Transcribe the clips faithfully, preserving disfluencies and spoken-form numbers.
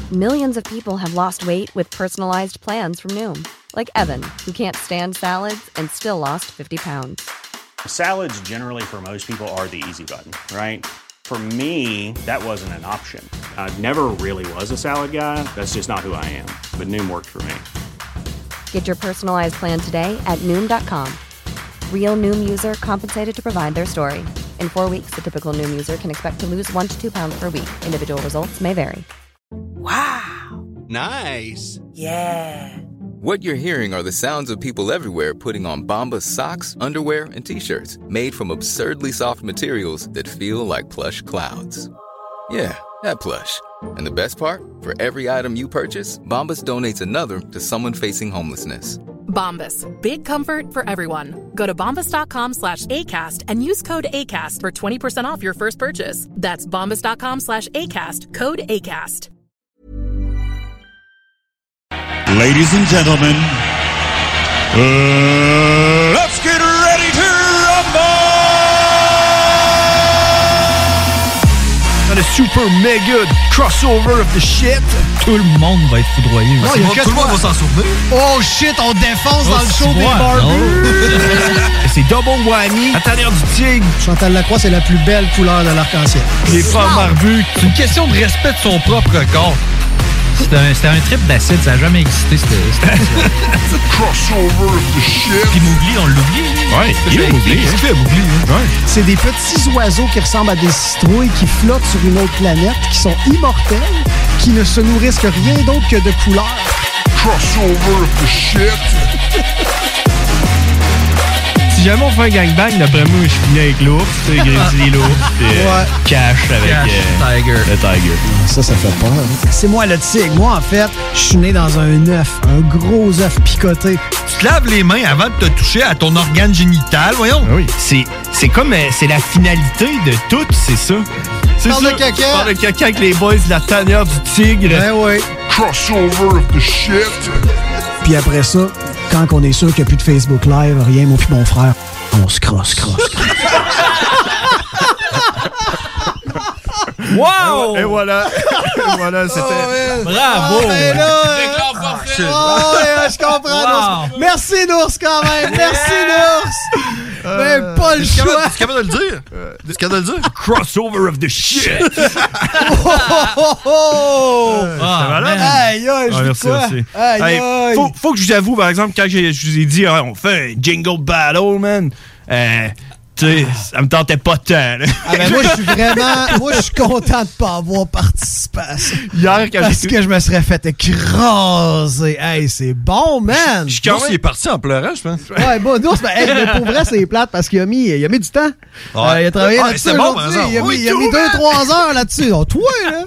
Millions of people have lost weight with personalized plans from Noom. Like Evan, who can't stand salads and still lost fifty pounds. Salads generally for most people are the easy button, right? For me, that wasn't an option. I never really was a salad guy. That's just not who I am. But Noom worked for me. Get your personalized plan today at Noom dot com. Real Noom user compensated to provide their story. In four weeks, the typical Noom user can expect to lose one to two pounds per week. Individual results may vary. Wow. Nice. Yeah. What you're hearing are the sounds of people everywhere putting on Bombas socks, underwear, and T-shirts made from absurdly soft materials that feel like plush clouds. Yeah, that plush. And the best part? For every item you purchase, Bombas donates another to someone facing homelessness. Bombas. Big comfort for everyone. Go to bombas.com slash ACAST and use code ACAST for twenty percent off your first purchase. That's bombas.com slash ACAST. Code ACAST. Ladies and gentlemen, uh, let's get ready to rumble! Dans le super méga crossover of the shit, tout le monde va être foudroyé. Non, aussi. y a que tout le monde va s'en souvenir. Oh shit, on défonce Oh, dans le show c'est des moi. barbus! C'est double whammy. La tanière du tigre. Chantal Lacroix, c'est la plus belle couleur de l'arc-en-ciel. Les femmes barbues. C'est une question de respect de son propre corps. C'était un, c'était un trip d'acide, ça n'a jamais existé. C'était, c'était Crossover of the shit. Puis Mowgli, on l'oublie. Ouais, il est Mowgli. Qu'est-ce qu'il fait, Mowgli? Ouais. C'est des petits oiseaux qui ressemblent à des citrouilles qui flottent sur une autre planète, qui sont immortels, qui ne se nourrissent que rien d'autre que de couleurs. Crossover of the shit. Si jamais on fait un gangbang, d'après moi, je finis avec l'ours, tu sais, Grizzly l'ours, puis euh, Ouais. Cash avec Cash, euh, Tiger. le Tiger. Ça, ça fait peur. Hein? C'est moi le tigre. Moi, en fait, je suis né dans un œuf, un gros œuf picoté. Tu te laves les mains avant de te toucher à ton organe génital, voyons. Ah oui, c'est, c'est comme, euh, c'est la finalité de tout, c'est ça. C'est Parle ça. de caca. Parle de caca avec les boys de la tanière du tigre. Ben oui. Crossover of the shit. Puis après ça, quand on est sûr qu'il n'y a plus de Facebook Live, rien, moi puis mon frère, on se crosse, crosse, crosse. Wow! Et voilà. Et voilà, c'était... Oh, Bravo! Oh, ben là, Ah, shit. oh, ouais, je comprends. Wow. Nours. Merci, Nours, quand même. Merci, Nours. Mais pas le Tu choix. es capable de le dire? Tu es capable de le dire? Crossover of the shit! Oh, oh, oh. Ah, malade. man. Aïe, aïe, je Ah, dis merci, quoi? merci. Aïe, Hey, aïe. faut, faut que je vous avoue, par exemple, quand j'ai- je vous ai dit, ah, on fait un jingle battle, man, euh, tu sais, ça me tentait pas tant. Là. Ah ben moi, je suis vraiment... Moi, je suis content de pas avoir participé à ça. Hier, quand Parce j'ai... que je me serais fait écraser. Hey, c'est bon, man! Je suis quand Nours, même- il est parti en pleurant, je pense. Ouais, bon, Nours, ben, hey, mais pour vrai, c'est plate parce qu'il a mis, il a mis du temps. Ouais. Euh, il a travaillé Ah, là-dessus c'est bon, aujourd'hui. par exemple. Il a mis, Oui, il a tout, mis deux, man. trois heures là-dessus. Oh, toi, là!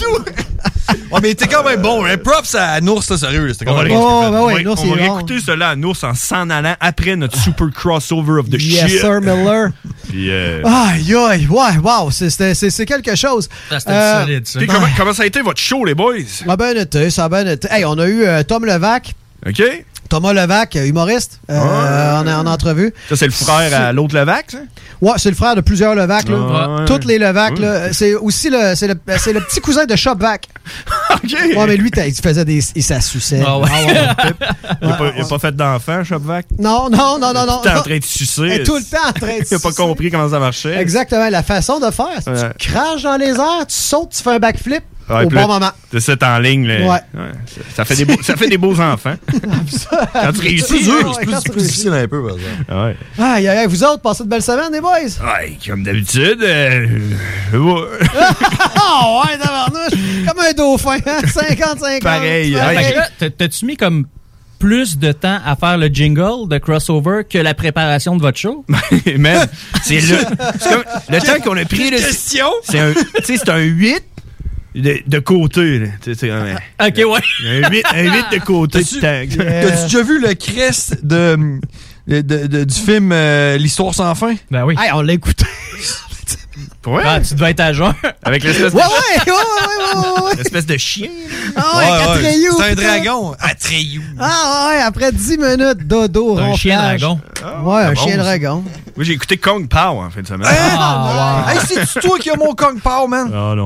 Ouais, mais il était quand même bon. Hein? Props à Nours, là, sérieux. là, C'était quand On va, même ré- bon. Oh, ben on oui, va- Nours, on il va est bon. réécouter cela à Nours en s'en allant après notre super crossover of the Yes, shit. sir, Miller. Puis, euh, Aïe, aïe, ouais, wow, c'est, c'est, c'est, c'est quelque chose. Ça, C'était Euh, solide, ça. puis comment, comment ça a été votre show, les boys? Ça a bien été, ça a bien été. Hey, on a eu euh, Tom Levac. OK? Thomas Levac, humoriste, euh, en, en entrevue. Ça, c'est le frère à l'autre Levac, ça? Ouais, c'est le frère de plusieurs Levac, là. Ouais. Toutes les Levac, Ouais. là. C'est aussi le, c'est le, c'est le petit cousin de Shopvac. OK! Ouais, mais lui, t'as- il faisait des, il s'assuçait. Ah ouais. Il n'a pas, Ouais, il a pas fait d'enfant, Shopvac? Non, non, non, non, non. T'es en train de sucer. Elle est tout le temps en train de Il n'a pas sucer. compris comment ça marchait. Exactement, la façon de faire. c'est Ouais. Tu craches dans les airs, tu sautes, tu fais un backflip Ouais, au puis bon là, moment. De cette en ligne, là. Ouais. ça, ça fait des beaux, ça fait des beaux enfants. Quand tu réussis. C'est plus dur, Ouais, c'est plus, quand c'est tu plus difficile un peu, par exemple. Ouais. Aïe, aïe, aïe, vous autres, passez de belles semaines, les boys? Ouais, comme d'habitude. Euh, je vois. Oh, ouais, tabarnouche! Comme un dauphin, hein? cinquante cinquante. Pareil, Fait que là, t'as- t'as-tu mis comme plus de temps à faire le jingle de crossover que la préparation de votre show? Man, c'est le, c'est comme, le temps qu'on a pris. Là, Question? c'est un, tu sais, c'est un huit de, de côté. Là. Tu sais, c'est un, Ok, ouais. un huit, un huit de côté. T'as-tu- de temps. T'as-tu déjà vu le crest de, de, de- de- du film euh, L'Histoire sans fin? Ben oui. Hey, on l'a écouté. Ouais. Ah, tu devais être à jeun. Avec l'espèce Ouais, de, ouais, ouais, ouais, ouais, ouais. l'espèce de chien. Ah ouais, Atreyu. C'est un putain. dragon. Atreyu. Ah ouais, après dix minutes, dodo, Un chien ronflage. dragon. Ouais, un bon, chien ça. dragon. Moi, j'ai écouté Kong Pao en fin de semaine. Ah, wow. Hey, c'est-tu toi qui as mon Kong Pao, man? Ah non.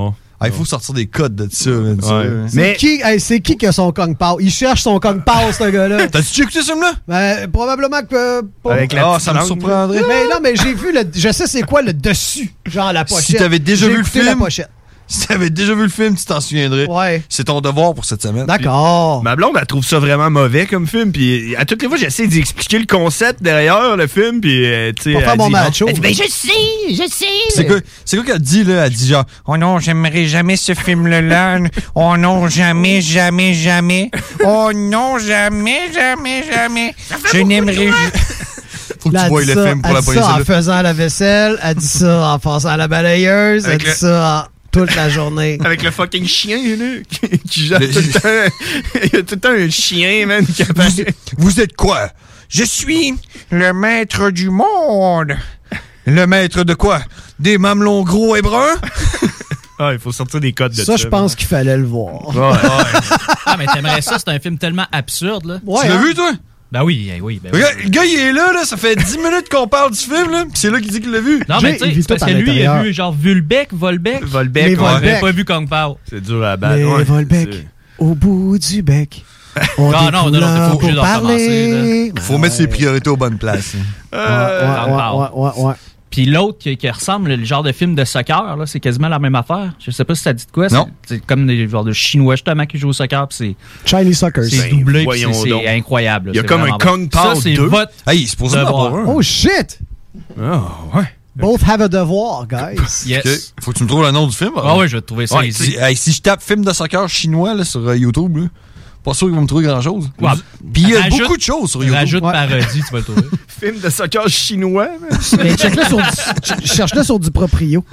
Ah, il faut sortir des codes de ça. Man, ça Ouais. C'est Mais- qui, hey, c'est qui qui a son Kong Pao? Il cherche son Kong Pao, ce gars-là. T'as-tu écouté ce film-là? Ben, probablement que... euh, pas- Avec la Ah, petite ça me langue, surprendrait. Mais non, mais j'ai vu le... Je sais c'est quoi le dessus, genre la pochette. Si t'avais déjà J'ai vu le écouté film, la pochette. Si t'avais déjà vu le film, tu t'en souviendrais. Ouais. C'est ton devoir pour cette semaine. D'accord. Ma blonde, elle trouve ça vraiment mauvais comme film. Puis à toutes les fois, j'essaie d'y expliquer le concept derrière le film. Puis, euh, tu sais. Pas faire elle mon dit- macho. elle dit, ben, je sais, je sais. C'est quoi, c'est quoi qu'elle dit, là? Elle dit genre, oh non, j'aimerais jamais ce film-là. Oh non, jamais, jamais, jamais. Oh non, jamais, jamais, jamais. Je n'aimerais. Faut que Là, tu elle voies dit le ça- film pour elle la dit police. ça en faisant la vaisselle, elle dit ça en passant à la balayeuse, elle Avec dit le- ça en toute la journée. Avec le fucking chien, là, qui, qui gère Le- tout le temps. Il y a tout le temps un chien, man, qui apparaît. Vous êtes quoi? Je suis le maître du monde. Le maître de quoi? Des mamelons gros et bruns? Ah, il faut sortir des codes de ça. Ça, je pense qu'il fallait le voir. Ouais, ouais. Ah, mais t'aimerais ça, c'est un film tellement absurde, là. Ouais, tu l'as hein? vu, toi? Ben oui, eh oui, ben oui. Regarde, le gars, il est là, là, ça fait dix minutes qu'on parle du film, là, pis c'est là qu'il dit qu'il l'a vu. Non, Jay, mais tu il sais, vit c'est parce tout que à lui, il a l'intérieur. vu genre Vulbec, Volbec. Volbec, Les ouais. Volbec. J'avais pas vu Kong Pao. C'est dur à battre. Les ouais. Volbec, C'est- au bout du bec. On Ah, non, non, non, t'es pas pour obligé de parler. Faut mettre ses priorités aux bonnes places. Ouais, ouais, ouais, ouais, ouais. Puis l'autre qui, qui ressemble, le genre de film de soccer, là, c'est quasiment la même affaire. Je sais pas si ça dit de quoi. Non. C'est, c'est comme des genres de Chinois justement qui jouent au soccer. Puis c'est, Chinese Suckers. c'est Ben, doublé. Puis voyons c'est, donc. c'est incroyable. Il y a c'est comme un vraiment Kong bon. Pao Ça, c'est deux. votre Hey, il se pose devoir. avoir un. Oh shit! Ah, ouais. Both have a devoir, guys. Yes. Ok. Faut que tu me trouves le nom du film. Ah ouais, je vais te trouver ça Ouais, ici. si, hey, si je tape film de soccer chinois là, sur euh, YouTube, là, pas sûr qu'ils vont me trouver grand-chose. Ouais. Puis il y a Rajoute- beaucoup de choses sur YouTube. Rajoute Ouais. parodie, tu vas le trouver. Film de soccer chinois, man. Mais check-le sur du, ch- cherche-le sur du proprio.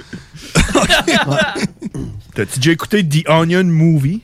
T'as-tu déjà écouté The Onion Movie?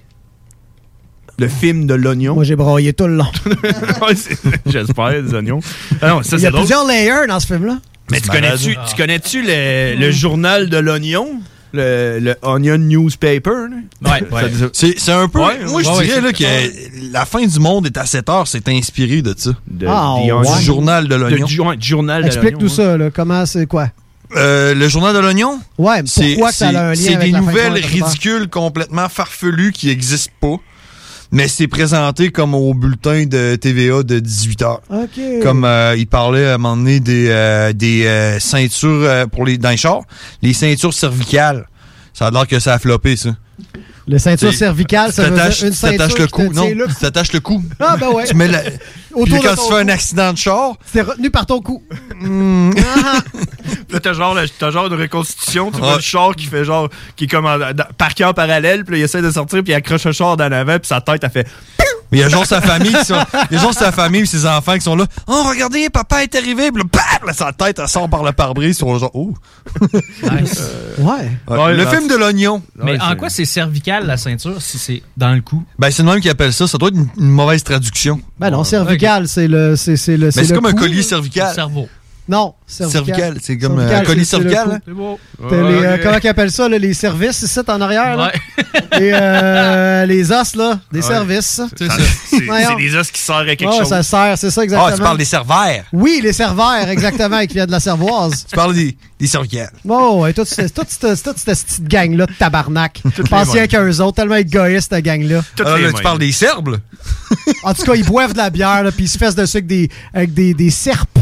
Le film de l'oignon? Moi, j'ai broyé tout le long. Ouais, c'est- J'espère, des oignons. Ah non, ça, Il y c'est a drôle. plusieurs layers dans ce film-là. Mais tu C'est malade. connais-tu, tu connais-tu le, le journal de l'oignon? Le, le Onion Newspaper? là? Ouais, ouais. Ça- C'est, c'est un peu. Ouais, moi, je ouais, dirais ouais, là, que la fin du monde est à sept heures. C'est inspiré de ça. de, Ah, The ouais. Onion- Du journal de de- l'oignon. du, ouais, du journal Explique-nous de l'oignon. ça, là. Comment, c'est quoi? Euh, le journal de l'oignon, Ouais, c'est, pourquoi que ça a c'est- un lien c'est avec des la fin nouvelles de Harry Potter? ridicules, complètement farfelues qui n'existent pas. Mais c'est présenté comme au bulletin de T V A de dix-huit heures. OK. Comme euh, il parlait à un moment donné des, euh, des euh, ceintures euh, pour les dans les chars, les ceintures cervicales. Ça a l'air que ça a floppé, ça. Le ceinture C'est- cervicale, ça veut T'attaches- dire une ceinture t'attaches le qui te cou. Non, tient là. tu t'attaches le cou. Ah, ben ouais. Tu mets la... Puis Autour de quand ton tu fais un cou. accident de char, C'est retenu par ton cou. hmm, Ah, Là, t'as genre, le- t'as genre une reconstitution, tu Ouais. vois le char qui fait genre, qui est comme en, dans- parqué en parallèle, puis là, il essaie de sortir, puis il accroche le char dans l'avant, puis sa tête, elle fait. il y a genre sa famille qui sont, il y a genre sa famille et ses enfants qui sont là. Oh, regardez, papa est arrivé. Puis là, bam, là, sa tête, elle sort par le pare-brise. Ils sont genre, oh. Nice. ouais. Ouais, Ouais, le dans- film de l'oignon. Mais Ouais, en c'est- quoi c'est cervical, la ceinture, si c'est dans le cou? Ben, c'est le même qui appelle ça. Ça doit être une, une mauvaise traduction. Ben non, cervical, c'est le. C'est, c'est le Mais c'est le comme un cou. collier Le cervical. cerveau. Non, cervical. Cervical, c'est comme Cervical, un collier c'est- c'est le cervical. cou. hein? C'est beau. T'as les, euh, Ouais. comment ils appellent ça, là, les services, c'est ça, en arrière, là? Ouais. Et euh, les os, là, des Ouais. services. C'est, c'est, Voyons. c'est des os qui sortent à quelque Ouais, chose. ça sert, c'est ça, Ah, exactement. tu parles des cervères. Oui, les serveurs, exactement, qui viennent de la cervoise. Tu parles des, des cervicales. Oh, ouais, toute cette toute cette- toute cette petite gang-là de tabarnak. les Pensez mêmes. qu'eux autres, tellement égoïstes, cette gang-là. Toutes Alors les là, tu mêmes. parles des serbes. là. En tout cas, ils boivent de la bière, là, puis ils se fessent dessus avec des, avec des, des serpes.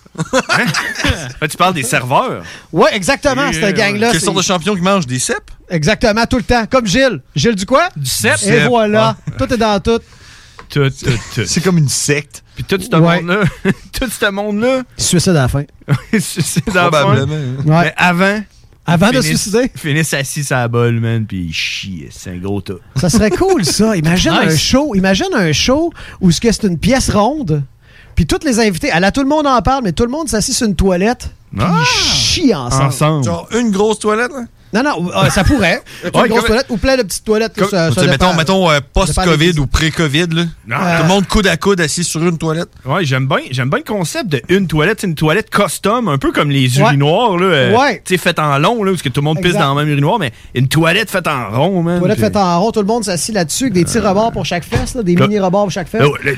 Ah, tu parles des serveurs. Ouais, exactement, Oui, cette oui, gang-là. Quelle c'est- sorte de champion qui mange des cèpes? Exactement, tout le temps. Comme Gilles. Gilles du quoi? Du cep. Et voilà. Tout est dans tout. Tout, tout, tout. C'est comme une secte. Puis tout ce Ouais. monde-là, tout ce monde-là, Il se suicide à la fin. c'est dans le fond. Probablement. Ouais. Mais avant, Avant de se finissent- suicider. finissent assis à la bolle, man, puis ils chient. C'est un gros tas. Ça serait cool, ça. Imagine Nice. un show. Imagine un show où ce que c'est une pièce ronde. Puis toutes les invités, à la tout le monde en parle, mais tout le monde s'assit sur une toilette. Puis Ah! ils chient ensemble. Ensemble. Genre une grosse toilette, là? Non, non, euh, ça pourrait. Une Ouais, grosse comme- toilette ou plein de petites toilettes. Comme- ça, tu ça sais, dépend. mettons, mettons euh, Ça dépend post-COVID des- ou pré-COVID, là. Ah. Tout le monde coude à coude assis sur une toilette. Ouais, j'aime bien, j'aime bien le concept de une toilette, c'est une toilette custom, un peu comme les Ouais. urinoirs, là. euh, Ouais. Tu sais, faite en long, là, parce que tout le monde pisse Exact. dans le même urinoir, mais une toilette faite en rond, man. Toilette puis- faite en rond, tout le monde s'assit là-dessus avec des petits rebords pour chaque fesse, là, des Là- mini rebords pour chaque fesse. Là, ouais, là, tu sais,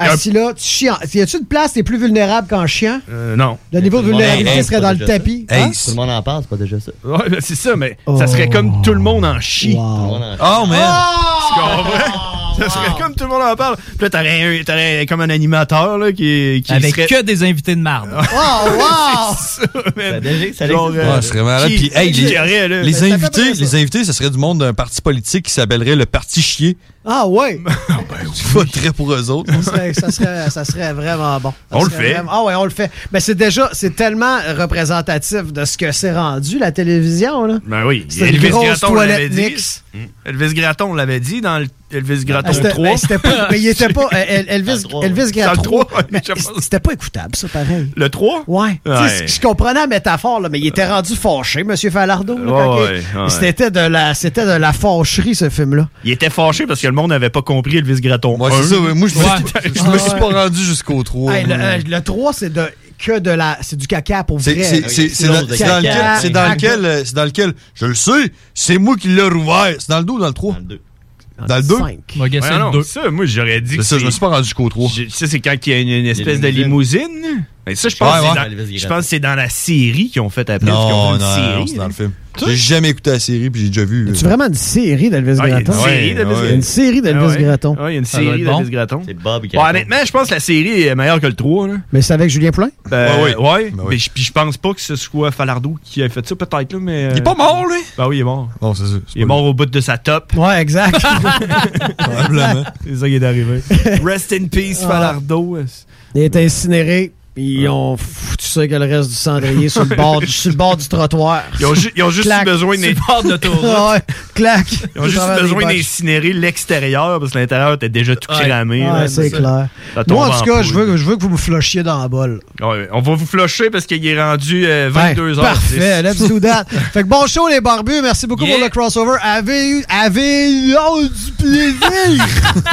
assis là, tu chies. En... Y a-tu une place t'es plus vulnérable qu'en chiant? Euh, non. Le niveau de vulnérabilité hey, serait dans le tapis. Hey, Hein? tout le monde en parle, c'est pas déjà ça. Ouais, ben, c'est ça, mais Oh. ça serait comme tout le monde en chie. Wow. Oh, man! Tu comprends? Ça serait comme tout le monde en parle. Puis là, t'aurais, un- t'aurais comme un animateur là, qui, qui Avec serait... que des invités de marde. Oh, wow! C'est ça, man. Ça déjà- ça Genre, existe. euh, Ouais, ce serait malade. qui- Puis, hey, qui les, aurait, là? les Ça fait invités, bien ça. les invités, ça serait du monde d'un parti politique qui s'appellerait le Parti Chier. Ah, ouais. Tu voterais pour eux autres. Ça serait, ça, serait, ça serait vraiment bon. Ça On le serait fait. vraiment- Ah ouais, on le fait. Mais c'est déjà, c'est tellement représentatif de ce que c'est rendu, la télévision, là. Ben oui. C'est une Elvis grosse Gratton l'avait toilette dit. mix. Mm. Elvis Gratton l'avait dit dans le Elvis Gratton Ah, c'était- trois. ben, c'était pas, mais il était pas. euh, El- Elvis, Dans le trois, Elvis Dans le Gratton. trois, ouais, mais je pense. c'était pas écoutable, ça, pareil. Le trois? Ouais. Tu sais, Ouais. Je comprenais la métaphore, là, mais il était rendu fâché, M. Falardeau. là, Ouais, quand il- ouais, ouais. C'était de la, c'était de la fâcherie, ce film-là. Il était fâché parce que le monde n'avait pas compris Elvis Gratton. Moi, un. c'est ça. ouais. Moi, je me, Ouais. je me suis Ah, pas rendu jusqu'au trois. Hey, le, moi. euh, le trois, c'est de que de la, c'est du caca pour C'est vrai. c'est- c'est- c'est dans, c'est dans lequel, c'est dans lequel, euh, c'est dans lequel, je le sais, c'est moi qui l'ai rouvert. C'est dans le deux ou dans le trois? Dans le deux. Dans le deux? Cinq. On va guesser Ouais, le non, deux. ça, moi, j'aurais dit C'est que ça, je me suis pas rendu jusqu'au trois. Je- Ça, c'est quand il y a une, une espèce de limousine. limousine. Mais ça, je pense, Ouais, que c'est ouais. dans- je pense que c'est dans la série qu'ils ont fait après. parce qu'ils ont Non, fait non, une série, non, c'est dans là. le film. J'ai jamais écouté la série, puis j'ai déjà vu. C'est vraiment une série d'Elvis Ah, il y a une Gratton? série d'Elvis Ouais, Il y a une série d'Elvis Ah ouais. Gratton. Ouais, il y a une Ça doit série être bon. d'Elvis Gratton. C'est Bob Bon, Gratton. honnêtement, je pense que la série est meilleure que le trois. Là. Mais c'est avec Julien Poulin? Ben, Ouais, ouais, ouais. Ben mais oui. je- puis je pense pas que ce soit Falardeau qui a fait ça, peut-être, là, mais... Il est pas mort, lui? Ben oui, il est mort. Non, c'est ça. c'est Il est pas mort au bout de sa top. Ouais, exact. lui. Probablement. C'est ça qui est arrivé. Rest in peace, Ah. Falardeau. Il est incinéré. Ils ont foutu ça que le reste du cendrier sur le bord, du- sur le bord du trottoir. Ils ont, ju- ils ont juste Clac. eu besoin C'est d'in- le bord de l'autoroute. Ah ouais, clac. ils ont Au juste travers eu des besoin botches. d'incinérer l'extérieur parce que l'intérieur était déjà tout Ouais. cramé. Ouais, là. c'est Ça- clair. ça tombe Moi, en tout cas, poudre. je veux, je veux que vous me flushiez dans la bolle. Ouais, on va vous flusher parce qu'il est rendu euh, vingt-deux heures. Ben, parfait, let's do that. Fait que bon show, les barbus. Merci beaucoup Yeah. pour le crossover. Avez eu, avez eu oh, du plaisir.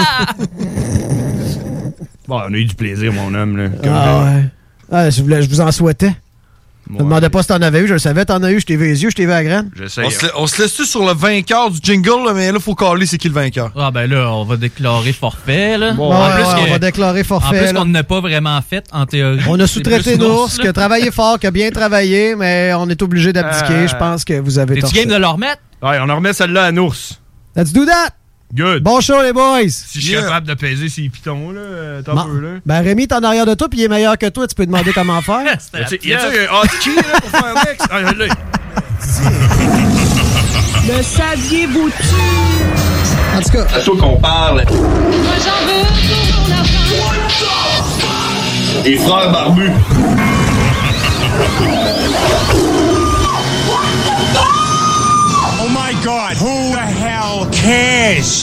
Bon, on a eu du plaisir, mon homme. Là, comme Ah ouais. Ah, je, voulais, je vous en souhaitais. Je Ouais. me demandais pas si t'en avais eu, je le savais, t'en as eu, je t'ai vu les yeux, je t'ai vu à la graine. J'essaye. On se, la- on se laisse-tu sur le vainqueur du jingle, là, mais là, faut caler c'est qui le vainqueur. Ah ben là, on va déclarer forfait, là. Bon, Ouais, en ouais, plus, ouais, que- on va déclarer en forfait. plus là. qu'on n'a pas vraiment fait, en théorie. On a C'est sous-traité plus Nours, qui a là. travaillé fort, qui a bien travaillé, mais on est obligé d'abdiquer. Euh, Je pense que vous avez T'es-tu torché. game de le remettre? Ouais, on en remet celle-là à Nours. Let's do that! Good. Bon show, les boys! Si je suis Yeah. capable de peser ces pitons, là, euh, t'as un Bon. peu, là. Ben, Rémi est en arrière de toi, puis il est meilleur que toi. Tu peux demander comment faire. Y a-tu y a-tu un hotkey, là, pour faire next? Ah, là. Le saviez-vous-tu? En tout cas, C'est à toi qu'on parle. Moi j'en veux pour mon argent. Les frères barbus. Oh my god, who the hell cares?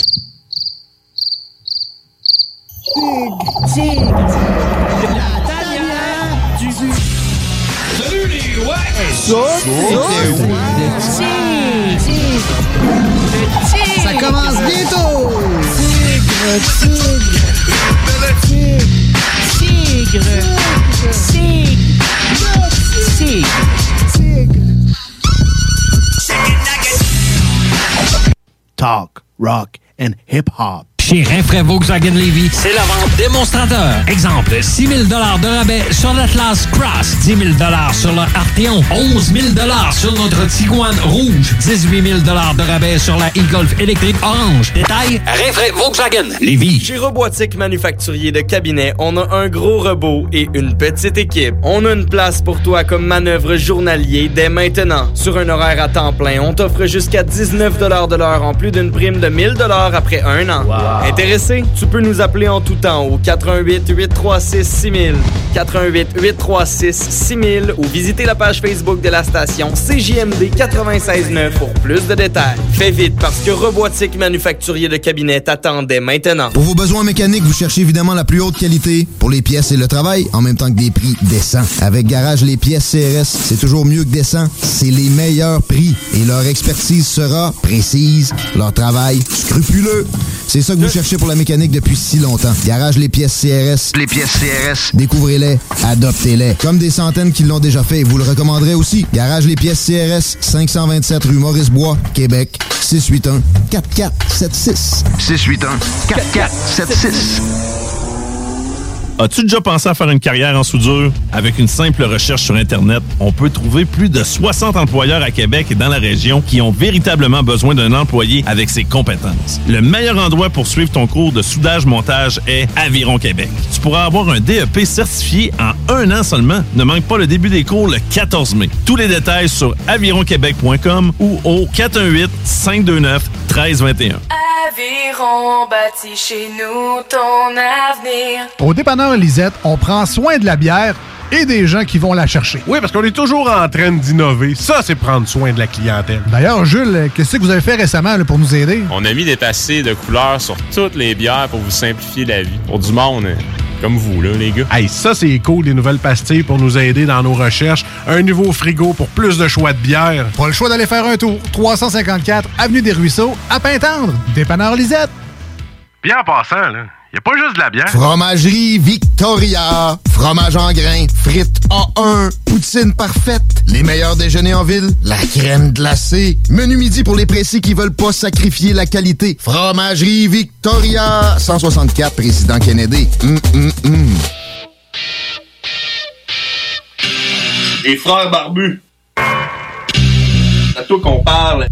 ça commence bientôt! Talk, rock, and hip-hop. Chez Rinfraie Volkswagen Lévy, c'est la vente démonstrateur. Exemple, six mille dollars de rabais sur l'Atlas Cross, dix mille dollars sur le Arteon, onze mille dollars sur notre Tiguan Rouge, dix-huit mille dollars de rabais sur la e-Golf électrique orange. Détail, Rinfraie Volkswagen Lévy. Chez Robotique Manufacturier de Cabinet, on a un gros robot et une petite équipe. On a une place pour toi comme manœuvre journalier dès maintenant. Sur un horaire à temps plein, on t'offre jusqu'à dix-neuf dollars de l'heure en plus d'une prime de mille dollars après un an. Wow. Intéressé? Tu peux nous appeler en tout temps au quatre un huit, huit trois six, six mille, quatre un huit, huit trois six, six mille ou visiter la page Facebook de la station C J M D quatre-vingt-seize neuf pour plus de détails. Fais vite parce que Robotique Manufacturier de Cabinet t'attendait maintenant. Pour vos besoins mécaniques, vous cherchez évidemment la plus haute qualité pour les pièces et le travail, en même temps que des prix décents. Avec Garage Les Pièces C R S, c'est toujours mieux que décent. C'est les meilleurs prix et leur expertise sera précise, leur travail scrupuleux. C'est ça que vous cherchez pour la mécanique depuis si longtemps. Garage Les Pièces C R S. Les pièces C R S. Découvrez-les, adoptez-les. Comme des centaines qui l'ont déjà fait, vous le recommanderez aussi. Garage Les Pièces C R S, cinq cent vingt-sept rue Maurice-Bois, Québec, six huit un, quatre quatre sept six. six huit un, quatre quatre sept six. As-tu déjà pensé à faire une carrière en soudure? Avec une simple recherche sur Internet, on peut trouver plus de soixante employeurs à Québec et dans la région qui ont véritablement besoin d'un employé avec ses compétences. Le meilleur endroit pour suivre ton cours de soudage-montage est Aviron Québec. Tu pourras avoir un D E P certifié en un an seulement. Ne manque pas le début des cours le quatorze mai. Tous les détails sur aviron québec point com ou au quatre un huit, cinq deux neuf, un trois deux un. Aviron bâtit chez nous ton avenir. Au dépanneur Lisette, on prend soin de la bière et des gens qui vont la chercher. Oui, parce qu'on est toujours en train d'innover. Ça, c'est prendre soin de la clientèle. D'ailleurs, Jules, qu'est-ce que vous avez fait récemment là, pour nous aider? On a mis des tassés de couleurs sur toutes les bières pour vous simplifier la vie. Pour du monde, hein, comme vous, là, les gars. Hey, ça, c'est cool, des nouvelles pastilles pour nous aider dans nos recherches. Un nouveau frigo pour plus de choix de bières. Pas le choix d'aller faire un tour. trois cent cinquante-quatre Avenue des Ruisseaux, à Pintendre. Dépanneur Lisette. Bien en passant, là, y a pas juste de la bière. Fromagerie Victoria. Fromage en grains, frites A un, poutine parfaite, les meilleurs déjeuners en ville, la crème glacée, menu midi pour les pressés qui veulent pas sacrifier la qualité. Fromagerie Victoria. cent soixante-quatre Président Kennedy. Hum, hum, hum. Les frères barbus. C'est à toi qu'on parle.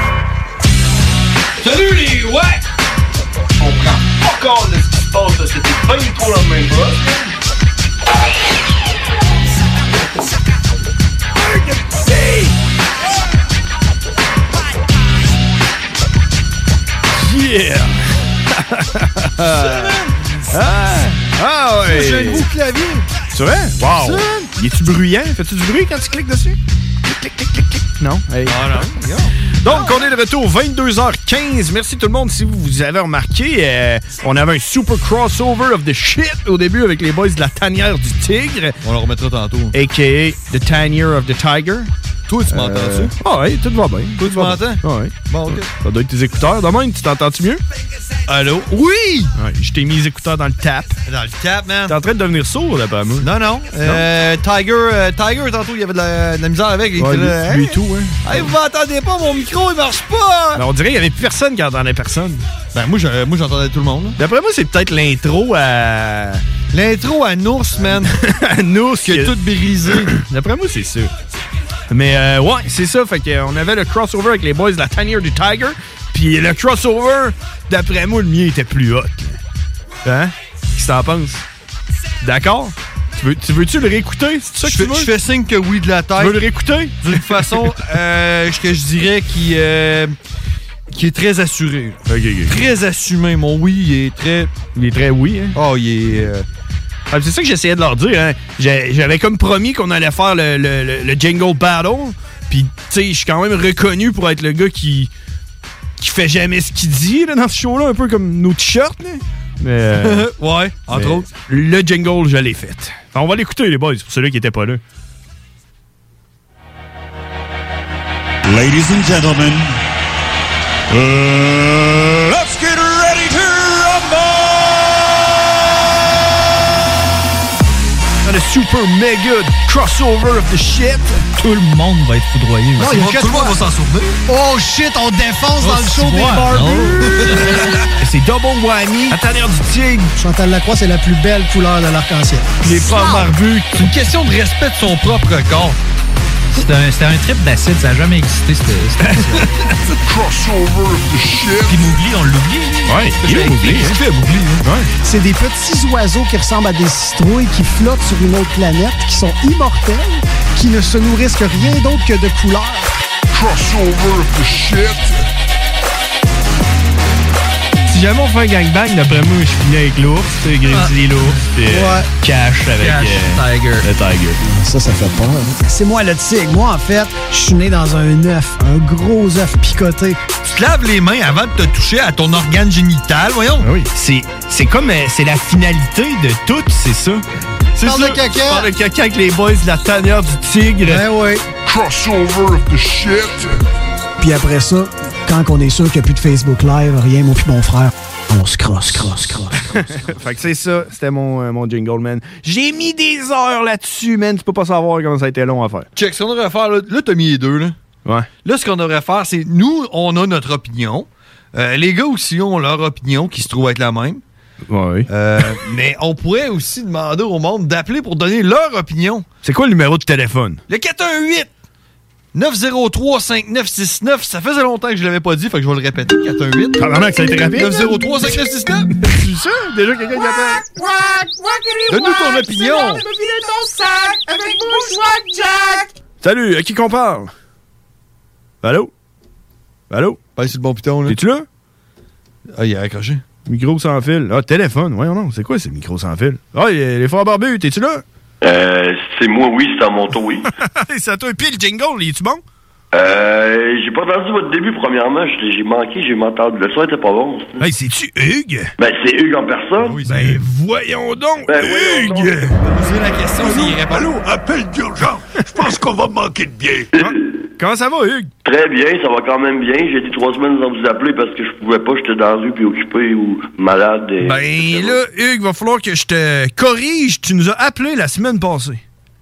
Salut les ouais! On prend pas compte de ce qui se passe, là. C'était pas du tout la même chose. Yeah! ah, ah ouais! J'ai un nouveau clavier. C'est vrai? Wow! Ça? Il est-tu bruyant? Fais-tu du bruit quand tu cliques dessus? Clic, clic, clic, clic. Non? Hey. Ah non. Donc, on est de retour, vingt-deux heures quinze. Merci tout le monde. Si vous, vous avez remarqué, euh, on avait un super crossover of the shit au début avec les boys de la tanière du tigre. On le remettra tantôt. A K A The Tanière of the Tiger. Toi, tu m'entends Euh, ça? Ah oui, tout va bien. Toi, tu m'entends? Ah oui. Bon, OK. Ça doit être tes écouteurs. Demain, tu t'entends-tu mieux? Allô? Oui! Ouais, je t'ai mis les écouteurs dans le tap. Dans le tap, man. T'es en train de devenir sourd, là, pas moi. Non, non. Euh, Tiger, euh, Tiger, tantôt, il y avait de la, de la misère avec. Il Ouais, était lui, là, lui hey, et tout, hein. hey, vous m'entendez pas? Mon micro, il marche pas! Alors, on dirait qu'il y avait plus personne qui entendait personne. Ben, moi, je- moi, j'entendais tout le monde. là. D'après moi, c'est peut-être l'intro à... L'intro à Nours, man. à Nours. Qui a tout brisé. D'après moi, c'est ça. Mais euh, ouais, c'est ça. Fait qu'on avait le crossover avec les boys de la tanière du Tiger. Puis le crossover, d'après moi, le mien était plus hot. Là. Hein? Qu'est-ce que t'en penses? D'accord? Tu veux, tu veux-tu le réécouter? C'est ça que Je tu fais, veux? je fais signe que oui de la tête. Tu veux le réécouter? D'une façon euh, que je dirais qui, euh, qui est très assuré. Ok, ok. Très assumé. Mon oui, il est très... Il est très oui, hein? Oh, il est... euh, Ah, c'est ça que j'essayais de leur dire. Hein. J'ai- J'avais comme promis qu'on allait faire le, le, le, le Jingle Battle. Puis, tu sais, je suis quand même reconnu pour être le gars qui, qui fait jamais ce qu'il dit là, dans ce show-là, un peu comme nos t-shirts. Là. Mais, euh, ouais, entre mais autres. Le jingle, je l'ai fait. Enfin, on va l'écouter, les boys, pour ceux-là qui n'étaient pas là. Ladies and gentlemen, uh, let's get ready to Dans le super méga crossover of the shit. Tout le monde va être foudroyé. Non, il y a que tout le toi. monde va s'en souvenir. Oh shit, on défonce dans le Oh, show des ouais. barbus. C'est double whammy. La tanière du tigre. Chantal Lacroix, c'est la plus belle couleur de l'arc-en-ciel. Les frères barbus. C'est une question de respect de son propre corps. C'était un, c'était un trip d'acide, ça n'a jamais existé, cette cette crossover of the shit. Puis Mowgli, on l'oublie. Ouais, il est Mowgli. Qu'est-ce qu'il fait, Mowgli? Ouais. C'est des petits oiseaux qui ressemblent à des citrouilles qui flottent sur une autre planète, qui sont immortels, qui ne se nourrissent que rien d'autre que de couleurs. Crossover of the shit. Si jamais on fait un gangbang, d'après moi, je finis avec l'ours, tu sais, Grizzly l'ours, puis euh, Ouais. Cash avec Cash, euh, Tiger. le Tiger. Ça, ça fait peur. hein. C'est moi le tigre. Moi, en fait, je suis né dans un œuf, un gros œuf picoté. Tu te laves les mains avant de te toucher à ton organe génital, voyons. Oui. C'est, c'est comme, euh, c'est la finalité de tout, c'est ça. C'est Parle ça. de caca. Parle de caca avec les boys de la tanière du tigre. Ben oui. Crossover of the shit. Puis après ça, quand on est sûr qu'il n'y a plus de Facebook Live, rien, moi puis mon frère, on se crosse, crosse, crosse. Fait que c'est ça, c'était mon, euh, mon jingle, man. J'ai mis des heures là-dessus, man. Tu peux pas savoir comment ça a été long à faire. Check, ce qu'on devrait faire, là, là t'as mis les deux, là. Ouais. Là, ce qu'on devrait faire, c'est nous, on a notre opinion. Euh, les gars aussi ont leur opinion qui se trouve être la même. Oui. Euh, mais on pourrait aussi demander au monde d'appeler pour donner leur opinion. C'est quoi le numéro de téléphone? Le quatre un huit neuf zéro trois cinq neuf six neuf. Ça faisait longtemps que je l'avais pas dit, fait que je vais le répéter. quatre un huit Probablement que ça a été rapide. neuf zéro trois cinq neuf six neuf. C'est ça? Déjà quelqu'un qui appelle. Donne-nous ton opinion. ton sac avec mon Jack. Salut, à qui qu'on parle? Allô? Allô? Pas sur le bon piton, là. T'es-tu là? Ah, il a accroché. Micro sans fil. Ah, téléphone. Voyons non. C'est quoi ces micros sans fil? Ah, les, les frères barbus, t'es-tu là? Euh, c'est moi, oui, c'est à mon tour, oui. C'est à toi. Puis le jingle, il est-tu bon? Euh, j'ai pas entendu votre début, premièrement. J'ai j'ai manqué, j'ai entendu. Le son était pas bon. ça. Hey, c'est-tu Hugues? Ben, c'est Hugues en personne. Oui, ben, voyons donc, Ben, Hugues! voyons Posez la question s'il répond. Allô, appel d'urgence. Je pense qu'on va manquer de biais. Comment ça va, Hugues? Très bien, ça va quand même bien. J'ai été trois semaines sans vous appeler parce que je pouvais pas, j'étais dans la rue puis occupé ou malade. Et... Ben là, Hugues, va falloir que je te corrige. Tu nous as appelé la semaine passée.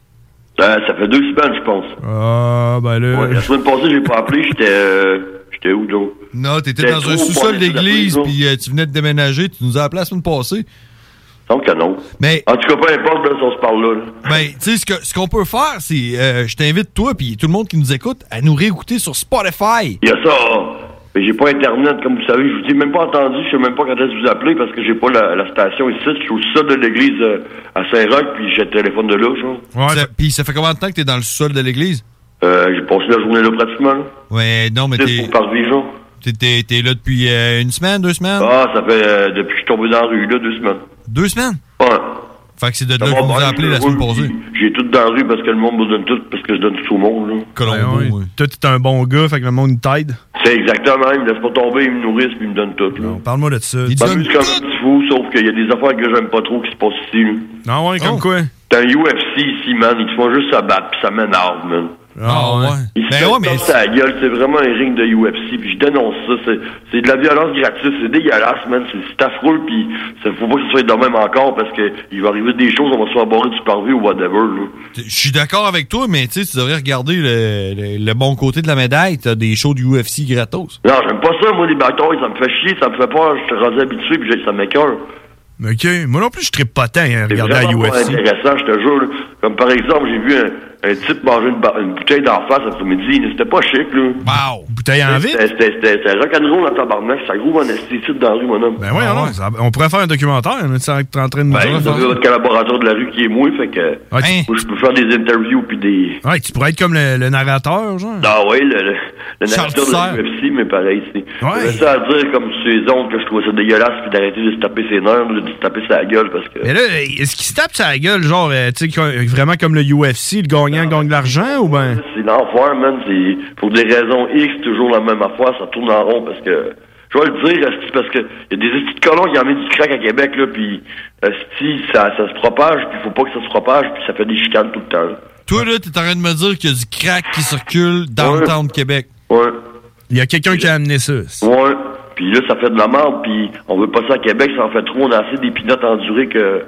Euh, ça fait deux semaines, je pense. Ah, ben là... Ouais, la semaine passée, j'ai pas appelé, j'étais... Euh, j'étais où, donc? Non, t'étais J'étais dans trop un sous-sol pas d'église, appeler, puis euh, tu venais de déménager, tu nous as appelé la semaine passée. Donc que non. Mais... En tout cas, peu importe, là, si on se parle là. là. Ben, tu sais, ce que- ce qu'on peut faire, c'est... euh, je t'invite, toi, puis tout le monde qui nous écoute, à nous réécouter sur Spotify. Il y a ça, hein. Mais j'ai pas Internet, comme vous savez. Je vous ai même pas entendu. Je sais même pas quand est-ce que vous appelez parce que j'ai pas la, la station ici. Je suis au sol de l'église euh, à Saint-Roch, puis j'ai le téléphone de là, genre. Ouais, ça- Puis ça fait combien de temps que t'es dans le sous-sol de l'église? Euh, j'ai passé la journée là pratiquement, là. Ouais, non, mais C'est t'es... pour parler, genre. T'es, t'es, t'es là depuis euh, une semaine, deux semaines? Ah, ça fait euh, depuis que je suis tombé dans la rue, là, deux semaines. Deux semaines? Ouais. Fait que c'est de là Ça qu'on va nous bien, a appelé je la roule, semaine passée. puis J'ai tout dans la rue parce que le monde me donne tout, parce que je donne tout au monde, là. Colombo, Ouais, ouais. Toi, t'es un bon gars, fait que le monde t'aide. C'est exactement, ils me laissent pas tomber, ils me nourrissent, puis ils me donnent tout, là. Parle-moi de ça. Je m'amuse comme un petit fou, sauf qu'il y a des affaires que j'aime pas trop qui se passent ici, là. Ah ouais, comme Oh. quoi? T'as un U F C ici, man, ils te font juste se battre, puis ça m'énerve, man. Ah ouais. Ils se mettent dans sa gueule, c'est vraiment un ring de U F C, puis je dénonce ça, c'est, c'est de la violence gratuite, c'est dégueulasse, man, c'est, c'est affreux, puis ça faut pas que ce soit de même encore, parce que il va arriver des choses, on va se faire barrer du parvis ou whatever, là. Je suis d'accord avec toi, mais tu sais, tu devrais regarder le, le- le bon côté de la médaille. T'as des shows du U F C gratos. Non, j'aime pas ça, moi, les batailles, ça me fait chier, ça me fait peur, je suis rendu habitué, puis j'ai- ça m'écoeure. OK. Moi non plus, je trippe pas tant à C'est regarder la vraiment U F pas C. intéressant, je te jure, là. Comme par exemple, j'ai vu un, un type manger une, ba- une bouteille d'en face après-midi, c'était pas chic, là. Wow! Bouteille en vide? C'était, c'était, c'était, c'était rock'n'roll dans tabarnak, ça groove en esthétique dans la rue, mon homme. Ben ouais, non, ça- on pourrait faire un documentaire, hein, ça, t'es en train de nous Ben, dire. vous avez votre collaborateur de la rue qui est moi, fait que moi, je peux faire des interviews puis des... Ouais, tu pourrais être comme le, le narrateur, genre. Ah ouais, le, le, le Charles narrateur de la Tisser. U F C, mais pareil, c'est... Ouais. J'avais ça à dire comme sur les ondes que je trouvais ça dégueulasse puis d'arrêter de se taper ses nerfs, de se taper sa gueule parce que... Mais là, est-ce qu'il se tape sa gueule, genre, euh, tu sais, co- vraiment comme le U F C, le gagnant gagne de l'argent, ou ben? C'est l'enfer, man, c'est... Pour des raisons X, toujours la même affaire, ça tourne en rond parce que... Je vais le dire, esti, parce que y a des estis de colons qui en mettent du crack à Québec, là, puis esti, ça, ça se propage, puis faut pas que ça se propage, puis ça fait des chicanes tout le temps. là. Toi, là, t'es en train de me dire qu'il y a du crack qui circule dans le town de Québec. Ouais. Il y a quelqu'un qui a amené ça. Ouais. Puis là, ça fait de la merde, puis on veut pas ça à Québec, ça en fait trop, on a assez d'épinotes endurées que...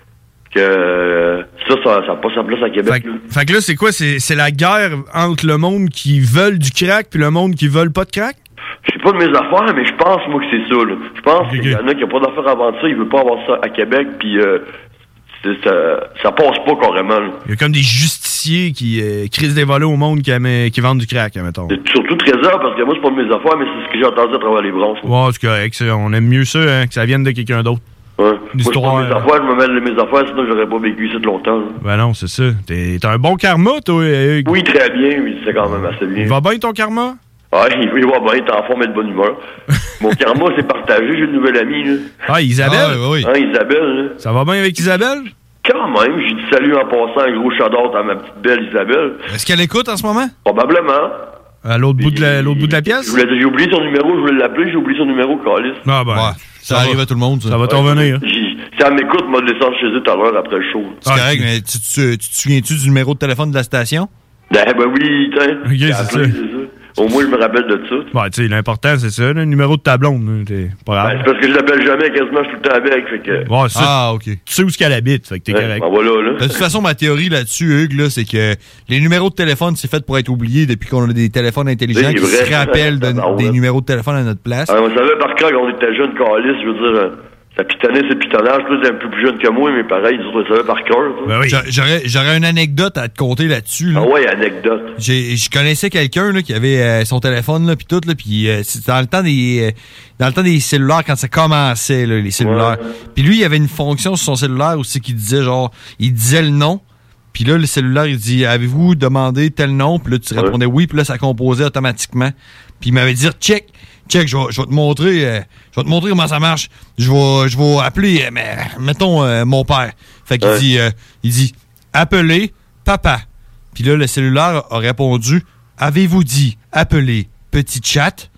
que ça, ça, ça a pas sa place à Québec. là. Fait que là, c'est quoi? C'est c'est la guerre entre le monde qui veulent du crack puis le monde qui veulent pas de crack? Je sais pas de mes affaires, mais je pense, moi, que c'est ça, là. Je pense qu'il y en a qui n'ont pas d'affaires avant ça, ils veulent pas avoir ça à Québec, puis euh, c'est- ça, ça passe pas carrément, là. Il y a comme des justiciers qui euh, crisent des volets au monde qui, aiment- qui vendent du crack, mettons. C'est surtout Trésor, parce que moi, c'est pas de mes affaires, mais c'est ce que j'ai entendu à travers les branches. Ouais, c'est correct. ça. On aime mieux ça, hein, que ça vienne de quelqu'un d'autre. Ouais. Une Moi, c'est histoire, pas de mes euh, affaires, je me mêle de mes affaires, sinon j'aurais pas vécu ici de longtemps, là. Ben non, c'est ça. T'es t'as un bon karma, toi, Hugues. Oui, très bien, oui, c'est quand même assez bien. Il va bien ton karma? Ouais, il il va bien, t'es en forme et de bonne humeur. Mon karma, c'est partagé, j'ai une nouvelle amie, là. Ah, Isabelle? Ah, oui. Hein, Isabelle, là. Ça va bien avec Isabelle? Quand même, j'ai dit salut en passant, un gros shout-out à ma petite belle Isabelle. Est-ce qu'elle écoute en ce moment? Probablement. À l'autre bout de la, l'autre bout de la pièce? Je voulais- J'ai oublié son numéro, je voulais l'appeler, j'ai oublié son numéro, Calis. Ah ben, ça arrive à tout le monde, ça. Ça va t'en venir. J'ai- Si elle m'écoute, m'a descendu chez eux tout à l'heure après le show. C'est correct, mais tu, tu- tu te souviens-tu du numéro de téléphone de la station? Ben, ben oui, tiens. Ok, J'ai c'est appelé, ça. c'est ça. Au moins, je me rappelle de ça. Ouais, tu sais, l'important, c'est ça, le numéro de ta blonde. là, T'es pas grave. Ben, c'est parce que je l'appelle jamais, quasiment, je suis tout le temps avec, fait que... Ouais, ça, Ah, OK. Tu sais où est-ce qu'elle habite, fait que t'es Ouais, correct. ben voilà, là. De toute façon, ma théorie là-dessus, Hugues, là, c'est que les numéros de téléphone, c'est fait pour être oubliés depuis qu'on a des téléphones intelligents C'est qui vrai. se rappellent de- Ah, ouais. des numéros de téléphone à notre place. Alors, on savait par cœur quand on était jeunes, Calis, je veux dire... euh, Ça pitonnait, c'est pitonnage. Toi, t'es un peu plus jeune que moi, mais pareil, ils autres, ça par cœur. Ben oui. J'aurais, j'aurais une anecdote à te conter là-dessus. Là. Ah ouais, anecdote. J'ai, je connaissais quelqu'un là, qui avait euh, son téléphone, là, puis tout, là, puis euh, c'était dans le temps des, euh, dans le temps des cellulaires, quand ça commençait, là, les cellulaires. Puis lui, il y avait une fonction sur son cellulaire aussi qui disait, genre, il disait le nom. Puis là, le cellulaire, il dit, avez-vous demandé tel nom? Puis là, tu répondais oui, puis là, ça composait automatiquement. Puis il m'avait dit, check. Check, je vais, je vais te montrer, euh, je vais te montrer comment ça marche. Je vais, je vais appeler, euh, mais, mettons, euh, mon père. Fait qu'il ouais. dit, euh, il dit, appelez papa. Puis là, le cellulaire a répondu, avez-vous dit appeler petit chat?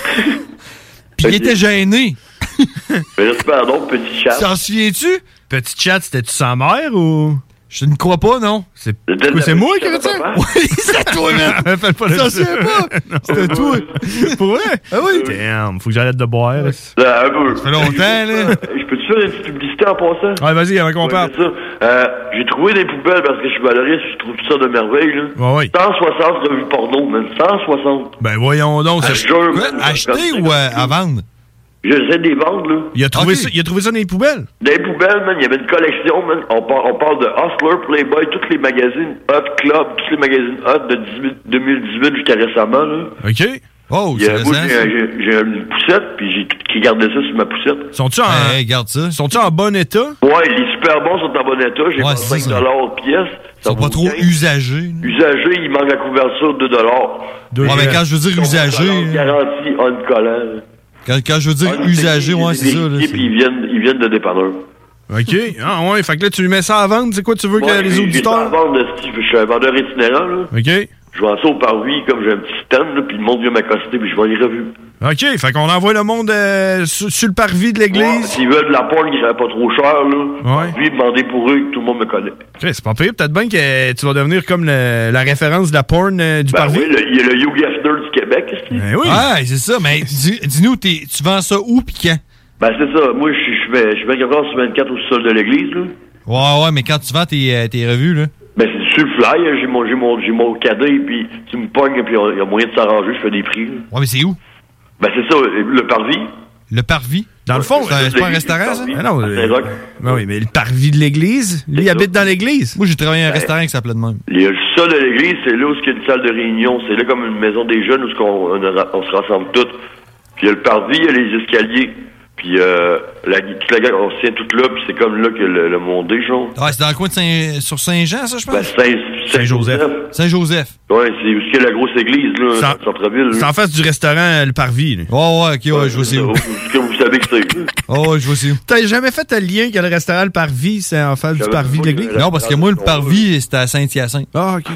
Puis il était gêné. Mais là, c'est pardon, petit chat. T'en souviens-tu? Petit chat, c'était-tu sa mère ou... Je ne crois pas, non. C'est, c'est moi qui avais dit ça? Oui, c'est toi, man. Fais pas le T'en souviens pas? C'était toi. Pour vrai? Ah oui. Damn, faut que j'arrête de boire. Là, un peu. Ça fait longtemps, là. Je peux-tu faire une petite publicité en passant? Ouais, vas-y, avant qu'on parle. Euh, j'ai trouvé des poubelles parce que je suis valoriste, je trouve tout ça de merveille, là. Ouais, ouais. cent soixante revues porno, man. cent soixante. Ben, voyons donc. Ah, c'est jure, Quoi? man, Acheter ou euh, à vendre? J'essaie de les vendre, là. Il a trouvé, Okay. ça, il a trouvé ça dans les poubelles? Dans les poubelles, man, il y avait une collection, man. On, par, on parle de Hustler, Playboy, tous les magazines Hot Club, tous les magazines Hot de deux mille dix-huit jusqu'à récemment, là. OK. Oh, Il y a- c'est moi, récent. j'ai, j'ai, j'ai une poussette, puis j'ai qui gardait ça sur ma poussette. Sont-tu en, Hey, garde ça. sont-tu en bon état? Ouais, les super bons sont en bon état. J'ai Ouais, pas c'est cinq ça. dollars pièce. Ils sont pas trop usagés. là. Usagés, il manque la couverture de deux dollars. Deux Ouais, mais quand je veux dire usagé, là, Garantie on collant. quand, quand je veux dire usagé, ouais, c'est ça. Là, Et c'est- puis ils viennent, ils viennent de dépanneur. OK. Ah ouais, fait que là, tu lui mets ça à vendre. C'est quoi tu veux que Moi, les j'ai- j'ai auditeurs... ça à vendre, esti, je suis un vendeur itinérant, là. OK. Je vends ça au parvis, comme j'ai un petit stand, là, puis le monde vient m'accoster, puis je vends les revues. OK, fait qu'on envoie le monde euh, sur, sur le parvis de Ouais, l'église. S'ils veulent de la porn qui serait pas trop cher, là, Ouais. puis demandez pour eux, que tout le monde me connaît. OK, c'est pas pire. Peut-être bien que tu vas devenir comme le- la référence de la porn euh, du Ben parvis. oui, le- il y a le Hugh Hefner du Québec, esti. Ben oui. Ouais, c'est ça. Mais dis- dis-nous, t'es- tu vends ça où pis quand? Ben c'est ça, moi je je fais je fais vingt-quatre sur vingt-quatre au sol de l'église, là. Ouais, ouais, mais quand tu vends tes, euh, tes revues, là. Ben c'est sur le fly, hein, j'ai mon j'ai mon j'ai mon cadet, puis tu me pognes, puis il y a moyen de s'arranger, je fais des prix, là. Ouais, mais c'est où? Ben c'est ça, le parvis. Le parvis? Dans le fond, C'est euh, ça, c'est pas un l'église, restaurant, le ça? parvis, Ah non, à euh, Saint-Roch. ben oui, mais le parvis de l'église, lui, il habite dans l'église. Moi, j'ai travaillé à un restaurant qui s'appelait de même. Le sol de l'église, c'est là où il y a une salle de réunion, c'est là comme une maison des jeunes où ce qu'on- on, on se rassemble tous. Puis il y a le parvis, il y a les escaliers. Puis euh, la, toute la gang, on se tient tout là, puis c'est comme là que le, le monde est, genre. Ouais, c'est dans le coin de Saint... sur Saint-Jean, ça, je pense? Ben, Saint, Saint-Joseph. Saint-Joseph. Ouais, c'est où il y a la grosse église, là, Ça- dans le centre-ville. C'est là. en face du restaurant, le parvis. là. Ouais, ouais, ok, ouais, je vois c'est où. Est-ce que vous savez que c'est? Oh, ouais, je vois c'est où. T'as jamais fait le lien que le restaurant, le parvis, c'est en face du J'avais parvis de pas l'église? que- Non, parce que moi, le parvis, c'était à Saint-Hyacinthe. Ah, OK.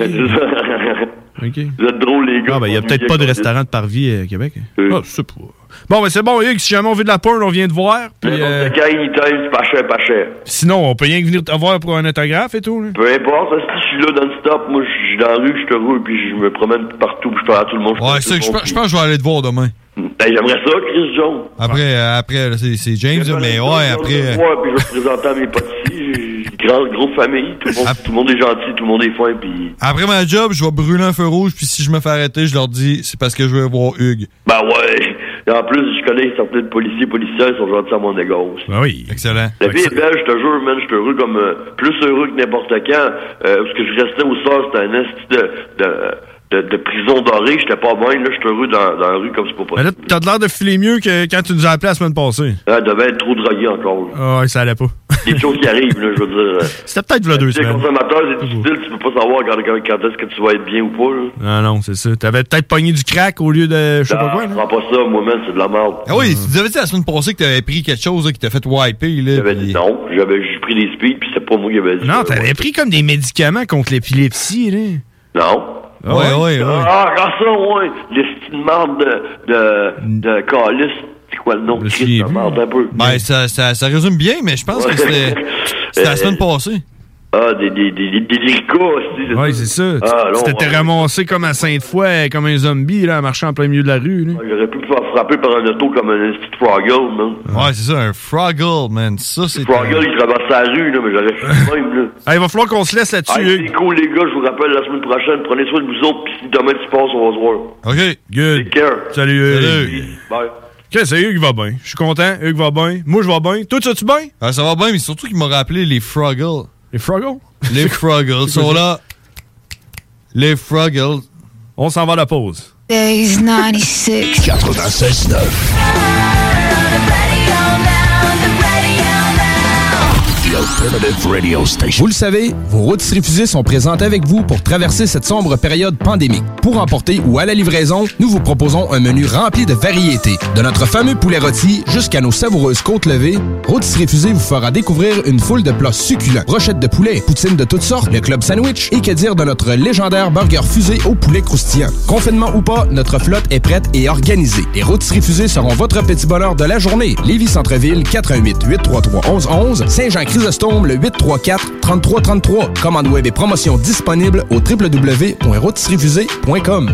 OK. Vous êtes drôles, les gars. Ah, ben, il y a peut-être pas de restaurant de parvis à Québec. Oui. Ah, je sais pas. Bon, ben, c'est bon, Hugues, si jamais on veut de la porn, on vient te voir. Puis, euh, Quand anytime, c'est pas cher, pas cher. sinon, on peut rien que venir te voir pour un autographe et tout. Là. Peu importe, si je suis là non-stop, moi, je suis dans la rue, je suis heureux, puis je me promène partout, puis je parle à tout le monde. Ouais, ça, je pense je pense que je vais aller te voir demain. Ben, j'aimerais ça, Chris Jones. Après, euh, après là, c'est c'est James, là, mais ouais, après. euh, Ouais, puis je vais te présenter à mes potes ici. J'ai une grande, grosse famille. Tout le, monde, tout le monde est gentil, tout le monde est fin, puis... Après ma job, je vais brûler un feu rouge, puis si je me fais arrêter, je leur dis c'est parce que je veux voir Hugues. Ben ouais. Et en plus, je connais certains policiers, policiers, ils sont gentils à mon égard aussi. Ben oui. Excellent. La vie est belle, je te jure, man, je suis heureux comme... euh, plus heureux que n'importe quand. Euh, parce que je restais au sort, c'était un esti de... de De, de prison dorée, j'étais pas bien, là, j'étais heureux dans, dans la rue comme c'est pas Ben là, possible. t'as l'air de filer mieux que quand tu nous as appelé la semaine passée. Ah, devait être trop drogué encore. Là. Ah, ouais, ça allait pas. Des choses qui arrivent, là, je veux dire. euh, C'était peut-être là deux Tu sais, semaines. consommateur, c'est difficile, tu peux pas savoir quand, quand, quand est-ce que tu vas être bien ou pas, là. Non, non, c'est ça. T'avais peut-être pogné du crack au lieu de je sais pas Ah, quoi. je là. prends pas ça, moi-même, c'est de la merde. Ah oui, tu nous avais dit la semaine passée que t'avais pris quelque chose là, qui t'a fait wiper. Là, J'avais puis- dit non, j'avais j'ai pris des speeds, puis c'est pas moi qui avais dit Non, ça. t'avais pris comme des médicaments contre l'épilepsie, là. Non. Ouais, ouais, ouais. Ah, quand ça, ouais. Les petites marde de, de, de calice. C'est quoi le nom de Christ, de marde, un peu. Ben, ça, ça, ça résume bien, mais je pense que c'était c'était la semaine passée. Ah, des, des, des, des, des lyricas aussi. Ouais, c'est ça. Ah, tu non, t'étais ouais. ramassé comme à Sainte-Foy, comme un zombie, là, en marchant en plein milieu de la rue, là. J'aurais pu me faire frapper par un auto comme un petit Froggle, man. Ouais, c'est ça, un Froggle, man. Ça, c'est. Froggle, il traverse la rue, là, mais j'aurais fait même, là. Ah, il va falloir qu'on se laisse là-dessus, Ah, Hugues. c'est cool, les gars, je vous rappelle la semaine prochaine. Prenez soin de vous autres, puis si demain tu passes, on va se voir. OK. Good. Take care. Salut, Hugues. Salut. Bye. Okay, c'est Hugues va bien. Je suis content. Hugues va bien. Moi, je vais bien. Toi, tu vas-tu bien? Ah, ça va bien, mais surtout qu'il m'a rappelé les Fruggles. Les Fruggles? Les Fruggles sont là. Les Fruggles. On s'en va à la pause. Days ninety-six. quatre-vingt-seize neuf. Radio Station. Vous le savez, vos rôtisseries fusées sont présentes avec vous pour traverser cette sombre période pandémique. Pour emporter ou à la livraison, nous vous proposons un menu rempli de variétés. De notre fameux poulet rôti jusqu'à nos savoureuses côtes levées, Rôtisseries fusées vous fera découvrir une foule de plats succulents. Brochettes de poulet, poutines de toutes sortes, le club sandwich et que dire de notre légendaire burger fusé au poulet croustillant. Confinement ou pas, notre flotte est prête et organisée. Les Rôtisseries fusées seront votre petit bonheur de la journée. Lévis Centre-Ville, quatre un huit, huit trois trois, un un un un. Saint-Jean-Chrysostome, le huit trois quatre, trente-trois trente-trois. Commande web et promotion disponible au w w w point rôtisserie fusée point com.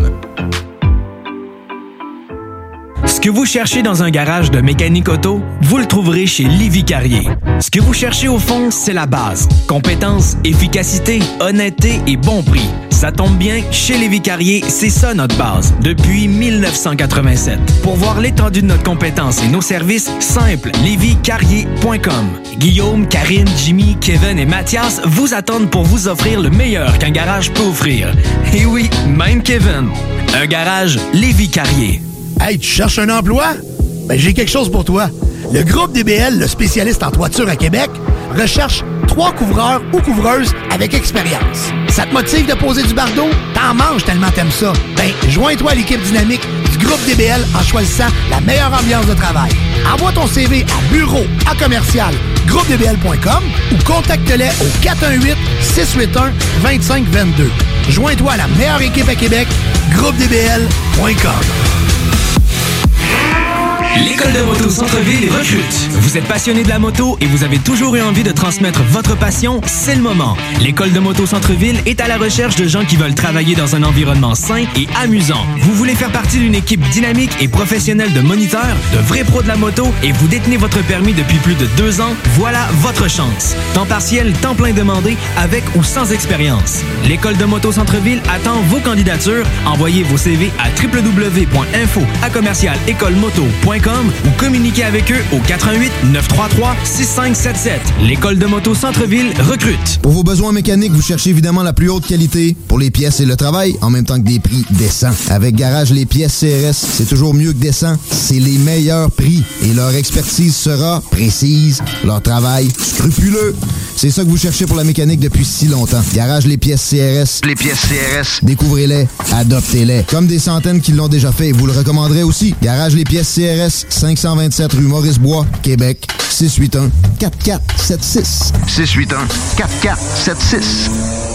Ce que vous cherchez dans un garage de mécanique auto, vous le trouverez chez Lévis Carrier. Ce que vous cherchez au fond, c'est la base. Compétence, efficacité, honnêteté et bon prix. Ça tombe bien, chez Lévis Carrier, c'est ça notre base, depuis mille neuf cent quatre-vingt-sept. Pour voir l'étendue de notre compétence et nos services, simple, lévis carrier point com. Guillaume, Karine, Jimmy, Kevin et Mathias vous attendent pour vous offrir le meilleur qu'un garage peut offrir. Et oui, même Kevin. Un garage Lévis Carrier. Hey, tu cherches un emploi? Ben, j'ai quelque chose pour toi. Le groupe D B L, le spécialiste en toiture à Québec, recherche trois couvreurs ou couvreuses avec expérience. Ça te motive de poser du bardeau? T'en manges tellement t'aimes ça. Ben, joins-toi à l'équipe dynamique du groupe D B L en choisissant la meilleure ambiance de travail. Envoie ton C V à bureau à commercial groupe d b l point com ou contacte-les au quatre un huit, six huit un, deux cinq deux deux. Joins-toi à la meilleure équipe à Québec, groupe d b l point com. L'École de moto Centre-Ville recrute. Vous êtes passionné de la moto et vous avez toujours eu envie de transmettre votre passion, c'est le moment. L'École de moto Centre-Ville est à la recherche de gens qui veulent travailler dans un environnement sain et amusant. Vous voulez faire partie d'une équipe dynamique et professionnelle de moniteurs, de vrais pros de la moto et vous détenez votre permis depuis plus de deux ans, voilà votre chance. Temps partiel, temps plein demandé, avec ou sans expérience. L'École de moto Centre-Ville attend vos candidatures. Envoyez vos C V à w w w point info à commercial école moto point com ou communiquez avec eux au quatre un huit, neuf trois trois, six cinq sept sept. L'École de moto Centre-Ville recrute. Pour vos besoins mécaniques, vous cherchez évidemment la plus haute qualité pour les pièces et le travail, en même temps que des prix décents. Avec Garage Les Pièces C R S, c'est toujours mieux que décent. C'est les meilleurs prix et leur expertise sera précise, leur travail scrupuleux. C'est ça que vous cherchez pour la mécanique depuis si longtemps. Garage Les Pièces C R S. Les pièces C R S. Découvrez-les, adoptez-les. Comme des centaines qui l'ont déjà fait, vous le recommanderez aussi. Garage Les Pièces C R S, cinq cent vingt-sept rue Maurice-Bois, Québec, six huit un, quatre quatre sept six. six huit un, quatre quatre sept six.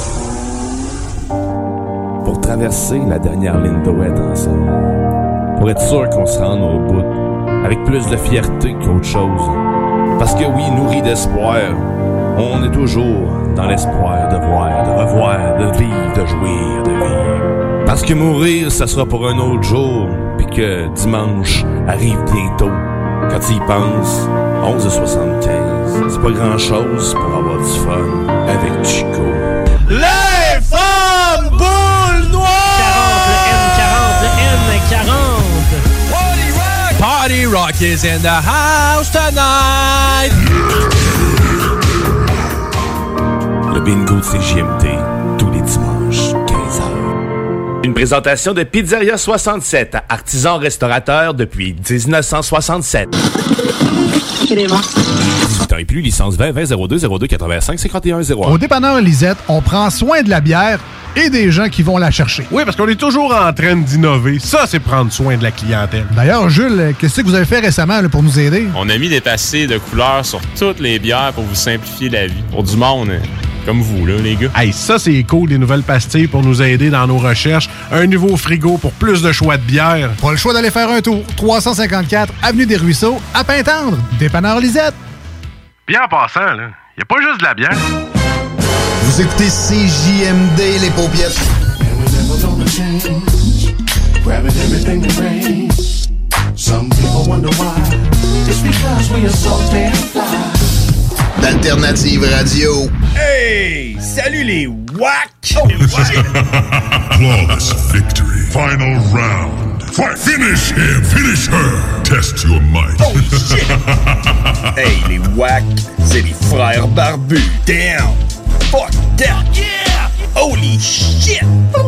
Pour traverser la dernière ligne d'ouest ensemble. Pour être sûr qu'on se rende au bout, avec plus de fierté qu'autre chose. Parce que oui, nourri d'espoir, on est toujours dans l'espoir de voir, de revoir, de vivre, de jouir, de vivre. Parce que mourir, ça sera pour un autre jour, puis que dimanche arrive bientôt. Quand tu y penses, onze heures soixante-quinze, c'est pas grand-chose pour avoir du fun avec Chico. Les femmes boules noires! quarante, le N quarante, le N quarante. Party Rock is in the house tonight! Le bingo de C J M T, tous les dimanches, quinze heures. Une présentation de Pizzeria soixante-sept, artisan restaurateur depuis dix-neuf cent soixante-sept. dix-huit ans et plus, licence vingt, vingt, zéro deux, zéro deux, quatre-vingt-cinq, cinquante et un, zéro un. Au dépanneur Lisette, on prend soin de la bière et des gens qui vont la chercher. Oui, parce qu'on est toujours en train d'innover. Ça, c'est prendre soin de la clientèle. D'ailleurs, Jules, qu'est-ce que vous avez fait récemment là, pour nous aider? On a mis des passés de couleurs sur toutes les bières pour vous simplifier la vie. Pour du monde, comme vous, là, les gars. Hey, ça, c'est cool, des nouvelles pastilles pour nous aider dans nos recherches. Un nouveau frigo pour plus de choix de bière. Pas le choix d'aller faire un tour. trois cent cinquante-quatre Avenue des Ruisseaux, à Pintendre. Dépanneur Lisette. Bien en passant, là, y a pas juste de la bière. Vous écoutez C J M D, les paupiètes. D'Alternative Radio. Hey! Salut les wack! Flawless victory. Final round. Finish him, finish her. Test your might. Oh shit! Hey, les wack, c'est les frères barbus. Damn! Fuck that! Yeah! Holy shit!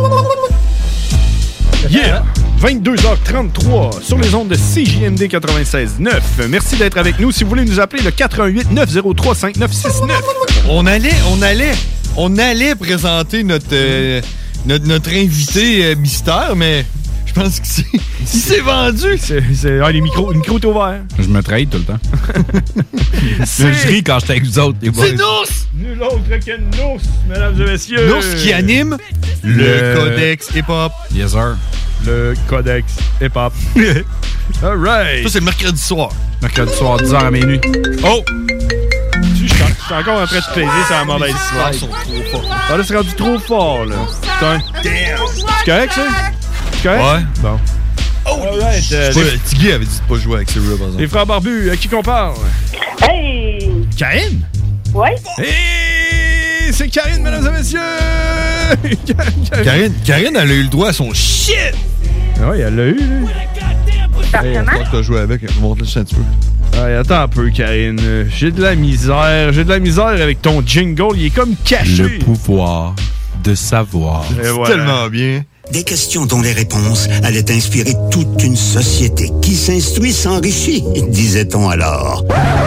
Yeah! vingt-deux heures trente-trois sur les ondes de C J M D quatre-vingt-seize neuf. Merci d'être avec nous. Si vous voulez nous appeler, le quatre un huit neuf zéro trois cinq neuf six neuf. On allait, on allait, on allait présenter notre, euh, notre, notre invité euh, mystère, mais je pense que c'est, il s'est vendu. C'est, c'est, ah, les micros, le micro est ouvert. Je me trahis tout le temps. C'est- Je ris quand j'étais avec vous autres. les boys. C'est nous! Nul autre que Nous, mesdames et messieurs. Nous qui anime le, Codex Hip-Hop. Yes, sir. Le Codex Hip-Hop. All right. Ça, c'est le mercredi soir. Mercredi soir, dix heures à minuit. Oh! Je suis encore en train de plaider sur la mauvaise slide. Ils sont trop forts. Ah, là, c'est rendu trop fort, là. Putain. C'est correct, ça? C'est correct? Ouais. Bon. All right. euh, Je sais les, pas, Tiggy avait dit de pas jouer avec Cyril, par exemple. les frères barbus, à qui qu'on parle? Hey! Karine? Ouais? Hey! C'est Karine, mesdames et messieurs! Karine, Karine, elle a eu le droit à son shit! Ah oui, elle l'a eu, là. Hey, je pense que t'as joué avec. Montre-le juste un petit peu. Ouais, attends un peu, Karine. Euh, J'ai de la misère. J'ai de la misère avec ton jingle. Il est comme caché. Le pouvoir de savoir. Et C'est voilà. tellement bien. Des questions dont les réponses allaient inspirer toute une société qui s'instruit s'enrichit, disait-on alors.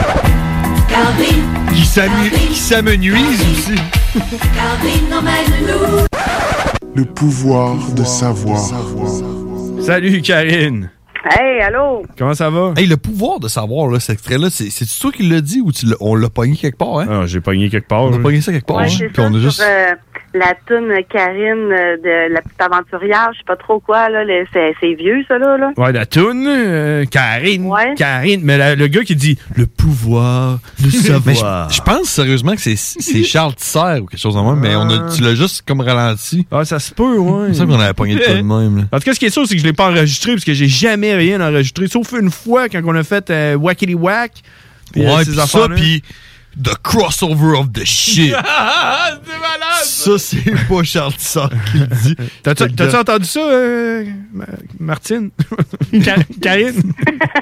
Calvin, Qui s'amu- qui s'amenuise aussi. Calvin emmène-nous. Le pouvoir de savoir. Salut, Karine. Hey, allô? Comment ça va? Hey, le pouvoir de savoir, là, cet extrait-là, c'est, c'est-tu toi qui l'as dit ou tu l'as- on l'a pogné quelque part, hein? Ah, j'ai pogné quelque part. On a là. pogné ça quelque part, Ouais, hein? c'est Puis ça, on a sur juste... euh, la toune Karine euh, de La Petite Aventurière, je sais pas trop quoi, là, le- c'est, c'est vieux, ça, là. là. Ouais, la toune, euh, Karine. Ouais. Karine. Mais la- le gars qui dit le pouvoir de Mais je, savoir. je pense sérieusement que c'est, c'est Charles Tisser ou quelque chose en même, mais on a, tu l'as juste comme ralenti. Ah, ça se peut, ouais. Il me semble qu'on avait pogné de quoi de même, là. En tout cas, ce qui est sûr, c'est que je l'ai pas enregistré parce que j'ai jamais rien enregistré, sauf une fois quand on a fait euh, Wackity Wack. Puis, euh, Ouais, ces pis ça, affaires-là. pis The Crossover of the Shit. C'est malade! Ça, c'est pas Charles Tisser qui le dit. T'as-tu, t'as-tu entendu ça, euh, Ma- Martine? Car- Karine?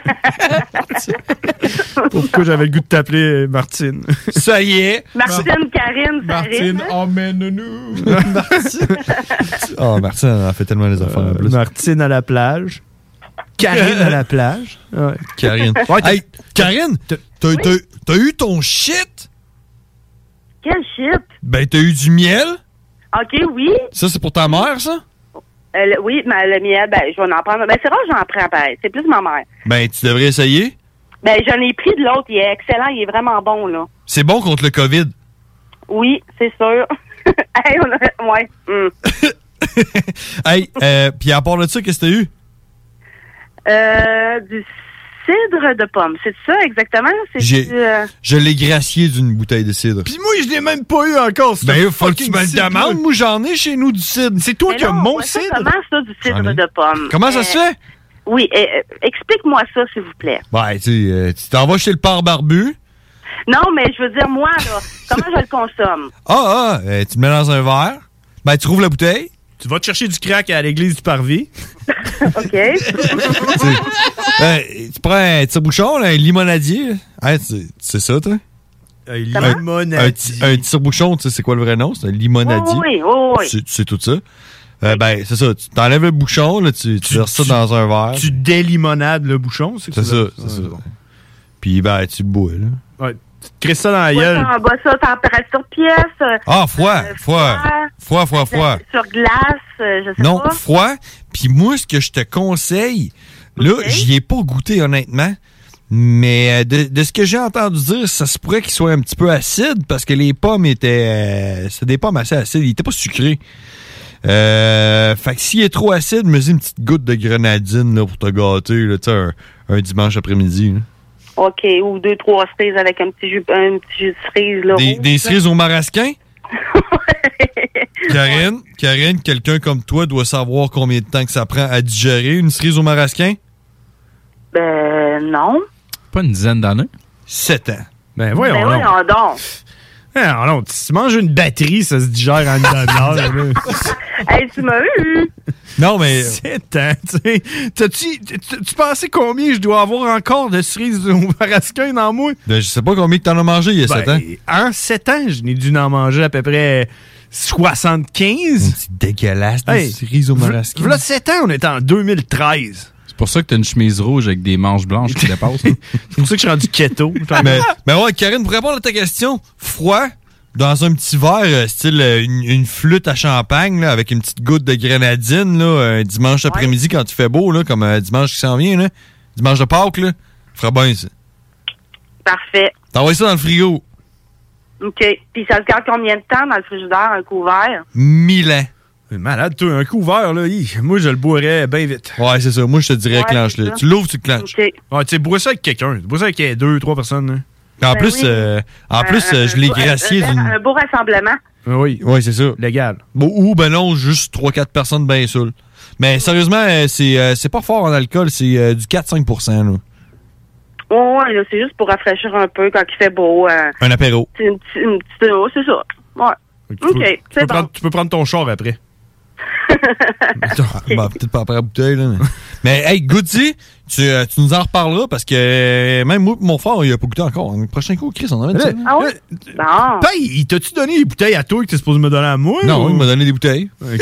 Pourquoi j'avais le goût de t'appeler euh, Martine? Ça y est. Martine, Karine, ça Martine, rime, hein? emmène-nous! Oh, Martine, elle a fait tellement les affaires en Euh, plus. Martine à la plage. Karine à la plage. Ouais. Karine. Ouais, t'as- Hey, Karine, t'as, t'as- t'as eu ton shit? Quel shit? Ben, t'as eu du miel? OK, oui. Ça, c'est pour ta mère, ça? Euh, le- oui, mais le miel, ben, je vais en prendre. Ben, c'est rare que j'en prends, pareil. C'est plus ma mère. Ben, tu devrais essayer. Ben, j'en ai pris de l'autre. Il est excellent. Il est vraiment bon, là. C'est bon contre le COVID. Oui, c'est sûr. Hey, on a... Ouais. hum. Hey, euh, pis à part de ça, qu'est-ce que t'as eu? Euh, du cidre de pomme. C'est ça, exactement? C'est J'ai- du, euh, Je l'ai gracié d'une bouteille de cidre. Pis moi, je l'ai même pas eu encore. ce Ben, il faut que tu fucking me le cidre-là. demandes. Moi, j'en ai chez nous du cidre. C'est toi mais qui as non, mon ouais, ça, cidre? Comment ça, du cidre J'en ai. de pomme? Comment ça Euh, se fait? Oui, euh, euh, explique-moi ça, s'il vous plaît. Ben, tu sais, euh, tu t'en vas chez le père barbu. Non, mais je veux dire, moi, là, comment je le consomme? Ah, ah, euh, tu le mets dans un verre. Ben, tu rouvres la bouteille. Tu vas te chercher du crack à l'église du Parvis. OK. Ben, tu prends un tire-bouchon, là, un limonadier. Hein, tu- c'est ça, toi? Un Comment? limonadier. Un, ti- un tire-bouchon, tu sais, c'est quoi le vrai nom? C'est un limonadier. Oui, oui, oui. Tu, tu sais tout ça. Euh, ben, c'est ça. Tu t'enlèves le bouchon, là, tu, tu verses ça dans un verre. Tu délimonades le bouchon, c'est C'est ça, c'est ça. Puis, ben, tu le bois, là. Ouais. Tu te crisses ça dans la Ouais, gueule. on bat ça température pièce. euh, Ah, froid, euh, froid. Froid, froid, froid. Sur glace, euh, je sais Non, pas. froid. Puis moi, ce que je te conseille, là, j'y ai pas goûté, honnêtement. Mais euh, de, de ce que j'ai entendu dire, ça se pourrait qu'il soit un petit peu acide parce que les pommes étaient... Euh, c'est des pommes assez acides. Ils étaient pas sucrés. Euh, fait que s'il est trop acide, me dis une petite goutte de grenadine là, pour te gâter là, tu sais, un, un dimanche après-midi. là. OK, ou deux, trois cerises avec un petit jus, un petit jus de cerise, là. Des, rouge, des là. cerises au marasquin? Karine, Karine, quelqu'un comme toi doit savoir combien de temps que ça prend à digérer une cerise au marasquin? Ben, non. Pas une dizaine d'années. Sept ans. Ben voyons, Ben, donc. voyons donc. Non, non, si tu manges une batterie, ça se digère en une demi-heure. là. Hey, tu m'as eu! Non, mais. C'est temps, tu sais. T'as-tu- Tu tu pensais combien je dois avoir encore de cerises au marasquin dans moi? Ben, je sais pas combien que t'en as mangé il y a Ben, sept ans. En sept ans, je n'ai dû en manger à peu près soixante-quinze. C'est dégueulasse, des Hey, cerises au marasquin. Là, sept ans, on était en deux mille treize. C'est pour ça que t'as une chemise rouge avec des manches blanches qui dépassent. hein? C'est pour ça que je suis rendu keto. mais, mais ouais, Karine, pour répondre à ta question, froid, dans un petit verre, euh, style euh, une, une flûte à champagne, là, avec une petite goutte de grenadine, là, un dimanche après-midi quand il fait beau, là, comme euh, dimanche qui s'en vient, là, dimanche de Pâques, là, ferait bien ça. Parfait. T'envoies ça dans le frigo. OK. Puis ça se garde combien de temps dans le frigidaire, un couvert? Mille ans. Malade, toi, un couvert, là, hi, moi, je le boirais bien vite. Ouais, c'est ça. Moi, je te dirais, Ouais, clenche-le. c'est ça. Tu l'ouvres, tu le clenches. OK. Ouais, tu sais, bois ça avec quelqu'un. Bois ça avec euh, deux, trois personnes. Là. En Ben plus, oui. euh, en plus Un- euh, je l'ai un- gracié un, d'une... un beau rassemblement. Ah oui. Oui, c'est ça. Légal. Bon, ou ben non, juste trois quatre personnes bien saoules. Mais sérieusement, euh, c'est euh, c'est pas fort en alcool, c'est euh, du quatre à cinq pour cent. Là. Ouais, ouais, là, c'est juste pour rafraîchir un peu quand il fait beau. Euh, Un apéro. c'est une, petite- une petite... oh, c'est ça. Ouais. Tu peux- OK, tu, peux c'est bon. prendre, tu peux prendre ton char après. Bah, peut-être pas après la bouteille, là. Mais, mais hey, Goody, tu, euh, tu nous en reparleras parce que euh, même moi et mon frère, il a pas goûté encore. Le prochain coup, Chris, on en avait ça. Ah ouais? Bon. Paye, il t'a-tu donné les bouteilles à toi que t'es supposé me donner à moi? Non, ou- il m'a donné des bouteilles. OK.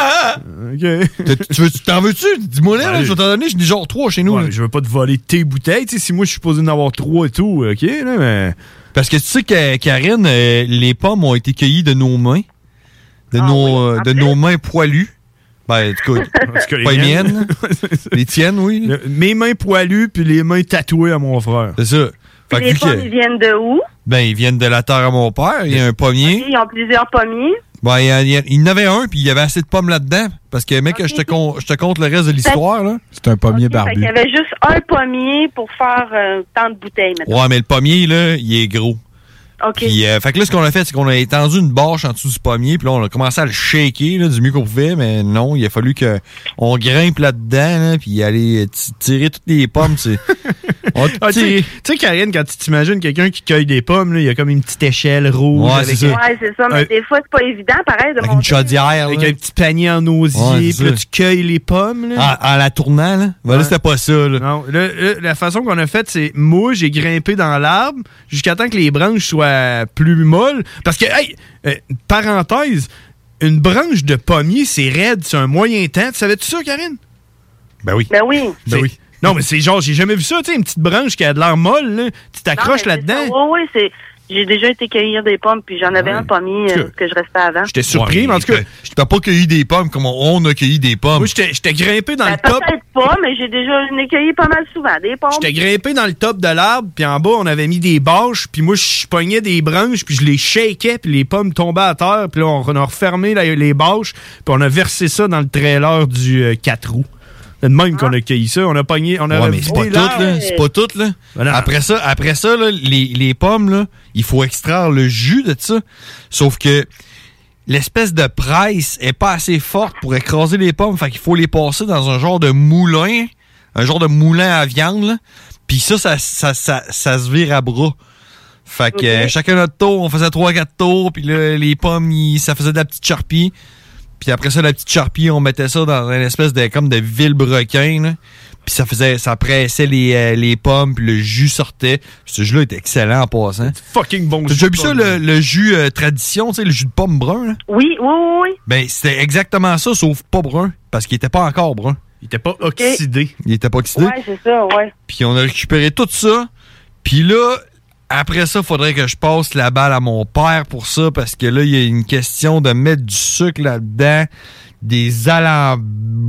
OK. T'as- tu veux- tu T'en veux-tu? Dis-moi là, là, Ouais. je vais t'en donner, j'en ai genre trois chez nous. Ouais, là. mais je veux pas te voler tes bouteilles. Tu sais, si moi, je suis supposé en avoir trois et tout, OK, là, mais... Parce que tu sais que, Karine, euh, les pommes ont été cueillies de nos mains. De, Ah nos, oui, euh, en de plus. nos mains poilues. Ben, en tout cas, En tout cas, pas les miennes. miennes. Les tiennes, oui. Le- mes mains poilues puis les mains tatouées à mon frère. C'est ça. Fait que Les vu pommes, que- ils viennent de où? ben, ils viennent de la terre à mon père. Il y a un pommier. Ils ont plusieurs pommiers. Ben, il y, a- il y a- il y en avait un, puis il y avait assez de pommes là-dedans. Parce que, mec, je, te con- je te compte le reste de l'histoire, là. C'est un pommier Fait qu'il barbu. y avait juste un pommier pour faire euh, tant de bouteilles, maintenant. Ouais, mais le pommier, là, il est gros. OK. Puis, euh, fait que là, ce qu'on a fait, c'est qu'on a étendu une bâche en dessous du pommier, puis là, on a commencé à le shaker, là, du mieux qu'on pouvait, mais non, il a fallu que on grimpe là-dedans, là, puis aller t- tirer toutes les pommes, c'est... On a tout Ah, tu sais- tiré. tu sais, Karine, quand tu t'imagines quelqu'un qui cueille des pommes, là, il y a comme une petite échelle rouge. Ouais, avec, c'est ça. Ouais, c'est ça, mais Euh, des fois, c'est pas évident, pareil, de Avec monter. une chaudière, avec là. un petit panier en osier, Ouais, puis c'est là, ça. tu cueilles les pommes. Là. En, en la tournant, là. Ben, là, Ouais. c'était pas ça, là. Non, là, là, la façon qu'on a fait, c'est moi, j'ai grimpé dans l'arbre jusqu'à temps que les branches soient plus molles. Parce que, hey, euh, parenthèse, une branche de pommier, c'est raide, c'est un moyen temps. Tu savais-tu ça, Karine? Ben oui. Ben oui. Ben oui. Non, mais c'est genre, j'ai jamais vu ça, tu sais, une petite branche qui a de l'air molle, là. Tu t'accroches Non, mais c'est là-dedans. ça. Oui, oui, c'est... J'ai déjà été cueillir des pommes, puis j'en avais un pommier euh, que je restais avant. J'étais surpris, mais en tout cas. T'as pas cueilli des pommes comme on on a cueilli des pommes. Moi, j'étais j'étais grimpé dans Ben, le top. peut-être pas, mais j'ai déjà j'en ai cueilli pas mal souvent, des pommes. J'étais grimpé dans le top de l'arbre, puis en bas, on avait mis des bâches, puis moi, je pognais des branches, puis je les shakais, puis les pommes tombaient à terre, puis là, on a refermé la- les bâches, puis on a versé ça dans le trailer du euh, quatre roues. C'est de même qu'on a cueilli ça. On a pogné, on a Ouais, mais c'est pas vidé tout, l'arbre. là. C'est pas tout, là. Ben non. Après ça, après ça là, les, les pommes, là, il faut extraire le jus de ça. Sauf que l'espèce de presse est pas assez forte pour écraser les pommes. Fait qu'il faut les passer dans un genre de moulin. Un genre de moulin à viande, là. Puis ça ça, ça, ça, ça se vire à bras. Fait que euh, chacun notre tour, on faisait trois quatre tours. Puis là, les pommes, ils- ça faisait de la petite charpie. Puis après ça, la petite charpie, on mettait ça dans une espèce de comme de vilebrequin, là. Puis ça faisait, ça pressait les, euh, les pommes, puis le jus sortait. Puis ce jus-là était excellent en passant. Fucking bon T'as déjà vu ça, le, le jus euh, tradition, tu sais, le jus de pomme brun, là? Oui, oui, oui, oui. Ben, c'était exactement ça, sauf pas brun, parce qu'il était pas encore brun. Il était pas oxydé. Il était pas oxydé. Ouais, c'est ça, ouais. Puis on a récupéré tout ça. Puis là, après ça, faudrait que je passe la balle à mon père pour ça, parce que là, il y a une question de mettre du sucre là-dedans, des alambics.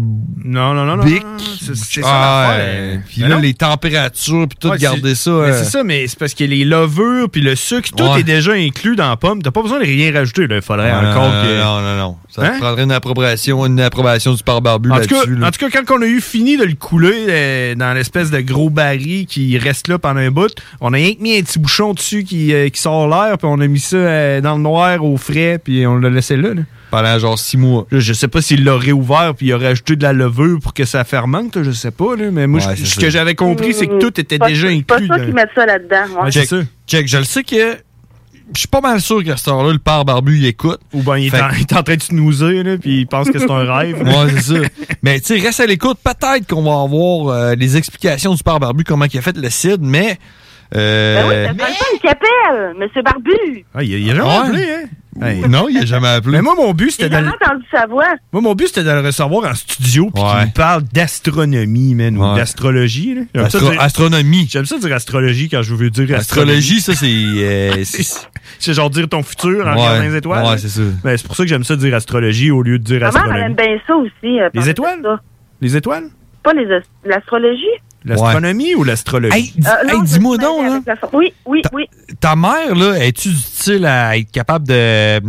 Non, non, non, non. C'est c'est ça Ah, l'affaire. ouais. Puis Mais là, non. les températures, puis tout, Ouais, garder c'est- ça. mais euh, c'est ça, mais c'est parce que les levures puis le sucre, tout Ouais. est déjà inclus dans la pomme. T'as pas besoin de rien rajouter. Il faudrait non, encore non, que. non, non, non. Ça Hein? te prendrait une approbation, une approbation du père barbu En tout, cas, là-dessus. là. en tout cas, quand on a eu fini de le couler euh, dans l'espèce de gros baril qui reste là pendant un bout, on a rien que mis un petit bouchon dessus qui, euh, qui sort l'air, puis on a mis ça euh, dans le noir, au frais, puis on l'a laissé là. là. Pendant genre six mois. Là, je sais pas s'il l'a réouvert, puis il aurait ajouté de la levure pour que ça fermente, là, je sais pas. Là, mais moi, Ouais, je- c'est ce ça. que j'avais compris, c'est que tout était Pas- déjà C'est inclus. pas ça dans- qu'ils mettent ça là-dedans. Ouais. Ouais, Check, c'est ça. check, je le sais que je suis pas mal sûr qu'à cette heure-là, le père barbu, il écoute. Ou ben, il est, Fait en, que- il est en train de snoozer, là, puis il pense que c'est un rêve. Ouais, c'est ça. Mais tu sais, reste à l'écoute. Peut-être qu'on va avoir euh, les explications du père barbu, comment il a fait le C I D, mais... Euh... Ben oui, c'est pas le temps qui appelle, Monsieur Barbu. Ah, il, a- il a jamais Ouais. appelé, hein? Hey. Non, il a jamais appelé. Mais moi, mon but, J'ai c'était de, jamais le- entendu sa voix. moi, mon but, c'était de le recevoir en studio puis Ouais. qu'il nous parle d'astronomie, man, ou Ouais. d'astrologie. là. J'aime ça Astro- dire- astronomie. J'aime ça dire astrologie quand je veux dire Astrologie, ça, c'est... euh, c'est- C'est genre dire ton futur en Ouais. regardant les étoiles. Ouais, là. c'est ça. Ben, c'est pour ça que j'aime ça dire astrologie au lieu de dire Ma mère, elle astronomie. aime bien ça aussi. euh, Les parler de étoiles? ça. Les étoiles? Pas les as- l'astrologie? L'astronomie ou l'astrologie? Hey, dis- Euh, hey, non, dis-moi je- donc, là. avec la- Oui, oui, oui. Ta mère, là, es-tu du style à être capable de...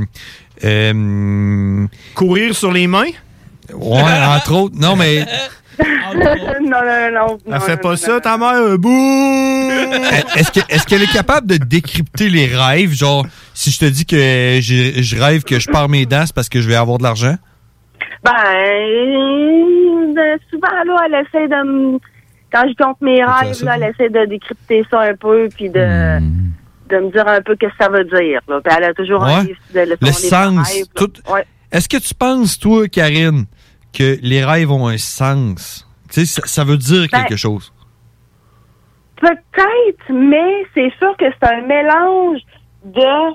euh, Courir sur les mains? Ouais, entre autres. Non, mais... non, non, non. Elle fait pas ça, ta mère? Bouh! Est-ce que- est-ce qu'elle est capable de décrypter les rêves? Genre, si je te dis que je, je rêve que je pars mes dents, c'est parce que je vais avoir de l'argent? Ben, euh, souvent, là, elle essaie de me... Quand je compte mes rêves, ça, là, elle essaie de décrypter ça un peu, puis de, de me dire un peu ce que ça veut dire. Là. Puis elle a toujours un Ouais. livre de le, Le son livre de sens. rêves, là. Tout... Ouais. Est-ce que tu penses, toi, Karine, que les rêves ont un sens? Tu sais, ça, ça veut dire Ben, quelque chose. Peut-être, mais c'est sûr que c'est un mélange de...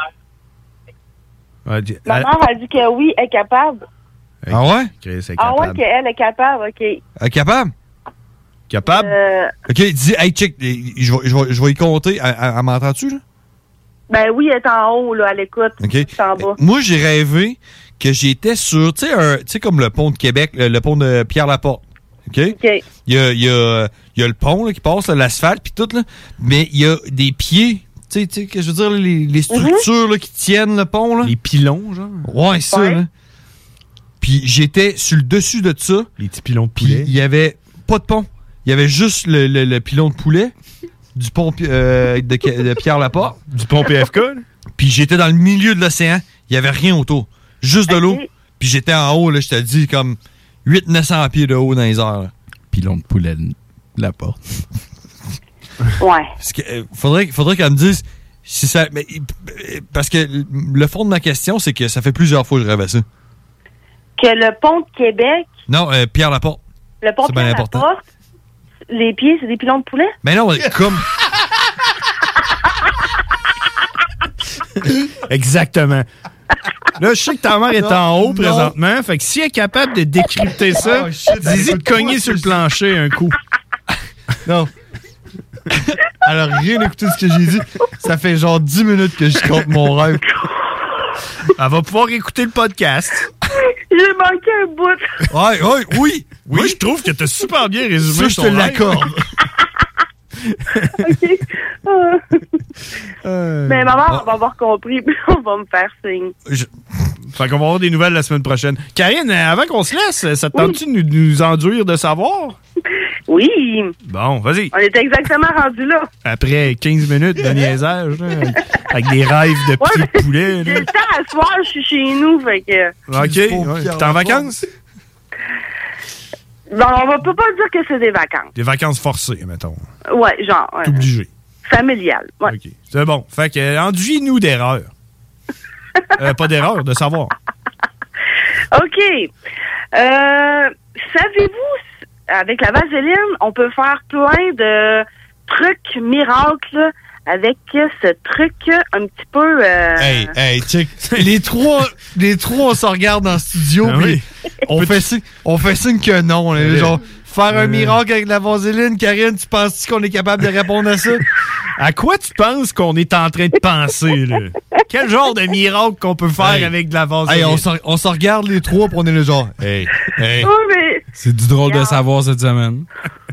Ouais, di- Ma elle- mère a dit que oui, elle est capable. Ah ouais? Chris, c'est Ah ouais, capable. qu'elle est capable, OK. Euh, capable? Capable? Euh, OK, dis, hey, check, je vais, je vais, je vais y compter. Elle, elle- elle m'entend-tu, là? ben oui, elle est en haut, là, à l'écoute. OK. C'est en bas. Moi, j'ai rêvé que j'étais sur, tu sais, un- tu sais, comme le pont de Québec, le, le pont de Pierre-Laporte. OK? OK. Il y a, il y a, il y a le pont là, qui passe, là, l'asphalte, puis tout, là. Mais il y a des pieds, tu sais, tu sais, que je veux dire, les, les structures là, qui tiennent le pont, là. Les pilons, genre? Ouais, ça, Ouais. là. Puis j'étais sur le dessus de ça. Les petits pilons de Puis poulet. il y avait pas de pont. Il y avait juste le, le- le pilon de poulet du pont euh, de, de Pierre-Laporte. Du pont P F K, là? Puis j'étais dans le milieu de l'océan. Il y avait rien autour. Juste de l'eau. Puis j'étais en haut, là, je te dis, comme huit cents à neuf cents pieds de haut dans les airs. là. Pilon de poulet de la porte. Ouais. Parce que, euh, faudrait, faudrait qu'elle me dise si ça. Mais, euh, parce que le fond de ma question, c'est que ça fait plusieurs fois que je rêve à ça. Que le pont de Québec, Non, euh, Pierre-Laporte. le pont C'est de bien la important. porte, les pieds, c'est des pilons de poulet? Mais non, comme. Exactement. Là, je sais que ta mère est en haut présentement, fait que si elle est capable de décrypter ça, Oh, shit, dis-y elle de cogner écoute sur le pas, plancher un coup. Non. Elle a rien écouté de ce que j'ai dit. Ça fait genre dix minutes que je compte mon rêve. Elle va pouvoir écouter le podcast. J'ai manqué un bout. Ouais, ouais, oui. Moi, je trouve que t'as super bien résumé Ça, je ton te rêve. l'accorde. OK. Ah. Euh, Mais maman, Ah. on va avoir compris, puis on va me faire signe. je- Fait qu'on va avoir des nouvelles la semaine prochaine. Karine, euh, avant qu'on se laisse, ça te tente-tu de nous, nous enduire de savoir? Oui. Bon, vas-y. On est exactement rendu là. Après quinze minutes de niaisage, là, avec des rêves de pieds de poulet. J'ai là. le temps à soir, je suis chez nous, fait que... OK. Ouais. T'es en vacances? Bon, on va peut pas dire que c'est des vacances. Des vacances forcées, mettons. Ouais, genre. Ouais. T'es obligé. Familial. Ouais. OK. C'est bon. Fait que, euh, enduis-nous d'erreurs. Euh, pas d'erreur, de savoir. OK. Euh, savez-vous, avec la vaseline, on peut faire plein de trucs miracles avec ce truc un petit peu... euh, Hey, hey, check. Les trois, les trois, on se regarde dans le studio, Ah puis oui. on, fait signe, on fait signe que non. là, Euh, genre, faire un euh, miracle avec la vaseline, Karine, tu penses-tu qu'on est capable de répondre à ça? À quoi tu penses qu'on est en train de penser, là? Quel genre de miracle qu'on peut faire Hey. avec de la vaseline? Hey, on se on se regarde les trois, puis on est le genre. Hey, hey. Oh, mais... C'est du drôle de savoir cette semaine.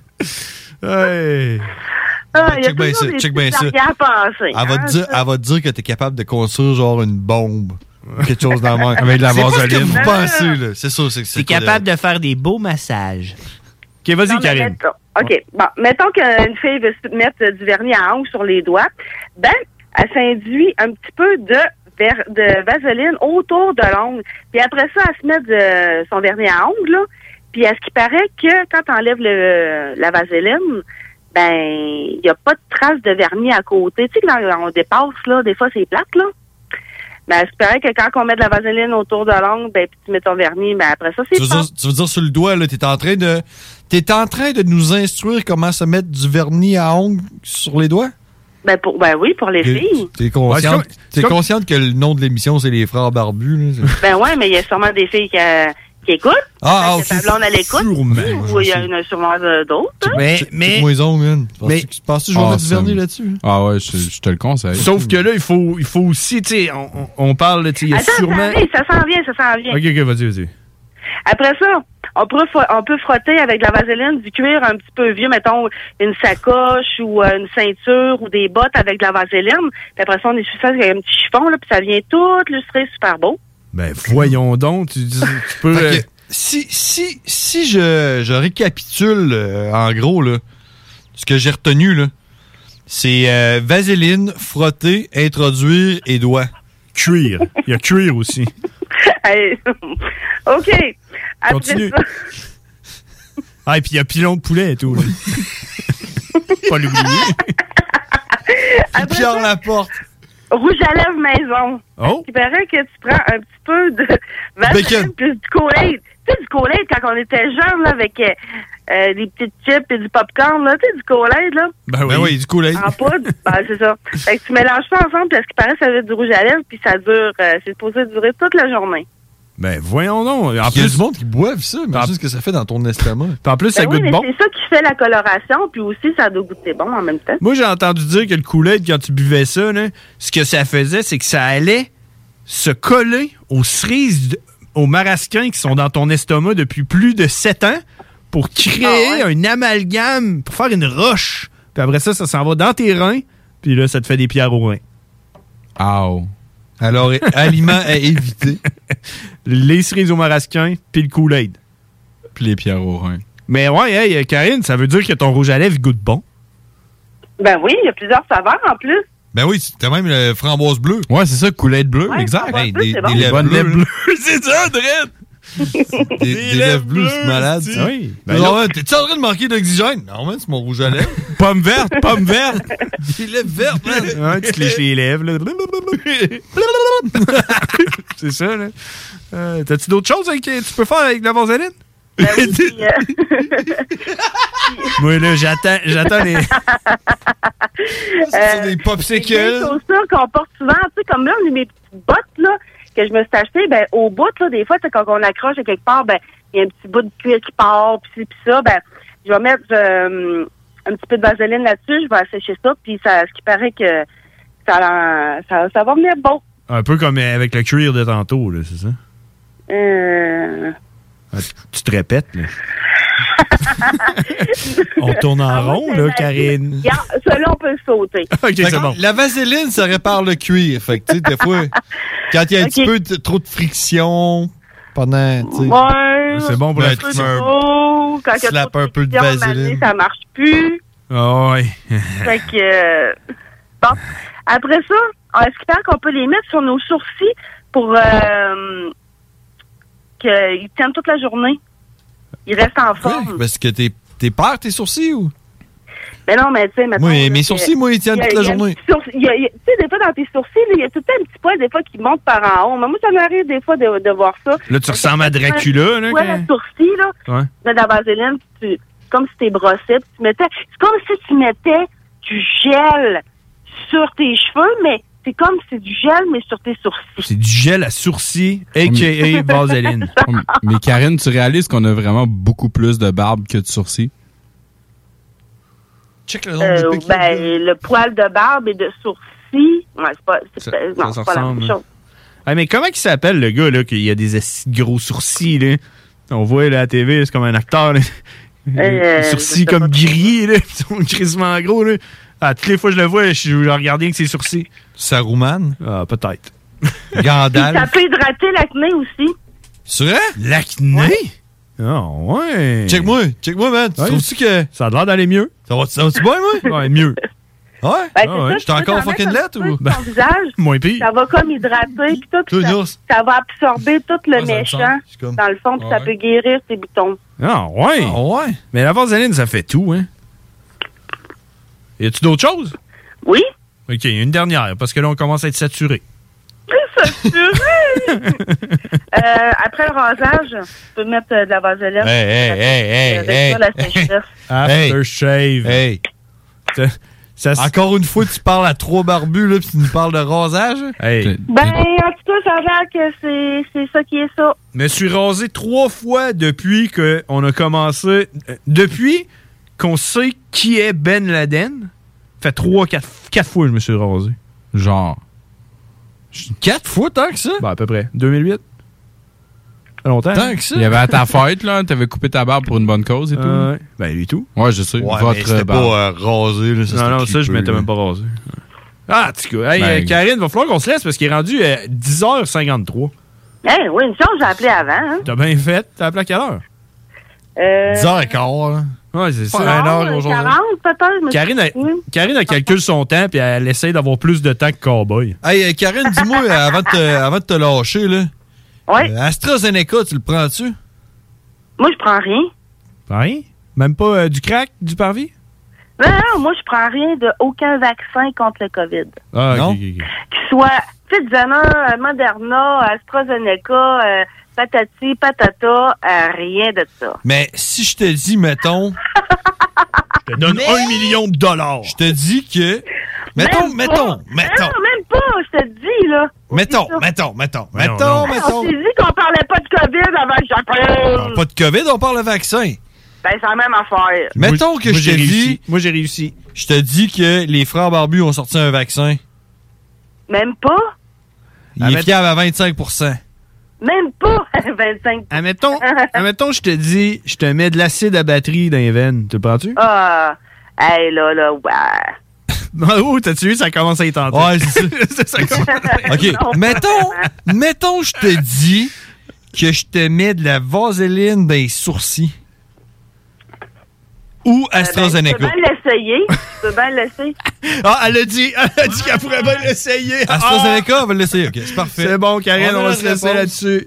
Hey. Ah, il y a check bien toujours ça, des check petits bien ça. arrière-pensées, Elle va, hein, te dire, ça. elle va te dire que t'es capable de construire genre une bombe. Quelque chose dans le même. Avec de la C'est pas ce que vaseline. vous pensez, là. C'est ça, c'est T'es capable de faire des beaux massages. OK, vas-y, Non, mais Karine. mettons- OK. Bon, mettons qu'une fille veut se mettre du vernis à ongles sur les doigts. Ben, elle s'induit un petit peu de, ver- de vaseline autour de l'ongle. Puis après ça, elle se met de, son vernis à ongles, là. Puis à ce qui paraît que quand tu enlèves le, la vaseline, ben, il n'y a pas de trace de vernis à côté. Tu sais, quand on dépasse, là, des fois, c'est plate, là. Ben, j'espérais que quand on met de la vaseline autour de l'ongle, ben, puis tu mets ton vernis, ben, après ça, c'est Tu veux, pas. dire, tu veux dire sur le doigt, là, t'es en train de. T'es en train de nous instruire comment se mettre du vernis à ongles sur les doigts? Ben, pour, ben oui, pour les filles. T'es consciente, Ouais, c'est comme- t'es c'est comme- consciente que le nom de l'émission, c'est les frères barbus, là? c'est- Ben ouais, mais il y a sûrement des filles qui, euh, qui écoutent. Ah, Fait que ta blonde, elle écoute. Sûrement. Ou il y en a sûrement euh, d'autres. hein. Mais, Check- mais, check-moi les ongles, man. mais- Penses-tu penses-tu que je vais Ah, mettre du ça vernis me- là-dessus? Ah ouais, je, je te le conseille. sauf que là, il faut, il faut aussi, tu sais, on, on- on parle, tu sais, il y a Attends, sûrement. ça, vient, ça s'en vient, ça s'en vient. Ok, ok, vas-y, vas-y. Après ça, on peut, fo- on peut frotter avec de la vaseline du cuir un petit peu vieux, mettons une sacoche ou euh, une ceinture ou des bottes avec de la vaseline. Puis après ça, on essuie ça avec un petit chiffon, là, puis ça vient tout lustré, super beau. Ben, voyons donc, tu, dis- tu peux. Fait euh, que, si, si, si je, je récapitule, euh, en gros, là, ce que j'ai retenu, là, c'est euh, vaseline, frotter, introduire et doigt. Cuir. Il y a cuir aussi. Hey, OK. Après Continue. ça, Ah, et puis il y a pilon de poulet et tout. là. Pas l'oublier. après Pierre ça, Laporte. rouge à lèvres maison. Oh. Il paraît que tu prends un petit peu de Bacon. vaseline plus du Kool-Aid. Tu sais, du Kool-Aid, quand on était jeunes, là, avec euh, euh, des petites chips et du popcorn, là, tu sais, du Kool-Aid, là. Ben oui. Ben oui, du Kool-Aid. En poudre, ben, c'est ça. Fait que tu mélanges ça ensemble parce qu'il paraît que ça va être du rouge à lèvres puis ça dure, euh, c'est supposé durer toute la journée. Ben, voyons donc. En Il y a plus, du monde qui boivent ça, mais c'est ce que ça fait dans ton estomac. en plus ça Ben oui, goûte mais bon. c'est ça qui fait la coloration puis aussi ça doit goûter bon en même temps. Moi, j'ai entendu dire que le Kool-Aid, quand tu buvais ça, là, ce que ça faisait, c'est que ça allait se coller aux cerises, de- aux marasquins qui sont dans ton estomac depuis plus de sept ans pour créer Ah un amalgame, pour faire une roche. Puis après ça, ça s'en va dans tes reins, puis là, ça te fait des pierres aux reins. Ow. Alors, aliments à éviter. Les cerises aux marasquins, puis le Kool-Aid. Puis les pierres au rein. Mais ouais, hey, Karine, ça veut dire que ton rouge à lèvres il goûte bon. Ben oui, il y a plusieurs saveurs en plus. Ben oui, t'as même le framboise bleu. Ouais, c'est ça, Kool-Aid bleu, Ouais, exact. framboise Hey, bleu, des, c'est des bon. lèvres Bonne bleues. lèvre là. bleue. c'est ça, Dredd! Des, des lèvres bleues, c'est malade. ça. Oui. Ben Ben non, là- ouais, t'es-tu en train de manquer d'oxygène? Non, man, c'est mon rouge à lèvres. Pomme verte, pomme verte! Des lèvres vertes, man. Ouais, tu te lèches les lèvres, là. C'est ça, là. Euh, T'as-tu d'autres choses avec, que tu peux faire avec la vaseline? Ben oui, puis, euh, Moi, là, j'attends, j'attends les... C'est des des popsicles. chaussures qu'on porte souvent, tu sais, comme là, mes petites bottes, là, que je me suis achetées, ben, au bout, là, des fois, tu sais, quand on accroche à quelque part, ben, il y a un petit bout de cuir qui part, puis ci, puis ça, ben, je vais mettre euh, un petit peu de vaseline là-dessus, je vais assécher ça, puis ça, ce qui paraît que ça, ça, ça va venir bon. Un peu comme avec le cuir de tantôt, là, c'est ça? Euh... Ah, tu- Tu te répètes, là. On tourne en Ah ouais, rond, c'est là, la- Karine. Regarde, celui-là, on peut le sauter. OK, Fait c'est que bon. La vaseline, ça répare le cuir. Fait que, tu sais, des fois, quand il y a un Ok. petit peu de- trop de friction pendant, tu sais. Ouais. C'est bon pour la Ben, friction. tu mets un- Oh, quand il y a slap trop un peu de friction, vaseline. mané, ça marche plus. Ah ouais. Fait que, euh, bon. Après ça, est-ce qu'il paraît qu'on peut les mettre sur nos sourcils pour euh, qu'ils tiennent toute la journée? Ils restent en forme. Parce que t'es, t'es peur, tes sourcils, ou? Mais non, mais tu sais, mettons... Moi, là, mes que- sourcils, moi, ils tiennent il y a- toute la il y a un journée. petit sourcil- il y a- il y a- Tu sais, des fois, dans tes sourcils, là, il y a tout le temps un petit poil, des fois, qui monte par en haut. Mais moi, ça m'arrive, des fois, de, de voir ça. Là, tu ressembles à Dracula, là. Ouais, quand- le sourcil, là, Ouais. tu mets de la vaseline, puis tu, c'est comme si tu brossais, puis tu mettais... C'est comme si tu mettais du gel sur tes cheveux, mais c'est comme si c'est du gel, mais sur tes sourcils. C'est du gel à sourcils, a k a. Vaseline. Mais Karine, tu réalises qu'on a vraiment beaucoup plus de barbe que de sourcils? Check le nombre Euh, de pics qu'il y a ben, dedans. le poil de barbe et de sourcils, ouais, c'est pas, c'est Ça- pas- non, ça c'est pas la ressemble, même hein. chose. Ah, mais comment il s'appelle, le gars, là, qui a des esti de gros sourcils, là? On voit, là, à la T V, c'est comme un acteur, là. Euh, Les je sourcils sais comme pas. gris, là. Ils sont crissement gros, là. Ah, toutes les fois que je le vois, je, je regarde rien que ses sourcils. Saruman. Ah, peut-être. Puis Gandalf. ça peut hydrater l'acné aussi. C'est vrai? L'acné? Ah, ouais. Check-moi, check-moi, man. Tu Ouais. trouves-tu que. Ça a l'air d'aller mieux. Ça va- ça va-tu bien, moi? Ouais, mieux. Ouais? Ben, Ah c'est ouais. ça, J'étais tu peux encore t'en fucking mettre un lettre, petit peu ou? sur ton visage. Moins pire. Ça va comme hydrater, puis tout, puis Toi, ça, Nours. ça va absorber tout le Ah, ça me méchant semble. C'est comme- dans le fond, puis Ah ça ouais. peut guérir tes boutons. Ah, ouais. Ah ouais? Mais la vaseline, ça fait tout, hein. Y a-tu d'autres choses? Oui. OK, une dernière, parce que là, on commence à être saturé. Saturé! euh, après le rasage, tu peux mettre euh, de la vaseline. Hey, hey, hey, hey, hey, la sécheresse. After shave. Hey. Ça, ça, Encore une fois, tu parles à trois barbus, là, puis tu nous parles de rasage? Hey. Ben, en tout cas, ça a l'air que c'est, c'est ça qui est ça. Je me suis rasé trois fois depuis qu'on a commencé. euh, Depuis qu'on sait qui est Ben Laden. Fait trois, quatre, quatre fois que je me suis rasé. Genre. Quatre fois, tant que ça? Ben, à peu près. deux mille huit. Longtemps. Tant que ça? Il y avait à ta fête, là, t'avais coupé ta barbe pour une bonne cause et tout. Euh, ouais. Ben, lui tout. Ouais, je sais. Ouais, mais Votre c'était barbe. pas euh, rasé, là. Ça, non, non, c'était ça, je clippé, m'étais là. même pas rasé. Ah, en tout cas. Hey, Ben, euh, Karine, va falloir qu'on se laisse parce qu'il est rendu à dix heures cinquante-trois. Hey, oui, une chose, j'ai appelé avant. Hein? T'as bien fait. T'as appelé à quelle heure? Euh, dix heures quinze, là. Ouais, c'est ça. non, Un heure euh, aujourd'hui. quarante peut-être. mais Karine, a, Karine a calculé son temps puis elle essaie d'avoir plus de temps que Cowboy. Hey, euh, Karine, dis-moi, euh, avant, de te, avant de te lâcher, là. Ouais. euh, AstraZeneca, tu le prends-tu? Moi, je prends rien. Rien? Même pas euh, du crack, du parvis? Non, non, moi, je prends rien de aucun vaccin contre le COVID. Ah, Non? ok, ok, ok. Qu'il soit Pfizer, Moderna, AstraZeneca, euh, patati, patata, euh, rien de ça. Mais si je te dis, mettons, Je te donne un million de dollars. je te dis que... Mettons, Même mettons, pas. mettons, Non, même pas, je te dis, là. mettons, ça. mettons, mettons, Mais non, mettons, non. Hey, mettons. on s'est dit qu'on parlait pas de COVID avant que j'appelle. Pas de COVID, on parle de vaccin. Ben, c'est la même affaire. Mettons que moi, je j'ai te dis, réussi. Moi, j'ai réussi. je te dis que les frères barbus ont sorti un vaccin. Même pas? Il Ah, est mais- fiable à vingt-cinq pour cent. Même pas vingt-cinq. Admettons, admettons, je te dis, je te mets de l'acide à batterie dans les veines. Tu le prends-tu? Ah, hey, là, là, ouais. Oh, t'as-tu vu, ça commence à y tenter. Ouais, c'est ça. C'est ça que- OK, Non. mettons, mettons, je te dis que je te mets de la vaseline dans les sourcils. Ou AstraZeneca. Tu peux bien l'essayer. Tu peux bien l'essayer. Ah, elle a dit, elle a dit qu'elle pourrait bien l'essayer. AstraZeneca, on va l'essayer. OK, c'est parfait. C'est bon, Karine, On a on va la se laisser réponse. là-dessus.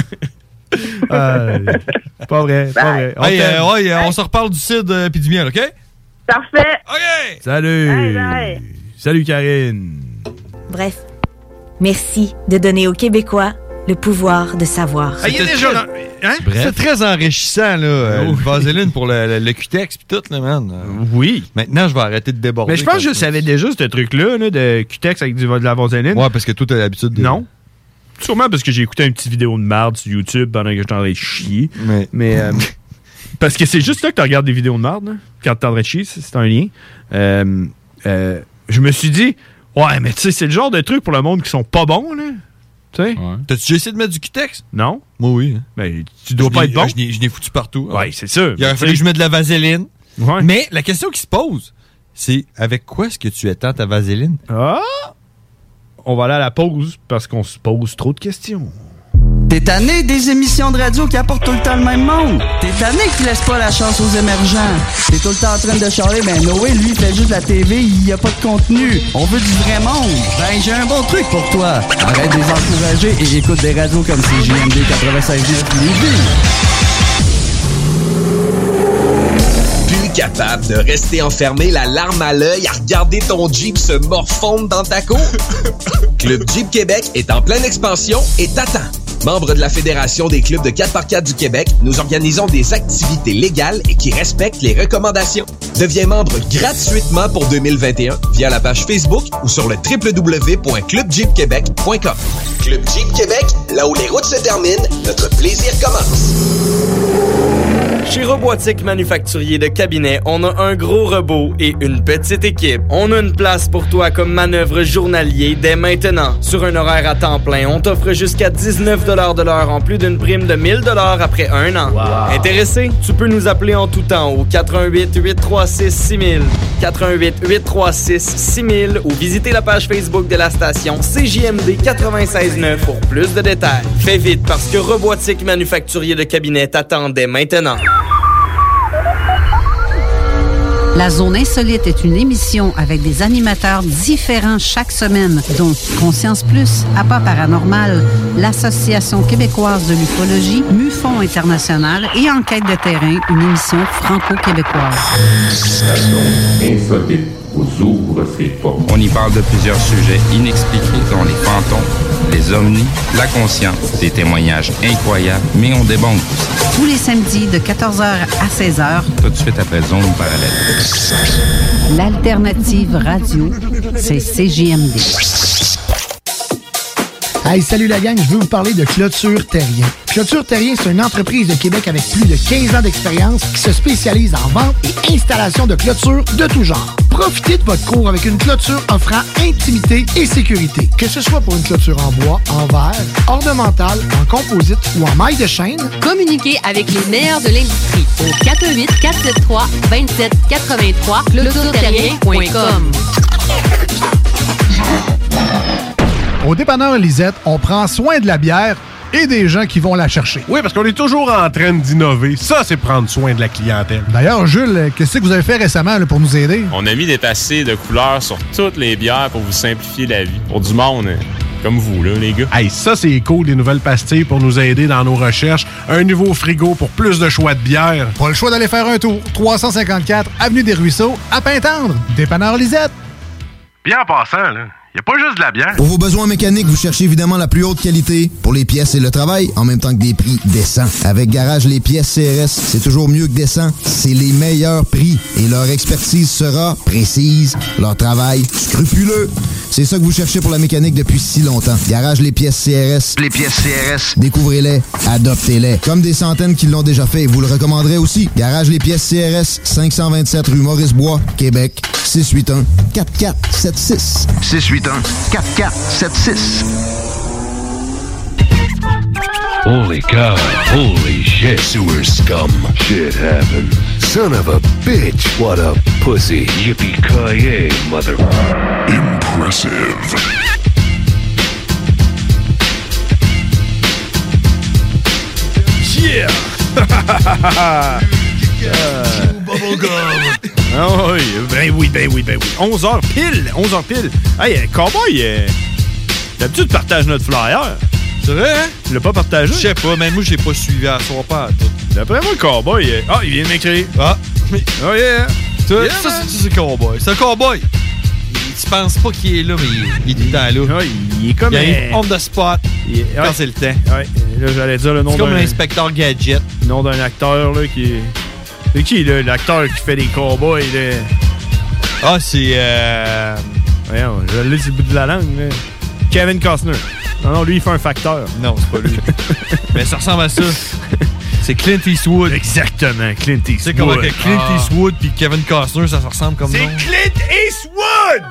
Euh, pas vrai, pas vrai. On Hey, t'aime. euh, ouais, euh, on se reparle du cidre euh, puis du miel, OK? Parfait. OK! Salut. Bye, bye. Salut, Karine. Bref, merci de donner aux Québécois le pouvoir de savoir. Ah, il y a C'était déjà... très- Hein? C'est très enrichissant, là, euh, Oh. le vaseline pour le, le, le Q-Tex puis tout, là, man. Euh, Oui. Maintenant, je vais arrêter de déborder. Mais je pense que je quand- savais déjà ce truc-là, là, de Q-Tex avec du, de la vaseline. Ouais, parce que toi, t'as l'habitude de... Non. Sûrement parce que j'ai écouté une petite vidéo de marde sur YouTube pendant que j'étais en train de chier. Mais... Mais euh, parce que c'est juste là que tu regardes des vidéos de marde, là, quand t'es en train de chier, c'est c'est un lien. Euh, euh, je me suis dit, ouais, mais tu sais, c'est le genre de truc pour le monde qui sont pas bons, là. Tu sais? Ouais. T'as-tu déjà essayé de mettre du Q-Tex? Non? Moi, oui. hein. Ben, tu dois Je pas l'ai- être bon. Je l'ai- je l'ai foutu partout. Ouais, c'est sûr. Il aurait Mais fallu que tu je mette de la vaseline. sais- Ouais. Mais la question qui se pose, c'est avec quoi est-ce que tu étends ta vaseline? Ah! On va aller à la pause parce qu'on se pose trop de questions. T'es tanné des émissions de radio qui apportent tout le temps le même monde? T'es tanné qui laisse pas la chance aux émergents? T'es tout le temps en train de charler, ben Noé, lui, il fait juste de la T V, il y a pas de contenu. On veut du vrai monde. Ben, j'ai un bon truc pour toi. Arrête de les encourager et écoute des radios comme C J M D quatre-vingt-seize neuf Lévis. Plus capable de rester enfermé, la larme à l'œil, à regarder ton Jeep se morfondre dans ta cour? Club Jeep Québec est en pleine expansion et t'attend. Membre de la Fédération des clubs de quatre par quatre du Québec, nous organisons des activités légales et qui respectent les recommandations. Deviens membre gratuitement pour deux mille vingt et un via la page Facebook ou sur le w w w point club jeep québec point com. Club Jeep Québec, là où les routes se terminent, notre plaisir commence. Chez Robotique Manufacturier de Cabinet, on a un gros robot et une petite équipe. On a une place pour toi comme manœuvre journalier dès maintenant. Sur un horaire à temps plein, on t'offre jusqu'à dix-neuf dollars de l'heure en plus d'une prime de mille dollars après un an. Wow. Intéressé? Tu peux nous appeler en tout temps au quatre un huit, huit trois six, six mille, quatre un huit, huit trois six, six mille ou visiter la page Facebook de la station C J M D quatre-vingt-seize neuf pour plus de détails. Fais vite parce que Robotique Manufacturier de Cabinet t'attend dès maintenant. La Zone Insolite est une émission avec des animateurs différents chaque semaine, dont Conscience Plus, Appât Paranormal, l'Association québécoise de l'ufologie, MUFON International et Enquête de terrain, une émission franco-québécoise. Station Insolite. vous ouvre ses portes. On y parle de plusieurs sujets inexpliqués, dont les fantômes, les ovnis, la conscience, des témoignages incroyables, mais on débonde aussi. Tous les samedis de quatorze heures à seize heures. Tout de suite après Zone Parallèle. L'alternative radio, c'est C J M D. Hey, salut la gang, je veux vous parler de Clôture Terrien. Clôture Terrien, c'est une entreprise de Québec avec plus de quinze ans d'expérience qui se spécialise en vente et installation de clôtures de tout genre. Profitez de votre cour avec une clôture offrant intimité et sécurité. Que ce soit pour une clôture en bois, en verre, ornementale, en composite ou en maille de chaîne, communiquez avec les meilleurs de l'industrie au quatre un huit, quatre sept trois, deux sept huit trois, clôture terrien point com. Au dépanneur Lisette, on prend soin de la bière et des gens qui vont la chercher. Oui, parce qu'on est toujours en train d'innover. Ça, c'est prendre soin de la clientèle. D'ailleurs, Jules, qu'est-ce que vous avez fait récemment là, pour nous aider? On a mis des passés de couleurs sur toutes les bières pour vous simplifier la vie. Pour du monde comme vous, là, les gars. Hey, ça, c'est cool, des nouvelles pastilles pour nous aider dans nos recherches. Un nouveau frigo pour plus de choix de bière. Pas le choix d'aller faire un tour. trois cent cinquante-quatre Avenue des Ruisseaux, à Pintendre. Dépanneur Lisette. Bien en passant, là. Il n'y a pas juste de la bière. Pour vos besoins mécaniques, vous cherchez évidemment la plus haute qualité pour les pièces et le travail, en même temps que des prix décents. Avec Garage Les Pièces C R S, c'est toujours mieux que décent. C'est les meilleurs prix et leur expertise sera précise, leur travail scrupuleux. C'est ça que vous cherchez pour la mécanique depuis si longtemps. Garage Les Pièces C R S. Les pièces C R S. Découvrez-les, adoptez-les. Comme des centaines qui l'ont déjà fait, vous le recommanderez aussi. Garage Les Pièces C R S, cinq cent vingt-sept rue Maurice-Bois, Québec, six huit un, quatre quatre sept six. six huit un, quatre quatre sept six. Holy cow, holy shit. Sewer scum. Shit happened. Son of a bitch. What a pussy. Yippee-ki-yay, mother... Impressive. Yeah! Bubblegum! Ah oui, ben oui, ben oui, ben oui. onze heures pile, onze heures pile. Hey, Cowboy, euh, d'habitude, partage notre flyer. C'est vrai, hein? Tu l'as pas partagé? Je sais pas, mais moi, j'ai pas suivi à son pas. D'après moi, le Cowboy, euh... ah, il vient de m'écrire. Ah, oh yeah! Ça, Yeah, ça c'est, c'est Cowboy. C'est un Cowboy. Il, tu penses pas qu'il est là, mais il, il est tout le temps là. Ouais, il est comme il un... on the spot il est... quand ouais. c'est le temps. Ouais, là, j'allais dire le nom c'est d'un... comme l'inspecteur Gadget. Le nom d'un acteur, là, qui est... C'est qui, là, l'acteur qui fait des cowboys, là? Ah, c'est... Euh... Voyons, je l'ai sur le bout de la langue, là. Kevin Costner. Non, non, lui, il fait un facteur. Non, c'est pas lui. Mais ça ressemble à ça. C'est Clint Eastwood. Exactement, Clint Eastwood. C'est comme que Clint ah. Eastwood puis Kevin Costner, ça se ressemble comme c'est nom. C'est Clint Eastwood!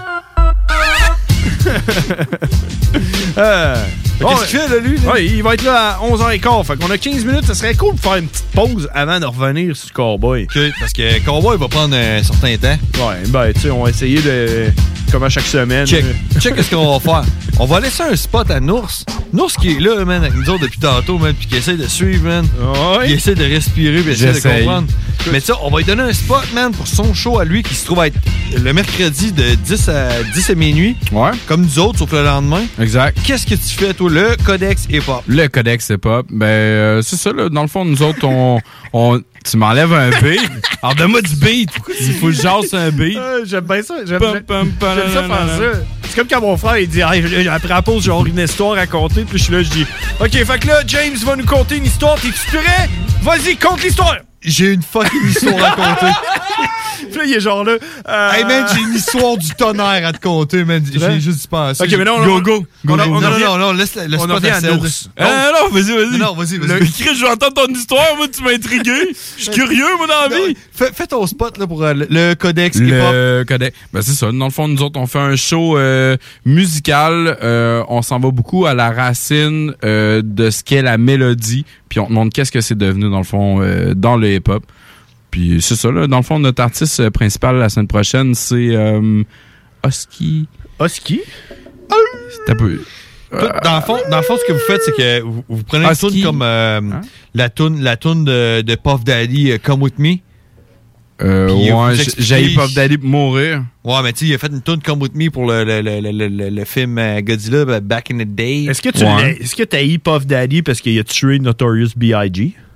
euh, Qu'est-ce oh, qu'il fait, là, lui? Là? Ouais, il va être là à onze heures quinze. Fait qu'on a quinze minutes. Ça serait cool de faire une petite pause avant de revenir sur Cowboy. OK, parce que Cowboy va prendre un certain temps. Ouais, ben, tu sais, on va essayer de... Comme à chaque semaine. Check. Check qu'est-ce qu'on va faire. On va laisser un spot à Nours. Nours qui est là, man, avec nous autres depuis tantôt, man, puis qui essaie de suivre, man. Ouais. Il essaie de respirer, puis essaie de comprendre. Mais ça, on va lui donner un spot, man, pour son show à lui qui se trouve à être le mercredi de dix à minuit. Ouais. Comme nous autres, sauf le lendemain. Exact. Qu'est-ce que tu fais, toi? Le Codex Hip-Hop. Le Codex Hip-Hop. Ben, euh, c'est ça, là. Dans le fond, nous autres, on... on tu m'enlèves un beat. Alors, donne-moi du beat. Il faut que je jasse un beat. Euh, j'aime bien ça. J'aime, j'aime, j'aime ça faire ça. C'est comme quand mon frère, il dit, hey, après la pause, j'ai une histoire à raconter. Puis je suis là, je dis, OK, fait que là, James va nous conter une histoire. T'es-tu prêt? Vas-y, conte l'histoire. J'ai une fucking histoire à conter. Puis là, il est genre là. Euh... Hey, man, j'ai une histoire du tonnerre à te conter, man. J'ai juste pensé. Ok, mais non, go, non. Go, go. On a, go. on non, revient, non, non, laisse, laisse on pas revient à Nours. Ah, non, vas-y, vas-y. Non, vas-y, vas-y. Le Chris, je vais entendre ton histoire. Moi, tu m'as intrigué. Je suis curieux, moi, dans la vie. Fais, fais ton spot, là, pour euh, le, le Codex le Hip-Hop. Le Codex. Ben, c'est ça. Dans le fond, nous autres, on fait un show euh, musical. Euh, on s'en va beaucoup à la racine euh, de ce qu'est la mélodie. Puis on te montre qu'est-ce que c'est devenu, dans le fond, euh, dans le hip-hop. Puis c'est ça, là. Dans le fond, notre artiste principal la semaine prochaine, c'est euh, Husky. Husky? C'est un peu... Tout, dans, le fond, dans le fond, ce que vous faites, c'est que vous, vous prenez une toune comme euh, hein? la toune la toune de, de Puff Daddy, uh, Come With Me. Euh, ouais, j'ai eu Puff Daddy pour mourir. Ouais, mais tu sais, il a fait une toune Come With Me pour le, le, le, le, le, le film Godzilla, Back in the Day. Est-ce que tu ouais. est-ce que t'as eu Puff Daddy parce qu'il a tué Notorious B I G?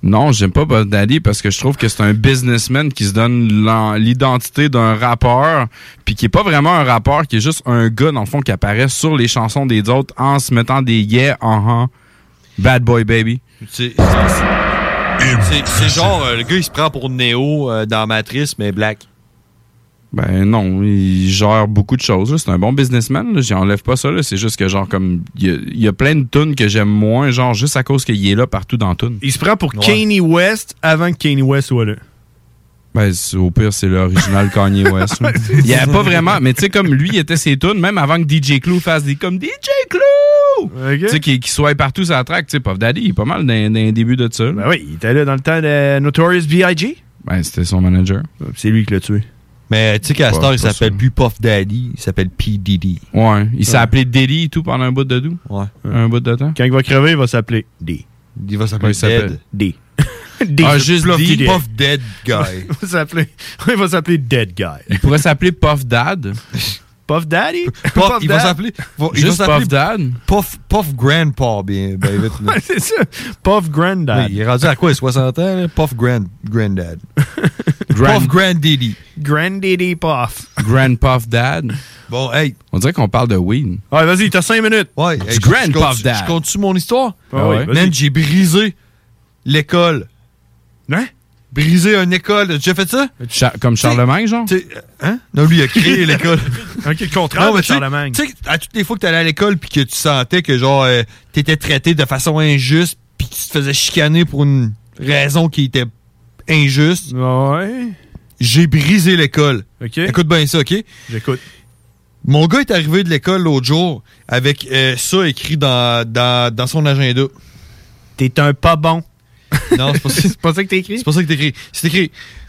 Non, j'aime pas Puff Daddy parce que je trouve que c'est un businessman qui se donne l'en- l'identité d'un rappeur, puis qui est pas vraiment un rappeur, qui est juste un gars, dans le fond, qui apparaît sur les chansons des autres en se mettant des yeah, uh-huh, bad boy baby. C'est, c'est, c'est genre, euh, le gars, il se prend pour Neo euh, dans Matrice, mais black. Ben non, il gère beaucoup de choses. Là. C'est un bon businessman. Là. J'enlève pas ça. Là. C'est juste que genre comme il y a, il y a plein de tunes que j'aime moins, genre juste à cause qu'il est là partout dans tunes. Il se prend pour Kanye West avant que Kanye West soit là. Ben c'est- au pire c'est l'original Kanye West. là. Il y a pas vraiment, mais tu sais comme lui il était ses tunes même avant que D J Clue fasse des comme D J Clue. Tu sais qu'il, qu'il soit partout sur la track. Tu sais Puff Daddy il est pas mal dans, dans les débuts de ça. Ben oui, il était là dans le temps de Notorious B I G Ben c'était son manager. C'est lui qui l'a tué. Mais tu sais qu'à Pas- cette heure, il pas s'appelle ça. plus Puff Daddy, il s'appelle P. Diddy. Ouais, il s'est Ouais. appelé Diddy et tout pendant un bout de doux. Ouais. Un bout de temps. Quand il va crever, il va s'appeler D. Il va s'appeler Ouais, il s'appelle- Dead. D. D. Ah, juste Puff, D. Puff Dead Guy. il va s'appeler, il va s'appeler Dead Guy. Il pourrait s'appeler Puff Dad. Puff Daddy? Puff, il va s'appeler. va- il Juste va s'appeler Puff Dad. Puff, Puff Grandpa, bien, bien vite. là. Ouais, c'est ça. Puff Granddad. Oui, il est rendu à quoi, soixante ans? Là? Puff Grand, Granddad. Grand- Puff Granddaddy. Granddaddy Puff. Grand Puff Dad. Bon, hey. On dirait qu'on parle de weed. Ouais, vas-y, t'as cinq minutes. Ouais, Du hey, je- Grand je Puff continue- Dad. Je continue mon histoire? Ah ouais, vas-y. Man, j'ai brisé l'école. Hein? Brisé une école. T'as déjà fait ça? Cha- comme Charlemagne, genre? Tu sais, hein? Non, lui, il a créé l'école. Ok, le contraire Non, mais de tu sais- Charlemagne. Tu sais, à toutes les fois que t'allais à l'école puis que tu sentais que, genre, euh, t'étais traité de façon injuste puis que tu te faisais chicaner pour une raison qui était injuste, Ouais. j'ai brisé l'école. Ok. Écoute bien ça, OK? J'écoute. Mon gars est arrivé de l'école l'autre jour avec euh, ça écrit dans, dans, dans son agenda. T'es un pas bon. Non, c'est pas ça. C'est pas ça que t'as écrit? C'est pas ça que t'écris. C'est écrit.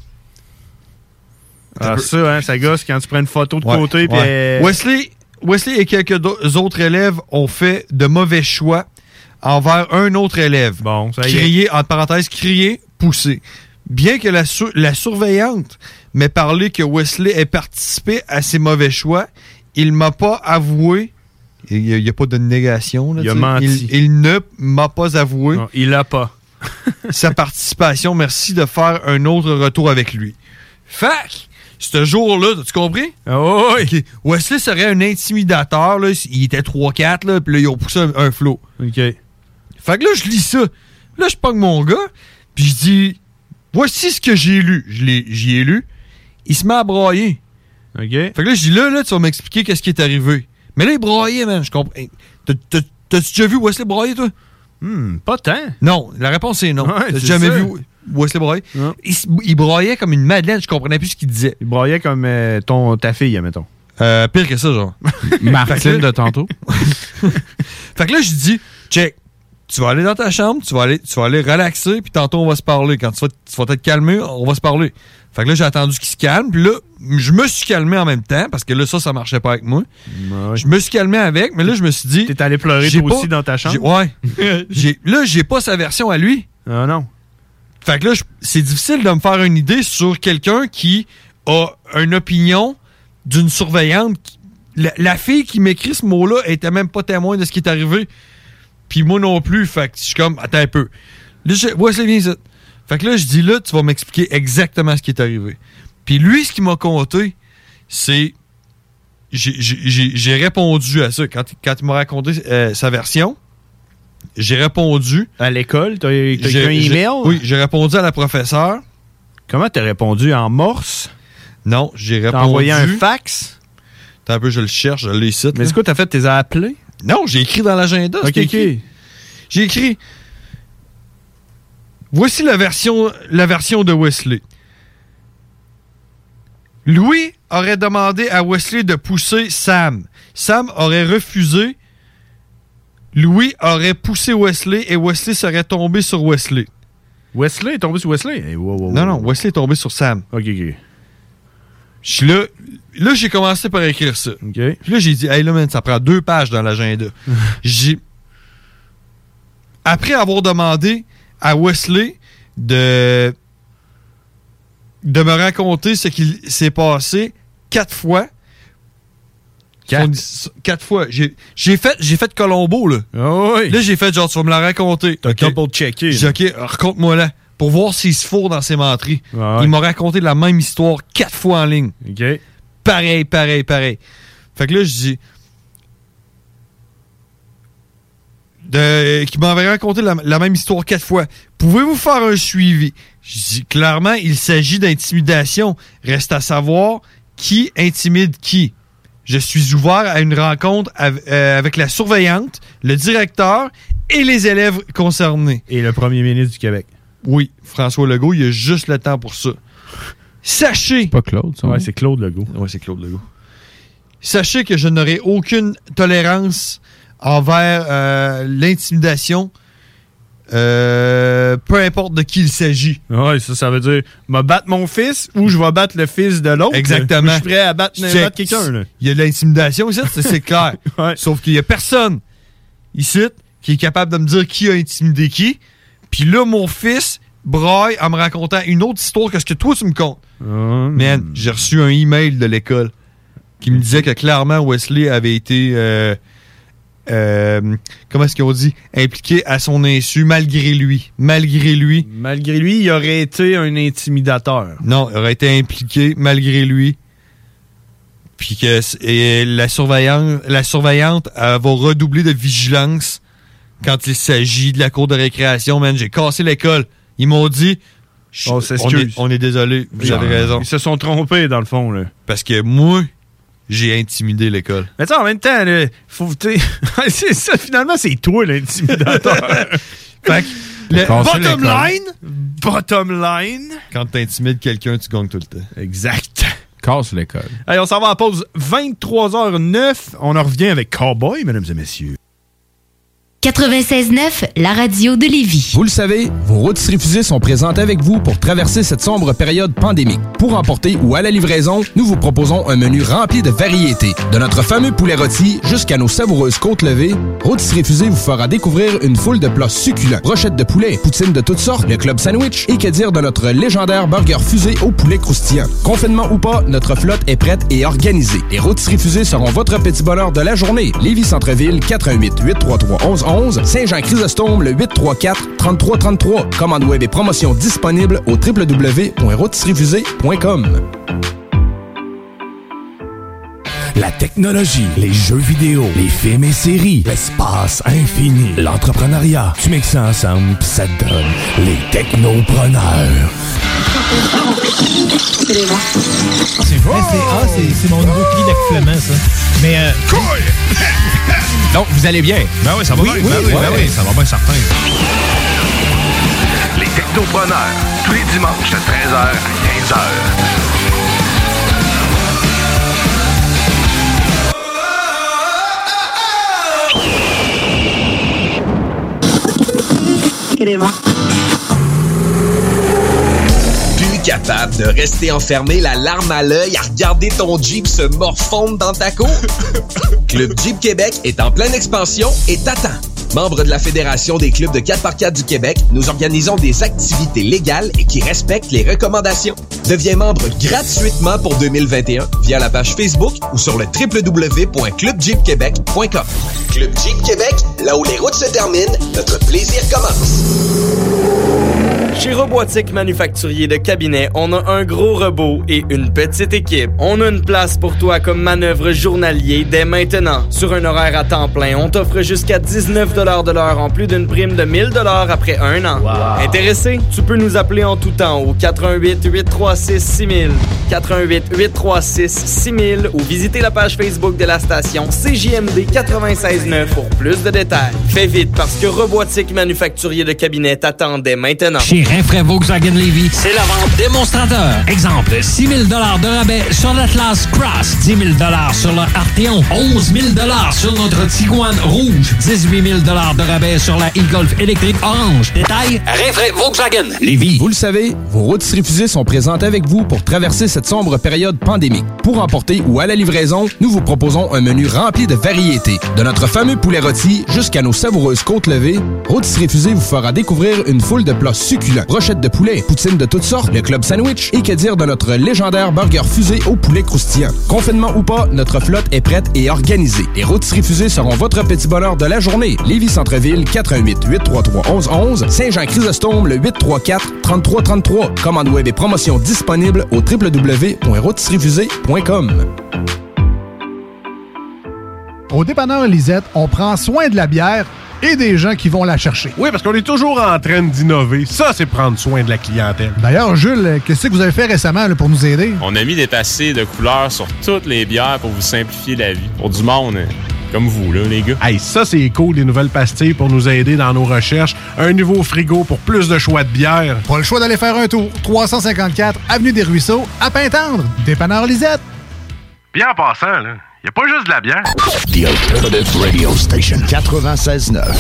Ah, ça, hein, ça gosse quand tu prends une photo de Ouais, côté. Puis ouais. euh, Wesley, Wesley et quelques do- autres élèves ont fait de mauvais choix envers un autre élève. Bon, ça y est. Crier, entre parenthèses, crier, pousser. Bien que la, sur- la surveillante m'ait parlé que Wesley ait participé à ces mauvais choix, il m'a pas avoué. Il n'y a, a pas de négation. Là, Il a tu sais. menti. Il, il ne m'a pas avoué Non, il l'a pas. sa participation. Merci de faire un autre retour avec lui. Fac! Ce jour-là, as-tu compris? Oh, oui. Ok. Wesley serait un intimidateur. Là. Il était trois quatre, là, puis là, ils ont poussé un, un flot. OK. Fait que là, je lis ça. Là, je pogne mon gars, puis je dis, voici ce que j'ai lu. Je l'ai- J'y ai lu. Il se met à brailler. OK. Fait que là, je dis, là, là, tu vas m'expliquer qu'est-ce qui est arrivé. Mais là, il braillait, man. Je comprends. Hey, t'as- t'as- T'as-tu déjà vu Wesley brailler, toi? Hmm, pas tant. Non. La réponse est non. Ouais, T'as c'est jamais ça. vu Wesley brailler? Non. Il, s- il braillait comme une madeleine. Je comprenais plus ce qu'il disait. Il braillait comme euh, ton, ta fille, admettons. Euh, pire que ça, genre. Martine de tantôt. Fait que là, je dis, check, tu vas aller dans ta chambre, tu vas aller, tu vas aller relaxer, puis tantôt, on va se parler. Quand tu vas, tu vas t'être calmé, on va se parler. Fait que là, j'ai attendu qu'il se calme, puis là, je me suis calmé en même temps, parce que là, ça, ça marchait pas avec moi. Ouais. Je me suis calmé avec, mais là, je me suis dit... T'es allé pleurer j'ai toi pas- aussi dans ta chambre? j'ai- Ouais. J'ai- là, j'ai pas sa version à lui. Ah non. Fait que là, je- c'est difficile de me faire une idée sur quelqu'un qui a une opinion d'une surveillante. qui- La, la fille qui m'écrit ce mot-là était même pas témoin de ce qui est arrivé. Puis moi non plus. Fait que je suis comme, attends un peu. Là, je, ouais, c'est bien ça. Fait que là, je dis là, tu vas m'expliquer exactement ce qui est arrivé. Puis lui, ce qu'il m'a conté, c'est. J'ai, j'ai- j'ai- j'ai répondu à ça. Quand, quand il m'a raconté euh, sa version, j'ai répondu. À l'école, t'as t'as J'ai- écrit un j'ai- email? Oui, j'ai répondu à la professeure. Comment t'as répondu? En morse? Non, j'ai répondu. T'as envoyé un fax? Attends un peu, je le cherche, je l'ai ici. Mais c'est quoi, t'as fait? T'es appelé? Non, j'ai écrit dans l'agenda. Ok, c'était écrit. ok. J'ai écrit. Voici la version, la version de Wesley. Louis aurait demandé à Wesley de pousser Sam. Sam aurait refusé. Louis aurait poussé Wesley et Wesley serait tombé sur Wesley. Wesley est tombé sur Wesley? Hey, wow, wow, Non, wow. non, Wesley est tombé sur Sam. Ok, ok. Je suis là. Là, j'ai commencé par écrire ça. Ok. Puis là, j'ai dit, hey, là, man, ça prend deux pages dans l'agenda. j'ai. Après avoir demandé à Wesley de. de me raconter ce qui s'est passé quatre fois. Quatre? Son- Quatre fois. J'ai j'ai fait, j'ai fait Colombo, là. Oh oui. Là, j'ai fait genre, tu vas me la raconter. T'as Ok. double-checké. J'ai dit, OK, raconte-moi là. pour voir s'il se fourre dans ses menteries. Ouais. Il m'a raconté la même histoire quatre fois en ligne. OK. Pareil, pareil, pareil. Fait que là, je dis... De, qui m'avait raconté la, la même histoire quatre fois. Pouvez-vous faire un suivi? Je dis, clairement, il s'agit d'intimidation. Reste à savoir qui intimide qui. Je suis ouvert à une rencontre av- euh, avec la surveillante, le directeur et les élèves concernés. Et le premier ministre du Québec. Oui, François Legault, il a juste le temps pour ça. Sachez... Pas Claude, ça. Ouais, c'est Claude Legault. Ouais, c'est Claude Legault. Sachez que je n'aurai aucune tolérance envers euh, l'intimidation, euh, peu importe de qui il s'agit. Ouais, ça, ça veut dire, je vais battre mon fils ou je vais battre le fils de l'autre. Exactement. Je suis prêt à battre, C'est- battre quelqu'un. Là. Il y a de l'intimidation ici, c'est, c'est clair. Ouais. Sauf qu'il y a personne ici qui est capable de me dire qui a intimidé qui. Puis là, mon fils braille en me racontant une autre histoire que ce que toi, tu me comptes. Oh, Man, j'ai reçu un email de l'école qui me disait que clairement Wesley avait été... Euh, euh, comment est-ce qu'on dit? Impliqué à son insu, malgré lui. Malgré lui. Malgré lui, il aurait été un intimidateur. Non, il aurait été impliqué malgré lui. Puis que et la surveillante, la surveillante elle va redoubler de vigilance quand il s'agit de la cour de récréation. Man, j'ai cassé l'école. Ils m'ont dit... On on, s'excuse. est, on est désolé, vous Ils- avez raison. Ils se sont trompés, dans le fond. Là. Parce que moi, j'ai intimidé l'école. Mais tu sais, en même temps, là, faut, t'sais, c'est ça, finalement, c'est toi l'intimidateur. Fait que, le Casser bottom l'école. line, Bottom line. quand t'intimides quelqu'un, tu gagnes tout le temps. Exact. Casse l'école. Allez, on s'en va à la pause vingt-trois heures neuf. On en revient avec Cowboy, mesdames et messieurs. quatre-vingt-seize neuf, la radio de Lévis. Vous le savez, vos rôtisseries fusées sont présentes avec vous pour traverser cette sombre période pandémique. Pour emporter ou à la livraison, nous vous proposons un menu rempli de variétés. De notre fameux poulet rôti jusqu'à nos savoureuses côtes levées, Rôtisseries fusées vous fera découvrir une foule de plats succulents. Brochettes de poulet, poutines de toutes sortes, le club sandwich et que dire de notre légendaire burger fusé au poulet croustillant. Confinement ou pas, notre flotte est prête et organisée. Les Rôtisseries fusées seront votre petit bonheur de la journée. Lévis Centre-Ville, quatre un huit, huit trois trois, onze onze. Saint-Jean-Chrysostome, le huit trois quatre, trente-trois trente-trois. Commande web et promotion disponible au w w w point rôtisserie fusée point com. La technologie, les jeux vidéo, les films et séries, l'espace infini, l'entrepreneuriat. Tu mixes ça ensemble pis ça te donne les technopreneurs. C'est vrai, c'est, ah, c'est, c'est mon nouveau cri d'accouplement, ça. Mais. Euh, Donc, vous allez bien? Ben oui, ça va oui, bien. Oui, ben oui, ouais. ben oui, ça va bien, certain. Les technopreneurs, tous les dimanches de treize heures à quinze heures. Plus capable de rester enfermé, la larme à l'œil, à regarder ton Jeep se morfondre dans ta cour? Club Jeep Québec est en pleine expansion et t'attend. Membre de la Fédération des clubs de quatre par quatre du Québec, nous organisons des activités légales et qui respectent les recommandations. Deviens membre gratuitement pour deux mille vingt et un via la page Facebook ou sur le w w w point club jeep québec point com. Club Jeep Québec, là où les routes se terminent, notre plaisir commence. Chez Robotique Manufacturier de Cabinet, on a un gros robot et une petite équipe. On a une place pour toi comme manœuvre journalier dès maintenant. Sur un horaire à temps plein, on t'offre jusqu'à dix-neuf dollars de l'heure en plus d'une prime de mille dollars après un an. Wow. Intéressé? Tu peux nous appeler en tout temps au quatre un huit, huit trois six, six mille, quatre un huit, huit trois six, six mille ou visiter la page Facebook de la station C J M D quatre-vingt-seize neuf pour plus de détails. Fais vite parce que Robotique Manufacturier de Cabinet t'attend dès maintenant. Chez Rinfraie Volkswagen Lévis, c'est la vente démonstrateur. Exemple, six mille dollars de rabais sur l'Atlas Cross, dix mille dollars sur le Arteon, onze mille dollars sur notre Tiguan rouge, dix-huit mille dollars de rabais sur la e-Golf électrique orange. Détail, Rinfraie Volkswagen Lévis. Vous le savez, vos rôtisseries fusées sont présentes avec vous pour traverser cette sombre période pandémique. Pour emporter ou à la livraison, nous vous proposons un menu rempli de variétés. De notre fameux poulet rôti jusqu'à nos savoureuses côtes levées, Rôtisseries fusées vous fera découvrir une foule de plats succulents. succulents. Brochettes de poulet, poutine de toutes sortes, le club sandwich et que dire de notre légendaire burger fusé au poulet croustillant. Confinement ou pas, notre flotte est prête et organisée. Les rôtisseries fusées seront votre petit bonheur de la journée. Lévis Centre-Ville, quatre un huit, huit trois trois, un un un un. Saint-Jean-Chrysostome, le huit trois quatre, trois trois trois trois. Commande web et promotion disponible au w w w point rôtisserie fusée point com. Au dépanneur Lisette, on prend soin de la bière et des gens qui vont la chercher. Oui, parce qu'on est toujours en train d'innover. Ça, c'est prendre soin de la clientèle. D'ailleurs, Jules, qu'est-ce que vous avez fait récemment là, pour nous aider? On a mis des passés de couleurs sur toutes les bières pour vous simplifier la vie. Pour du monde, hein, comme vous, là, les gars. Hey, ça, c'est cool, des nouvelles pastilles pour nous aider dans nos recherches. Un nouveau frigo pour plus de choix de bières. Pas le choix d'aller faire un tour. trois cent cinquante-quatre Avenue des Ruisseaux, à Pintendre. Dépanneur Lisette. Bien en passant, là, y a pas juste de la bière. The Alternative Radio Station quatre-vingt-seize neuf.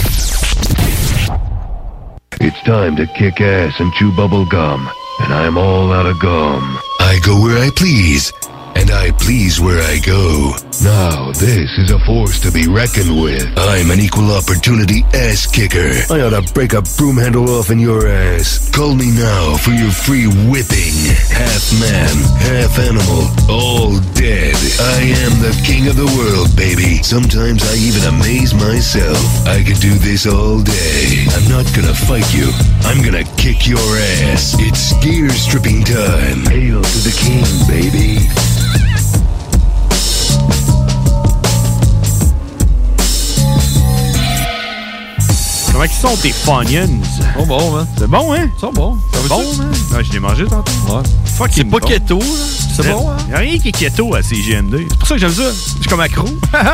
It's time to kick ass and chew bubble gum, and I'm all out of gum. I go where I please, and I please where I go. Now, this is a force to be reckoned with. I'm an equal opportunity ass kicker. I ought to break a broom handle off in your ass. Call me now for your free whipping. Half man, half animal, all dead. I am the king of the world, baby. Sometimes I even amaze myself. I could do this all day. I'm not gonna fight you. I'm gonna kick your ass. It's gear stripping time. Hail to the king, baby. Comment ils sont tes Funyuns? Oh bon, hein? C'est bon, hein? Ils sont bons. C'est bon, hein? Ouais, je l'ai mangé tantôt. Ouais. Fuck, C'est pas bon. keto, là. C'est bon, hein? Y'a rien qui est keto à C G M D. C'est pour ça que j'aime ça. Je suis comme accro.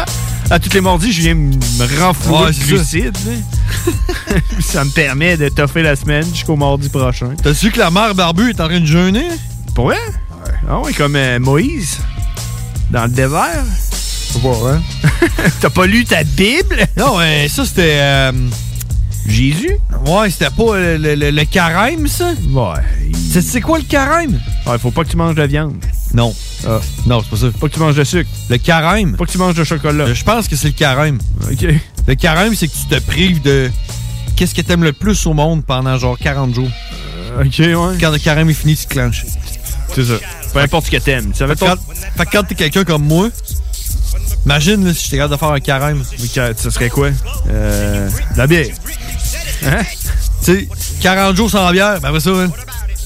À toutes les mardis, je viens me renflouer Ouais, de c'est glucides. Ça. Ça me permet de toffer la semaine jusqu'au mardi prochain. T'as su que la mère Barbu est en train de jeûner? Pour vrai? Ouais. Ah ouais, comme euh, Moïse. Dans le désert. Faut voir, hein? T'as pas lu ta Bible? Non, ouais, ça c'était... Euh... Jésus? Ouais, c'était pas le, le, le, le carême, ça? Ouais. C'est, c'est quoi le carême? Ouais, faut pas que tu manges de viande. Non. Ah. Non, c'est pas ça. Pas que tu manges de sucre. Le carême? Pas que tu manges de chocolat. Je pense que c'est le carême. OK. Le carême, c'est que tu te prives de... Qu'est-ce que t'aimes le plus au monde pendant genre quarante jours? Euh, OK, ouais. Quand le carême est fini, tu te clenches. C'est ça. Peu importe ce que t'aimes. Ça Fait que quand, fait que quand t'es quelqu'un comme moi, imagine là, si j'étais capable de faire un carême. Mais ça serait quoi? Euh... De la bière. Hein? Tu sais, quarante jours sans bière, ben après ça, hein?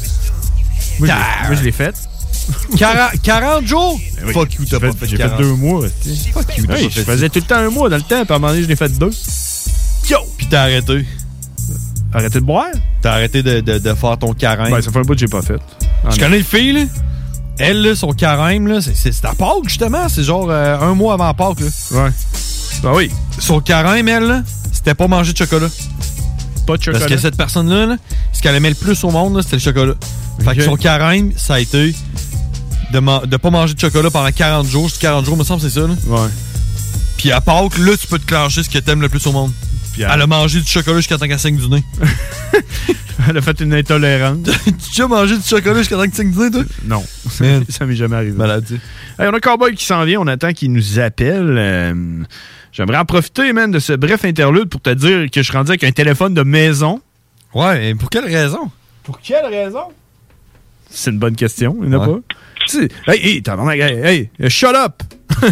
Moi, Car... je, moi je l'ai fait. quarante, quarante jours? Ben oui. Fuck you, t'as j'ai pas fait, fait J'ai quarante. fait deux mois. Fuck you, t'as hey, pas je fait faisais ça. tout le temps un mois dans le temps, puis à un moment donné, je l'ai fait deux. Yo! Puis t'as arrêté. Arrêté de boire? T'as arrêté de, de, de faire ton carême. Ben, ça fait un bout que j'ai pas fait. Ah, je connais une fille, là. Elle, là, son carême, là, c'est, c'est, c'est à Pâques, justement. C'est genre euh, un mois avant Pâques, là. Ouais. Ben oui. Son carême, elle, là, c'était pas manger de chocolat. Pas de chocolat. Parce que cette personne-là, là, ce qu'elle aimait le plus au monde, là, c'était le chocolat. Okay. Fait que son carême, ça a été de, ma- de pas manger de chocolat pendant quarante jours. C'est quarante jours, me semble, c'est ça, là. Ouais. Puis à Pâques, là, tu peux te clencher ce que t'aimes le plus au monde. Puis elle a mangé du chocolat jusqu'à temps qu'elle saigne du nez. Elle a fait une intolérance. Tu as mangé du chocolat jusqu'à temps que tu saignes du nez, toi? Non. Man. Ça m'est jamais arrivé. Maladie. Hey, on a Cowboy qui s'en vient. On attend qu'il nous appelle. Euh, j'aimerais en profiter, man, de ce bref interlude pour te dire que je suis rendu avec un téléphone de maison. Ouais, et pour quelle raison? Pour quelle raison? C'est une bonne question. Il n'y en a ouais. pas. Tu sais, hey, hey, t'as hey, hey, shut up!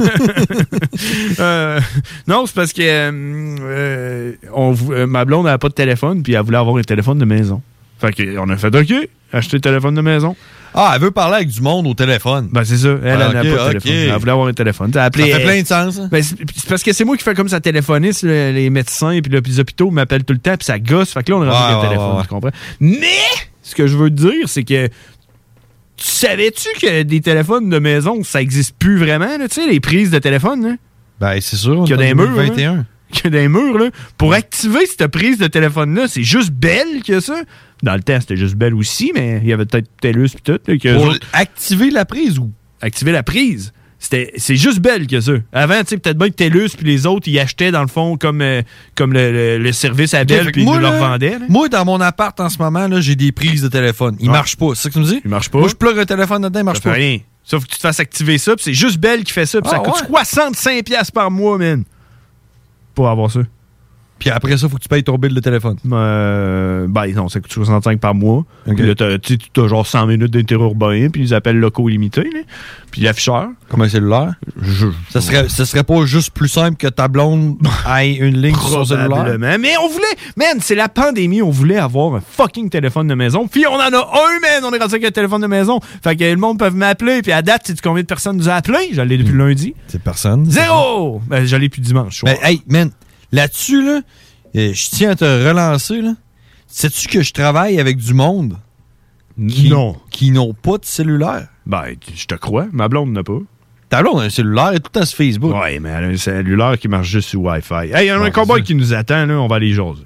euh, non, c'est parce que euh, on, euh, ma blonde n'avait pas de téléphone, puis elle voulait avoir un téléphone de maison. Fait qu'on a fait OK, acheter le téléphone de maison. Ah, elle veut parler avec du monde au téléphone. Ben, c'est ça. Elle, ah, elle n'a okay, pas de okay. téléphone. Elle voulait avoir un téléphone. Ça, appelé, ça fait plein de sens. Hein? Ben, c'est, c'est parce que c'est moi qui fais comme ça téléphoniste, le, les médecins et puis les hôpitaux m'appellent tout le temps, puis ça gosse. Fait que là, on a rendu ouais, un téléphone, ouais. Tu comprends? Mais, ce que je veux te dire, c'est que tu savais-tu que des téléphones de maison, ça existe plus vraiment, là, tu sais, les prises de téléphone, là? Ben, c'est sûr. Qu'il y a des murs, vingt et un. Là, qu'il y a des murs, là. Pour activer cette prise de téléphone-là, c'est juste Bell que ça. Dans le temps, c'était juste Bell aussi, mais il y avait peut-être TELUS pis tout. Là, que Pour autres... activer la prise ou? Activer la prise. C'était, c'est juste Bell que ça. Avant, tu sais, peut-être bien que TELUS puis les autres, ils achetaient, dans le fond, comme, euh, comme le, le, le service à Bell, puis ils nous leur vendaient. Là. Moi, dans mon appart, en ce moment, là, j'ai des prises de téléphone. Ils ouais. marchent pas. C'est ça que tu me dis? Ils marchent pas. Moi, je plug un téléphone dedans, ils marchent ça pas. Fait rien. Sauf que tu te fasses activer ça, puis c'est juste Bell qui fait ça, puis ah, ça coûte ouais. soixante-cinq dollars par mois, man. Pour avoir ça. Puis après ça, il faut que tu payes ton bill de téléphone. Euh, ben non, ça coûte soixante-cinq par mois. Ok. Puis là, t'as, tu as genre cent minutes d'interurbain, puis ils appellent locaux illimités. Là. Puis l'afficheur. Comme un cellulaire? Je, ça, serait, ça serait pas juste plus simple que ta blonde ait une ligne sur son cellulaire? Probablement. Mais on voulait... Man, c'est la pandémie, on voulait avoir un fucking téléphone de maison. Puis on en a un, man! On est rendu avec un téléphone de maison. Fait que le monde peut m'appeler. Puis à date, sais-tu combien de personnes nous a appelé? Je l'ai depuis lundi. C'est personne. Zéro! Ben, je l'ai depuis dimanche. Ben, hey, man, là-dessus, là, euh, je tiens à te relancer, là. Sais-tu que je travaille avec du monde qui, non. qui n'ont pas de cellulaire? Ben, je te crois. Ma blonde n'a pas. Ta blonde a un cellulaire et tout le temps sur Facebook. Ouais, mais elle a un cellulaire qui marche juste sur Wi-Fi. Hey, il y a un cowboy qui nous attend, là. On va aller jaser.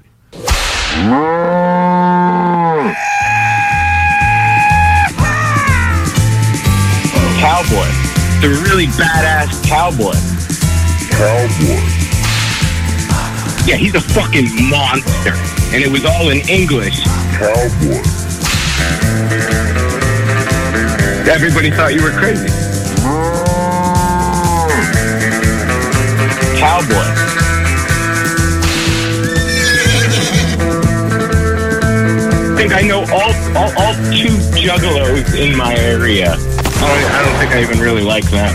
Cowboy. The really badass cowboy. Cowboy. Yeah, he's a fucking monster. And it was all in English. Cowboy. Everybody thought you were crazy. Cowboy. I think I know all, all, all two juggalos in my area. I don't, I don't think I even really like them.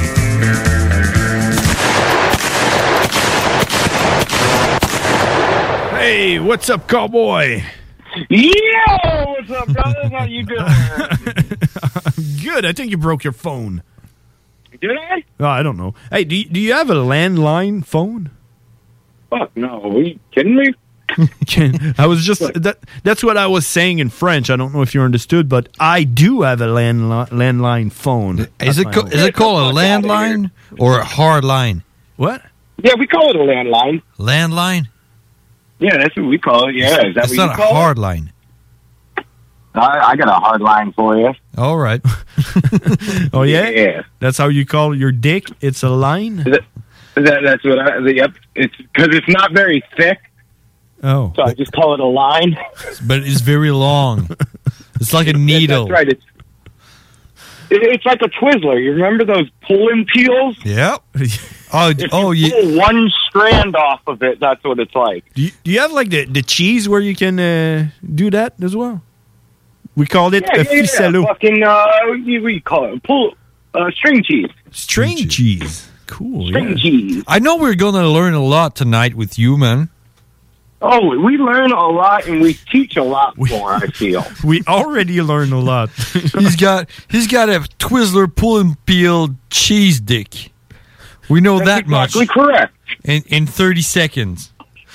Hey, what's up, cowboy? Yo, what's up, brother? How you doing? Good. I think you broke your phone. Did I? Oh, I don't know. Hey, do you, do you have a landline phone? Fuck no. Are you kidding me? Can, I was just that. That's what I was saying in French. I don't know if you understood, but I do have a landli- landline phone. Is it co- is it called a landline or a hard line? What? Yeah, we call it a landline. Landline? Yeah, that's what we call it. Yeah, is that it's what not you a call hard it? line. I, I got a hard line for you. All right. Oh yeah? Yeah. That's how you call your dick? It's a line? That, that, that's what I. Yep. It's because it's not very thick. Oh. So I just call it a line. But it's very long. It's like a needle. That's right. It's it, it's like a Twizzler. You remember those pulling peels? Yep. Oh, If oh, you yeah. pull one strand off of it, that's what it's like. Do you, do you have like the, the cheese where you can uh, do that as well? We called it Yeah, a yeah, yeah. ficello. Fucking, uh, we, we call it pull, uh, string cheese. String cheese. Cool. String yeah. cheese. I know we're going to learn a lot tonight with you, man. Oh, we learn a lot and we teach a lot more, I feel. We already learned a lot. he's got he's got a Twizzler pull and peel cheese dick. We know That's that exactly much. correct. In in thirty seconds.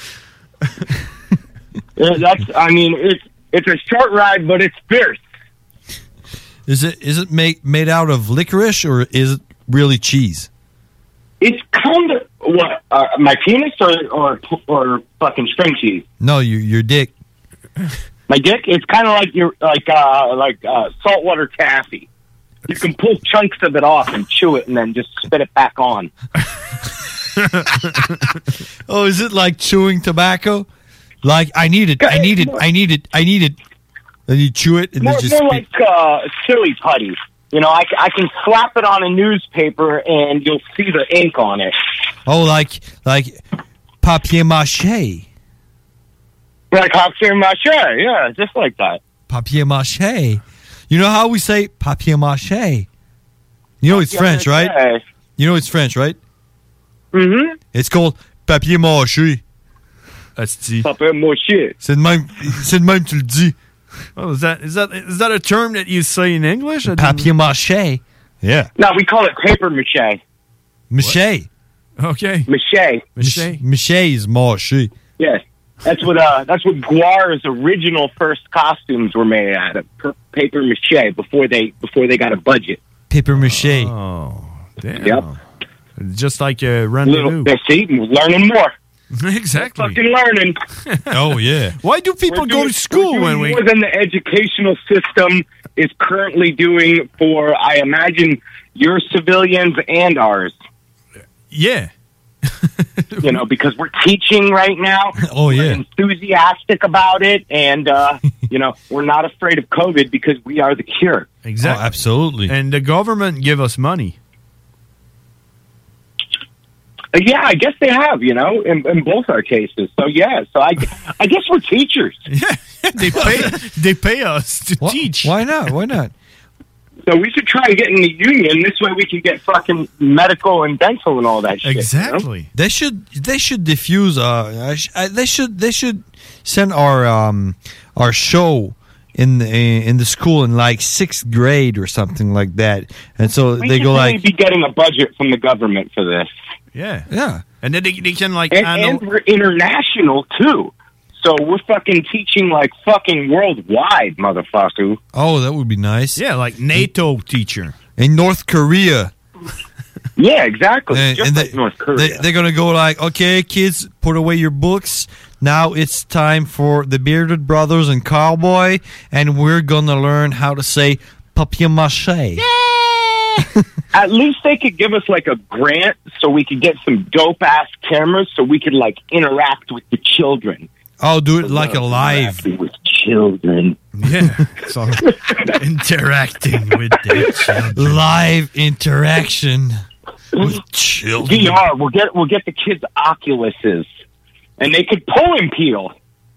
Yeah, that's, I mean, it's it's a short ride, but it's fierce. Is it is it made made out of licorice or is it really cheese? It's kind of, what, uh, my penis or, or or fucking string cheese? No, your your dick. My dick? It's kind of like your like uh, like uh, saltwater taffy. You can pull chunks of it off and chew it and then just spit it back on. Oh, is it like chewing tobacco? Like I need it, I need it, I need it, I need it. Then you chew it and More, then just more spit. like uh, silly putty. You know, I, c- I can slap it on a newspaper and you'll see the ink on it. Oh, like like papier mâché. Like papier mâché, yeah, just like that. Papier mâché. You know how we say papier mâché? You know it's Papier French, right? mâché. You know it's French, right? Mm-hmm. It's called papier mâché. Asti. Papier mâché. C'est de même, c'est de même tu le dis. Oh, is that is that is that a term that you say in English? Papier mâché. Yeah. No, we call it paper mache. Maché. Okay. Mache. Maché. Maché is mâché. Yes. That's what uh that's what Guar's original first costumes were made out of. Per- paper mache before they before they got a budget. Paper maché. Oh, damn. Yep. Just like a Little, rendezvous. they see, we're learning more. Exactly. Fucking learning. Oh yeah. Why do people We're go doing- to school we're when doing we? more than the educational system is currently doing for, I imagine, your civilians and ours. Yeah. You know, because we're teaching right now. Oh yeah. We're enthusiastic about it, and uh, you know, we're not afraid of COVID because we are the cure. Exactly. Oh, absolutely. And the government give us money. Uh, yeah, I guess they have, you know, in, in both our cases. So, yeah, so I, I guess we're teachers. Yeah, they pay, they pay us to Why, teach. Why not? Why not? So we should try and get in the union. This way we can get fucking medical and dental and all that shit. Exactly. You know? They should they should diffuse. Uh, uh, they should they should send our um our show in the, in the school in like sixth grade or something like that. And so We they should go really like, be getting a budget from the government for this. Yeah. Yeah. And then they, they can like And, handle- and we're international, too. So we're fucking teaching like fucking worldwide, motherfucker. oh, that would be nice. Yeah, like NATO teacher in North Korea. Yeah, exactly. And, Just and like they, North Korea. They, they're gonna go like, okay, kids, put away your books. Now it's time for the Bearded Brothers and Cowboy, and we're gonna learn how to say papier-mâché. At least they could give us like a grant so we could get some dope ass cameras so we could like interact with the children. I'll do it like a live with children. Yeah, so interacting with the children. Live interaction with children. V R. We'll get we'll get the kids Oculuses, and they could pull and peel.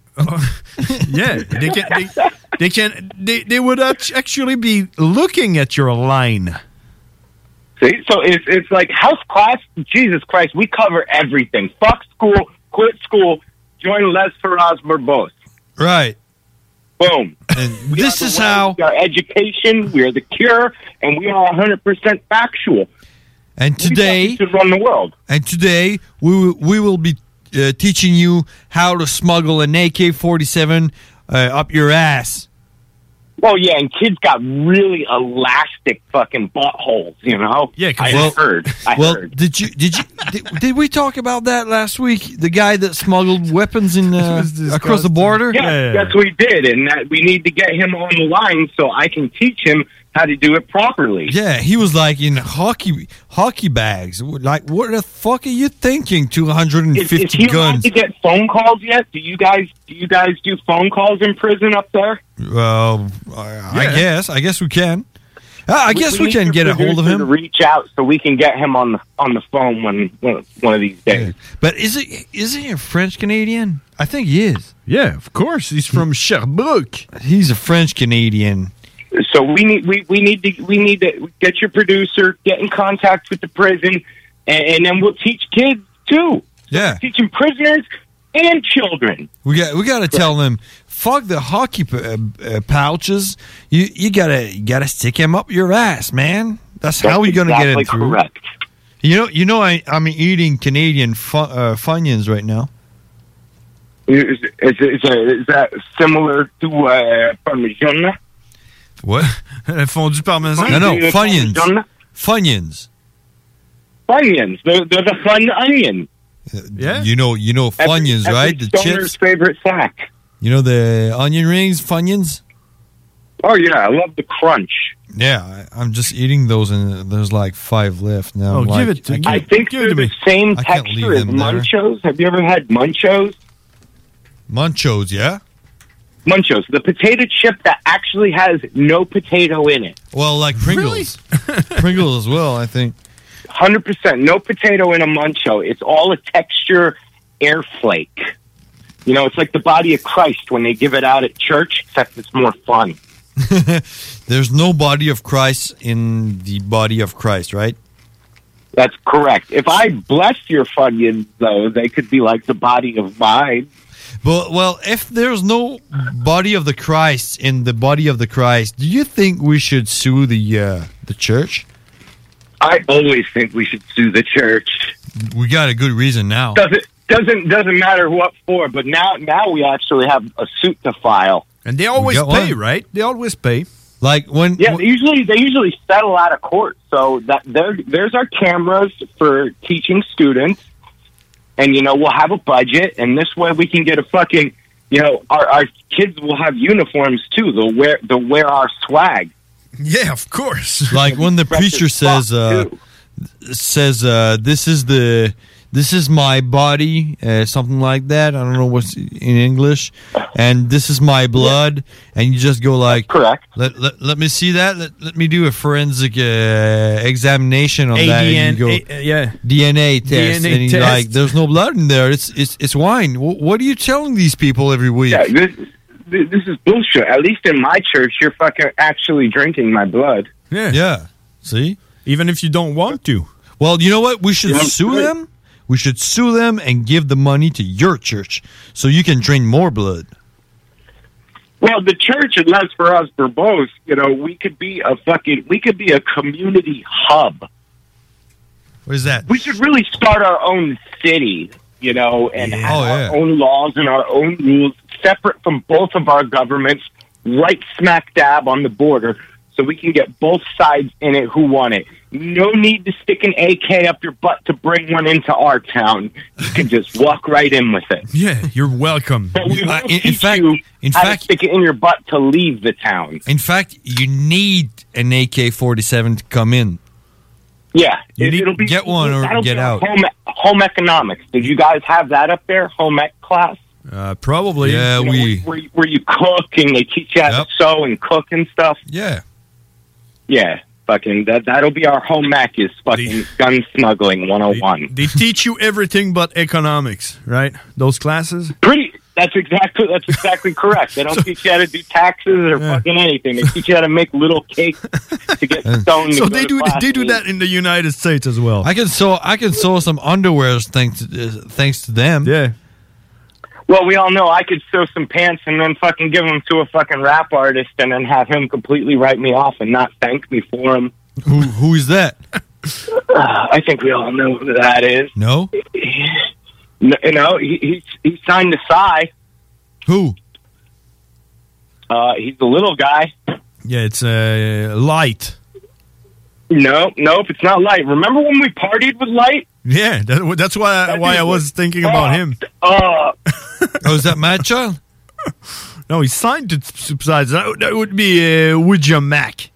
Yeah, they can. They, they can. They, they would act- actually be looking at your line. See, so it's it's like house class. Jesus Christ, we cover everything. Fuck school, quit school, join Les Ferraz Barbos. Right. Boom. And We this are the is way, how. we are education. We are the cure, and we are one hundred percent factual. And today, to run the world. And today, we will, we will be uh, teaching you how to smuggle an A K forty-seven uh, up your ass. Oh yeah, and kids got really elastic fucking buttholes, you know. Yeah, I well, heard. I well, heard. did you did you did, did we talk about that last week? The guy that smuggled weapons in uh, across the border. Yeah, yes, we did, and that we need to get him on the line so I can teach him how to do it properly. Yeah, he was like in hockey hockey bags. Like, what the fuck are you thinking? Two hundred and Is, is fifty he allowed guns. to get phone calls yet? Do you guys do you guys do phone calls in prison up there? Well, I, I guess I guess we can. Uh, I guess we, need can your get a hold of producer him. To reach out so we can get him on the on the phone one one, one of these days. But is it is he a French Canadian? I think he is. Yeah, of course. He's from Sherbrooke. He's a French Canadian. So we need we, we need to we need to get your producer, get in contact with the prison, and, and then we'll teach kids too. Yeah, teaching prisoners and children. We got we got to tell them, fuck the hockey p- uh, uh, pouches. You you gotta you gotta stick him up your ass, man. That's, That's how we gonna get exactly him through. correct. You know you know I I'm eating Canadian fu- uh, Funyuns right now. Is, is, is, is that similar to uh, Parmigiana? What? Fondue parmesan? No, no, Parmigiana? Funyuns. Funyuns. Funyuns. They're, they're the fun onion. Yeah. You know you know Funyuns, every, right? every The stoner's chips. favorite snack. You know the onion rings, Funyuns. Oh yeah, I love the crunch. Yeah, I, I'm just eating those, and there's like five left now. Oh, I'm give like, it to I me. can't- I think they're the same I can't leave texture as them there. Munchos. Have you ever had Munchos? Munchos, yeah. Munchos, the potato chip that actually has no potato in it. Well, like Pringles. Pringles as well, I think. one hundred percent. No potato in a Muncho. It's all a texture air flake. You know, it's like the body of Christ when they give it out at church, except it's more fun. There's no body of Christ in the body of Christ, right? That's correct. If I blessed your Funyuns, though, they could be like the body of mine. But well, if there's no body of the Christ in the body of the Christ, do you think we should sue the uh, the church? I always think we should sue the church. We got a good reason now. Doesn't doesn't doesn't matter what for, but now now we actually have a suit to file. And they always got pay, one. right? They always pay. Like when Yeah, they usually they usually settle out of court. So that there there's our cameras for teaching students, and you know we'll have a budget, and this way we can get a fucking you know our our kids will have uniforms too. They'll wear they'll wear our swag. Yeah, of course. Like when the preacher says uh, says uh, this is the this is my body, uh, something like that. I don't know what's in English. And this is my blood. And you just go like, correct. Let, let, let me see that. Let, let me do a forensic uh, examination on that. And you go, A D N A, yeah. D N A test. D N A and he's test. like, there's no blood in there. It's it's it's wine. W- what are you telling these people every week? Yeah, this, this is bullshit. At least in my church, you're fucking actually drinking my blood. Yeah. Yeah. See? Even if you don't want to. Well, you know what? We should Yeah, sue right. them. We should sue them and give the money to your church so you can drain more blood. Well, the church, unless for us verbose, you know, we could be a fucking, we could be a community hub. What is that? We should really start our own city, you know, and have Oh, our yeah. own laws and our own rules, separate from both of our governments, right smack dab on the border, so we can get both sides in it who want it. No need to stick an A K up your butt to bring one into our town. You can just walk right in with it. Yeah, you're welcome. But we Uh, won't in- in teach fact- you in how fact- to stick it in your butt to leave the town. In fact, you need an A K forty-seven to come in. Yeah, You it- need- it'll be get one or that'll get be our out. Home, home economics. Did you guys have that up there? Home ec class. Uh, probably. Yeah, You know, we. where, where you cook and they teach you how Yep. to sew and cook and stuff. Yeah. Yeah, fucking that. That'll be our home ec is fucking gun smuggling one oh one. They teach you everything but economics, right? Those classes? Pretty. That's exactly that's exactly correct. They don't teach you how to do taxes or fucking anything. They teach you how to make little cakes to get stoned. So to go they to do class. they do that in the United States as well. I can sew. I can sew some underwear thanks to, uh, thanks to them. Yeah. Well, we all know I could sew some pants and then fucking give them to a fucking rap artist and then have him completely write me off and not thank me for them. Who who is that? Uh, I think we all know who that is. No. No, you know, he, he he signed to Psy. Who? Uh, he's the little guy. Yeah, it's uh, Light. No, nope, it's not Light. Remember when we partied with Light? Yeah, that, that's why That why dude I was was thinking about him. Uh, Oh, is that Mad Child? No, he signed to Subside. That, that would be uh, Ouija Mac.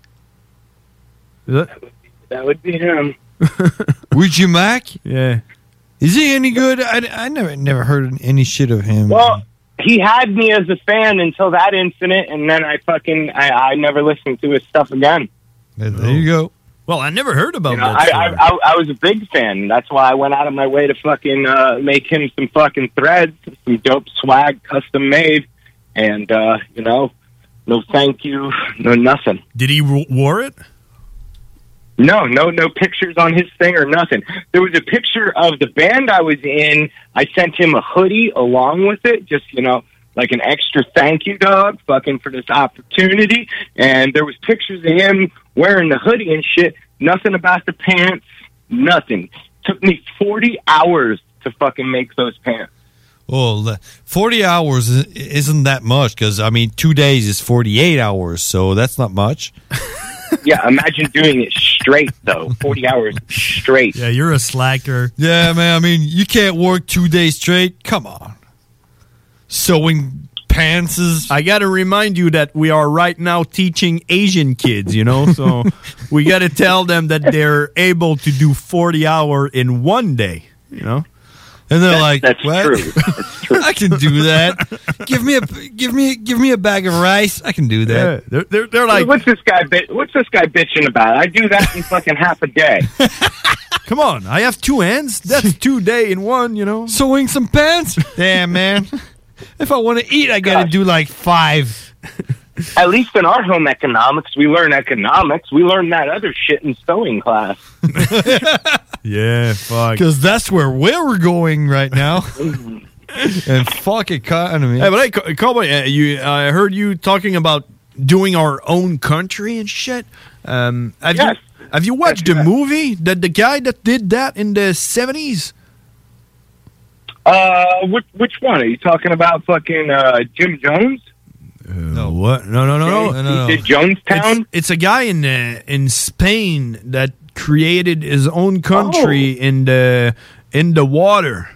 Is that? that would be him. Ouija Mac? Yeah. Is he any good? I, I never never heard any shit of him. Well, he had me as a fan until that incident, and then I fucking I, I never listened to his stuff again. there, there you go. Well, I never heard about You know, that. I, I, I I was a big fan. That's why I went out of my way to fucking uh, make him some fucking threads, some dope swag, custom made, and uh, you know, no thank you, no nothing. Did he w- wore it? No, no, no pictures on his thing or nothing. There was a picture of the band I was in. I sent him a hoodie along with it, just, you know, like an extra thank you, dog, fucking for this opportunity. And there was pictures of him wearing the hoodie and shit. Nothing about the pants, nothing. Took me forty hours to fucking make those pants. Well, forty hours i- isn't that much because, I mean, two days is forty-eight hours, so that's not much. Yeah, imagine doing it straight, though. forty hours straight. Yeah, you're a slacker. Yeah, man, I mean, you can't work two days straight. Come on. Sewing pants is... I got to remind you that we are right now teaching Asian kids, you know, so we got to tell them that they're able to do forty hour in one day, you know. And they're like, That's what? true. That's true. I can do that. give me a give me give me a bag of rice. I can do Yeah, that. they're, they're, they're like, what's this guy? Bit- what's this guy bitching about? I do that in fucking half a day. come on, I have two hands. That's two day in one, you know. Sewing some pants? Damn, man. If I want to eat, I got to do like five. At least in our home economics, we learn economics. We learn that other shit in sewing class. Yeah, fuck. Because that's where we're going right now. And fuck economy. Hey, but hey, Co- Cowboy, uh, you, I heard you talking about doing our own country and shit. Um, have Yes. you have you watched the movie that the guy that did that in the seventies? Uh, which, which one? Are you talking about fucking uh, Jim Jones? No, what? No, no, no, no. No, no, no. Did Jonestown? It's, it's a guy in uh, in Spain that created his own country Oh. in the in the water.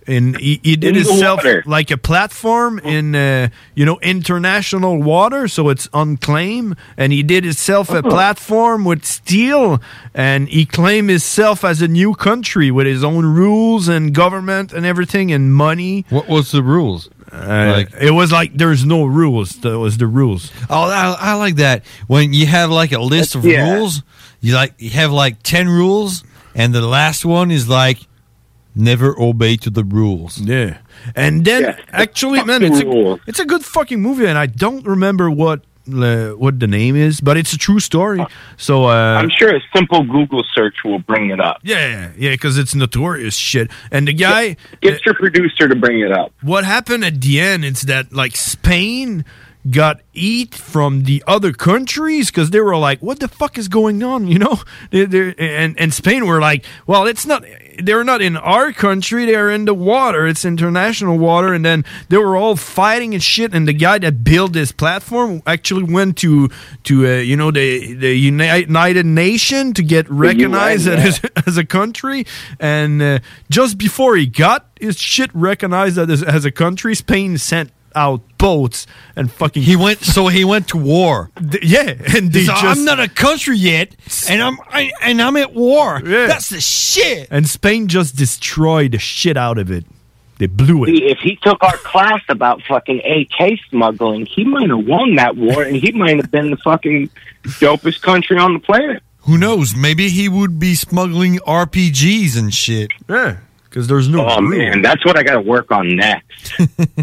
And he, he did In the himself water. like a platform in, uh, you know, international water, so it's unclaimed. And he did himself a Oh. platform with steel, and he claimed himself as a new country with his own rules and government and everything and money. What was the rules? Uh, it was like there's no rules. That was the rules. Oh, I, I like that. When you have like a list of Yeah. rules, you like you have like ten rules, and the last one is like never obey to the rules. Yeah, and then actually, man, it's a, it's a good fucking movie, and I don't remember what uh, what the name is, but it's a true story. So uh, I'm sure a simple Google search will bring it up. Yeah, yeah, because it's notorious shit. And the guy, Get your producer to bring it up. what happened at the end is that like Spain got eat from the other countries because they were like, what the fuck is going on, you know? They, they're- and, and Spain were like, well, it's not, they're not in our country, they're in the water, it's international water. And then they were all fighting and shit, and the guy that built this platform actually went to, to uh, you know, the, the Uni- United Nation to get recognized U N, yeah. as, as a country. And uh, just before he got his shit recognized as, as a country, Spain sent out boats and fucking he went so he went to war. Yeah, and they He's just like, I'm not a country yet, and I'm I, and I'm at war. Yeah. That's the shit. And Spain just destroyed the shit out of it. They blew it. See, if he took our class about fucking A K smuggling, he might have won that war, and he might have been the fucking dopest country on the planet. Who knows? Maybe he would be smuggling R P Gs and shit. Yeah, because there's no. Oh man, that's what I got to work on next.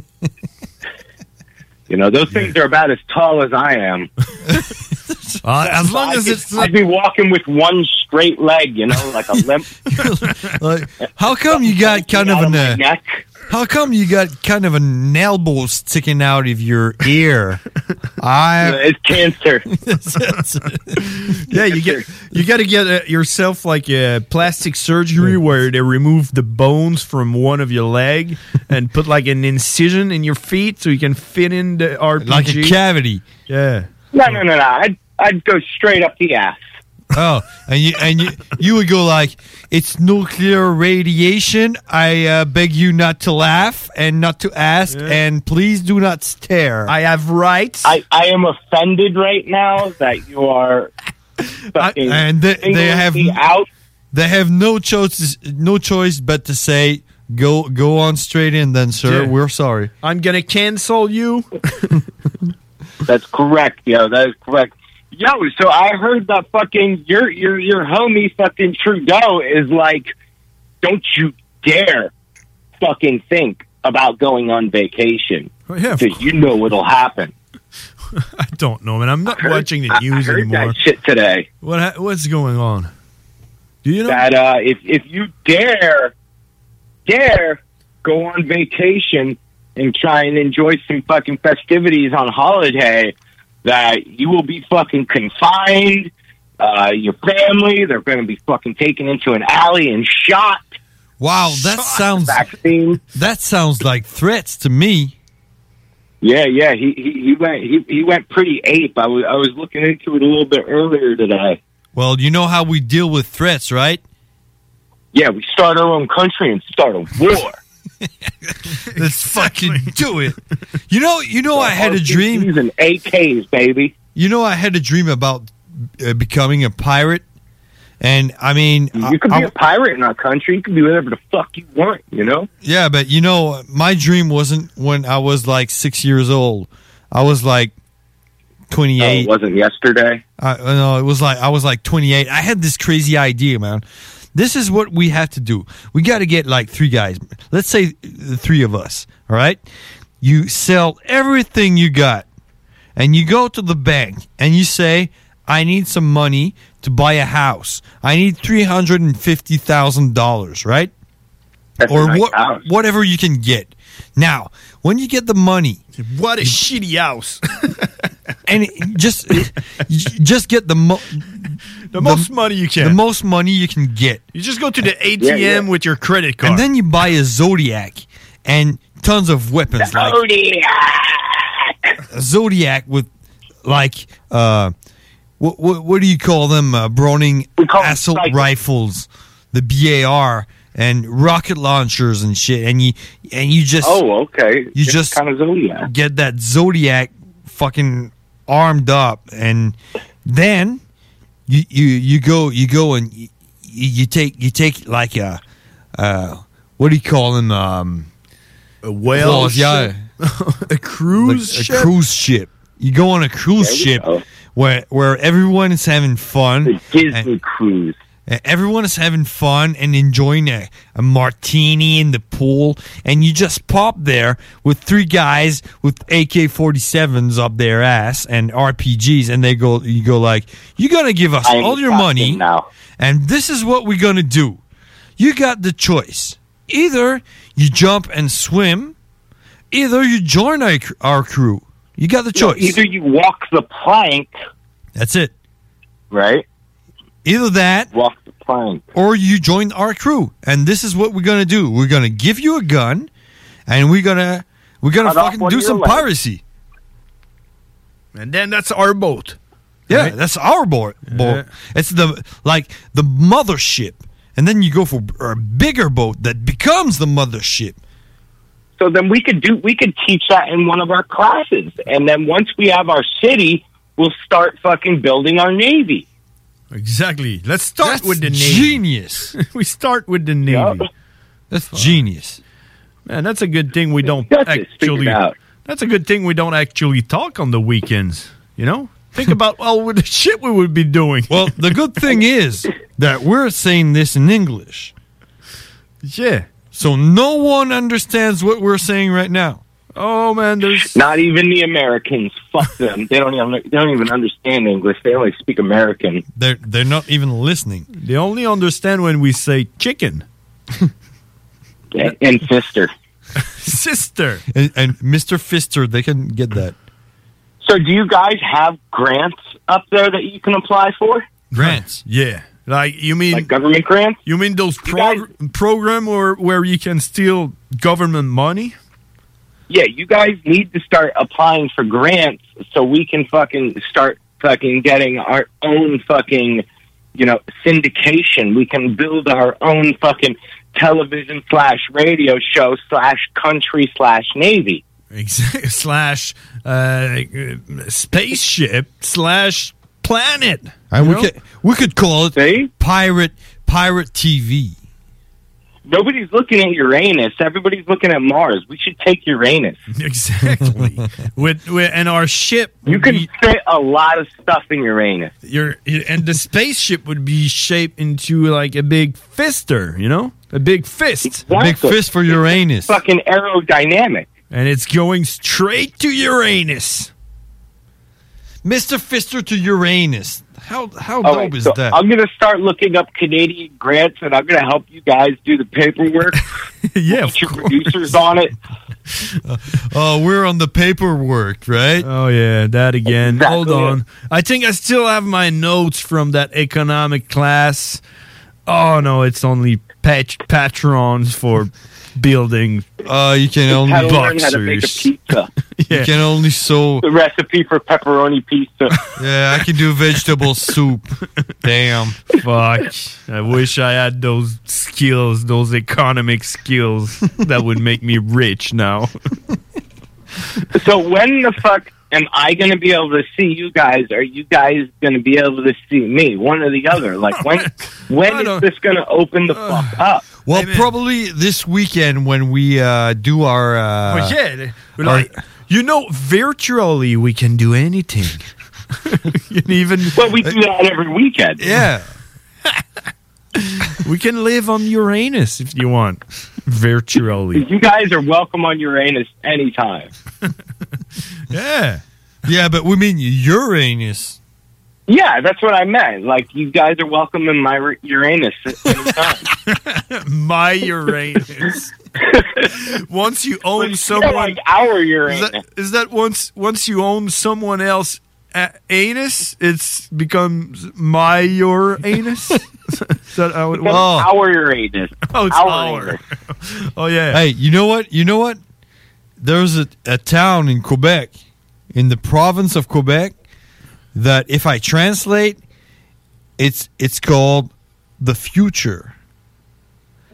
You know, those things are about as tall as I am. Uh, as long I as could- it's not- I'd be walking with one straight leg, you know, like a limp. Like, how come you got kind of out of an my uh, neck. how come you got kind of an elbow sticking out of your ear? I It's cancer. Yeah, you get you got to get uh, yourself like a plastic surgery where they remove the bones from one of your leg and put like an incision in your feet so you can fit in the R P G. like a cavity. Yeah. No, no, no, no. I'd, I'd go straight up the ass. Oh, and you and you you would go like, it's nuclear radiation. I uh, beg you not to laugh and not to ask, and please do not stare. I have rights. I, I am offended right now that you are fucking and they, they singling have me out. they have no choice no choice but to say go go on straight in then, sir. Yeah. We're sorry. I'm gonna cancel you. That's correct, yo. That is correct. Yo, so I heard that fucking your your your homie fucking Trudeau is like, don't you dare fucking think about going on vacation. Oh, yeah, of because you know what'll happen. I don't know, man. I'm not heard- watching the I- news I heard anymore. that shit today. What ha- what's going on? Do you know that uh, if if you dare dare go on vacation and try and enjoy some fucking festivities on holiday, that you will be fucking confined. Uh, your family, they're going to be fucking taken into an alley and shot. Wow, that sounds vaccine. That sounds like threats to me. Yeah, yeah, he he, he went he, he went pretty ape. I was I was looking into it a little bit earlier today. Well, you know how we deal with threats, right? Yeah, we start our own country and start a war. Let's fucking do it. You know, you know, I had a dream. Using A Ks, baby. You know, I had a dream about uh, becoming a pirate, and I mean, You could I, be a pirate in our country. You could be whatever the fuck you want, you know? yeah, but you know, my dream wasn't when I was like six years old. I was like Oh, twenty-eight. it wasn't yesterday. I no, it was like I was like twenty-eight. I had this crazy idea, man. This is what we have to do. We got to get like three guys. Let's say the three of us. All right. You sell everything you got, and you go to the bank and you say, "I need some money to buy a house. I need three hundred and fifty thousand dollars." Right? That's or a nice what, house. whatever you can get. Now, when you get the money, what a shitty house. and it- just just get the mo- The most money you can. The most money you can get. You just go to the A T M Yeah, yeah. with your credit card. And then you buy a Zodiac and tons of weapons. Like a Zodiac with like uh what what, what do you call them? Uh, Browning assault rifles, the B A R, and rocket launchers and shit, and you and you just Oh, okay. you It's just kind of Zodiac. get that Zodiac fucking armed up, and then you you you go you go and you, you take you take like a uh what do you call them um a whale yeah a cruise like ship? a cruise ship. You go on a cruise There you ship go. where where everyone is having fun. The Disney cruise. And everyone is having fun and enjoying a, a martini in the pool, and you just pop there with three guys with A K forty-sevens up their ass and R P Gs, and they go, you go like, you're gonna give us I am all your captain money now. and this is what we're gonna do. You got the choice: either you jump and swim, either you join our, our crew. You got the No, choice. either you walk the plank. That's it. Right? Either that, walk the plank, or you join our crew. And this is what we're gonna do. We're gonna give you a gun, and we're gonna we're gonna Cut off fucking one do of your some legs. piracy. And then that's our boat. Yeah, Right? that's our boat. boat. It's the like the mothership, and then you go for a bigger boat that becomes the mothership. So then we could do we could teach that in one of our classes, and then once we have our city, we'll start fucking building our navy. Exactly. Let's start That's with the Navy. genius. we start with the Navy. That's genius. Man, that's a good thing we don't That's it. Figure actually. it out. That's a good thing we don't actually talk on the weekends. You know, think about all the shit we would be doing. Well, the good thing is that we're saying this in English. Yeah. So no one understands what we're saying right now. Oh man, there's not even the Americans. Fuck them. They don't even they don't even understand English. They only speak American. They're they're not even listening. They only understand when we say chicken. and, and sister. Sister. And, and Mister Fister, they can get that. So do you guys have grants up there that you can apply for? Grants? Yeah. Like you mean like government grants? You mean those prog- program or where you can steal government money? Yeah, you guys need to start applying for grants so we can fucking start fucking getting our own fucking, you know, syndication. We can build our own fucking television slash radio show slash country slash navy. Exactly. Slash uh, spaceship slash planet. And You we know? could we could call it pirate pirate T V. Nobody's looking at Uranus. Everybody's looking at Mars. We should take Uranus. Exactly. with, with and our ship, you can fit a lot of stuff in Uranus. Your and the spaceship would be shaped into like a big fister, you know, a big fist, A big fist for Uranus. Fucking aerodynamic, and it's going straight to Uranus. Mister Fister to Uranus. How how All dope right, is so that? I'm going to start looking up Canadian grants, and I'm going to help you guys do the paperwork. yeah, Put your producers on it. Oh, we're on the paperwork, right? Oh yeah, that again. Exactly. Hold on. I think I still have my notes from that economic class. Oh no, it's only pat- patrons for building. Uh, you can only How to learn how to make a pizza. You can only sew. The recipe for pepperoni pizza. Yeah, I can do vegetable soup. Damn. Fuck. I wish I had those skills, those economic skills that would make me rich now. So when the fuck am I going to be able to see you guys? Are you guys going to be able to see me? One or the other. Like when when is this going to open the fuck up? Well, probably this weekend when we uh, do our. Uh, But yeah, our- like, you know, virtually we can do anything. You can even well, we do that every weekend. Yeah. We can live on Uranus if you want. Virtually. You guys are welcome on Uranus anytime. Yeah. Yeah, but we mean Uranus. Yeah, that's what I meant. Like, you guys are welcome in my Ur- Uranus anytime. My Uranus. Once you own Yeah, someone, like our is Uranus. that, is that once once you own someone else a- anus, it's becomes my Uranus. Is that how it That's works? our Uranus. Oh, it's our our. Uranus. Oh yeah. Hey, you know what? You know what? There's a, a town in Quebec, in the province of Quebec, that if I translate, it's it's called the future.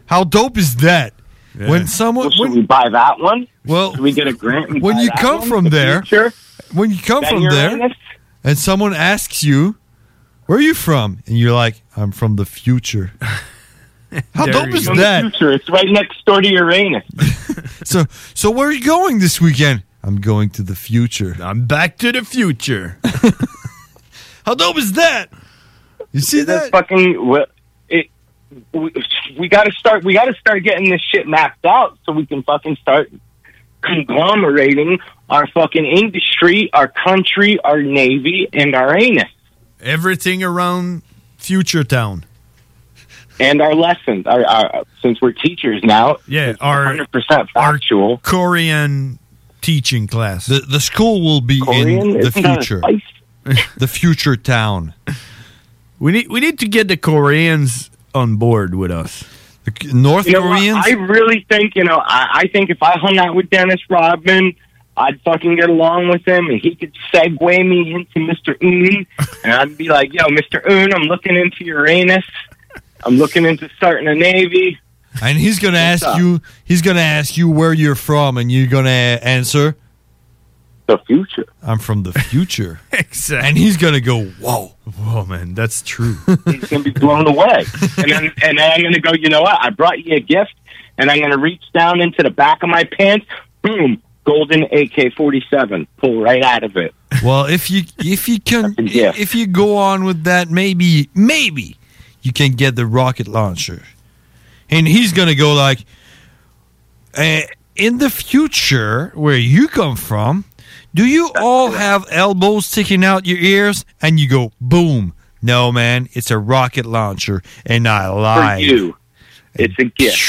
How dope is that? Yeah. When someone, Well, should when, we buy that one? well, Should we get a grant? And when buy you that come one from for the there, future? when you come Then from you're there, in it? and someone asks you, "Where are you from?" and you're like, "I'm from the future." How There dope you is go. From the that? future. It's right next door to Uranus. So, so where are you going this weekend? I'm going to the future. I'm back to the future. How dope is that? You see That's that? fucking. well, It, we, we got to start. We got to start getting this shit mapped out so we can fucking start conglomerating our fucking industry, our country, our navy, and our anus, Everything around Future Town. and our lessons. Our, our since we're teachers now, Yeah, it's our- one hundred percent factual. Korean teaching class. The the school will be Korean? in the Isn't that a future. spice? The future town. We need we need to get the Koreans on board with us. The North You know what? Koreans. I really think, you know, I, I think if I hung out with Dennis Rodman, I'd fucking get along with him, and he could segue me into Mister Un, and I'd be like, yo, Mister Un, I'm looking into Uranus. I'm looking into starting a Navy. And he's gonna What's ask up? you. He's gonna ask you where you're from, and you're gonna answer the future. I'm from the future. Exactly. And he's gonna go, whoa, whoa, man, that's true. He's gonna be blown away, and then and then I'm gonna go. You know what? I brought you a gift, and I'm gonna reach down into the back of my pants. Boom, golden A K forty-seven. Pull right out of it. Well, if you if you can if you go on with that, maybe maybe you can get the rocket launcher, and he's gonna go like, uh, in the future where you come from, do you all have elbows sticking out your ears? And you go, boom. No, man, it's a rocket launcher, and I For lied. you, it's a gift.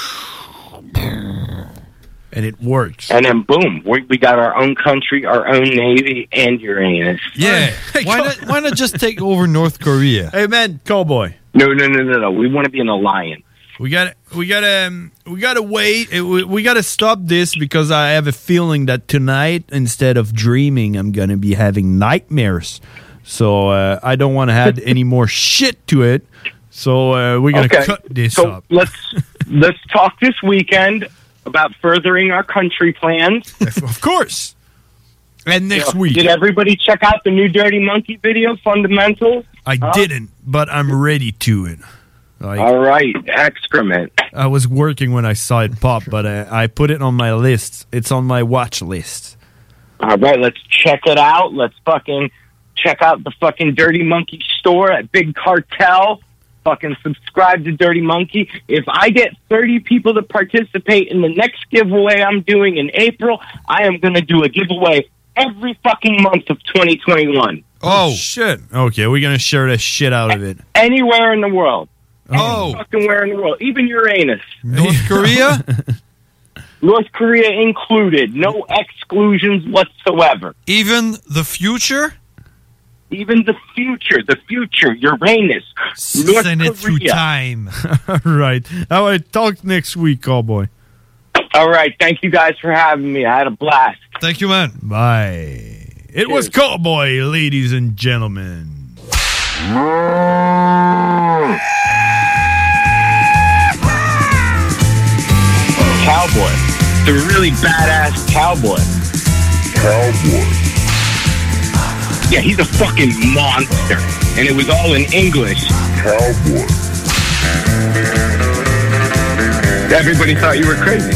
And it works. And then boom, we, we got our own country, our own navy, and Uranus. Yeah. Why not? Why not just take over North Korea? Hey, man, cowboy. No, no, no, no, no. We want to be an alliance. We got we got to um, we got to wait. Uh, We, we got to stop this because I have a feeling that tonight, instead of dreaming, I'm gonna be having nightmares. So uh, I don't want to add any more shit to it. So uh, we're gonna Okay. cut this so up. let's let's talk this weekend about furthering our country plans. Of course. And next week. Did everybody check out the new Dirty Monkey video, Fundamentals? I Huh? didn't, but I'm ready to it. Like, All right, excrement. I was working when I saw it pop, but uh, I put it on my list. It's on my watch list. All right, let's check it out. Let's fucking check out the fucking Dirty Monkey store at Big Cartel. Fucking subscribe to Dirty Monkey. If I get thirty people to participate in the next giveaway I'm doing in April, I am going to do a giveaway every fucking month of twenty twenty-one. Oh, shit. Okay, we're going to share the shit out of it. Anywhere in the world. Oh. Any fucking where in the world. Even Uranus. North Korea? North Korea included. No exclusions whatsoever. Even the future? Even the future. The future. Uranus. North Send it through Korea. time. All right. All right, talk next week, cowboy. All right. Thank you guys for having me. I had a blast. Thank you, man. Bye. It was Cowboy, ladies and gentlemen. Cowboy. The really badass cowboy. Cowboy. Yeah, he's a fucking monster. And it was all in English. Cowboy. Everybody thought you were crazy.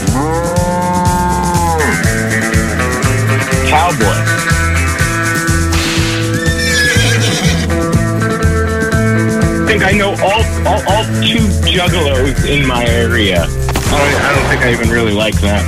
Cowboy. I think I know all, all, all two juggalos in my area. I don't, I don't think I even really like them.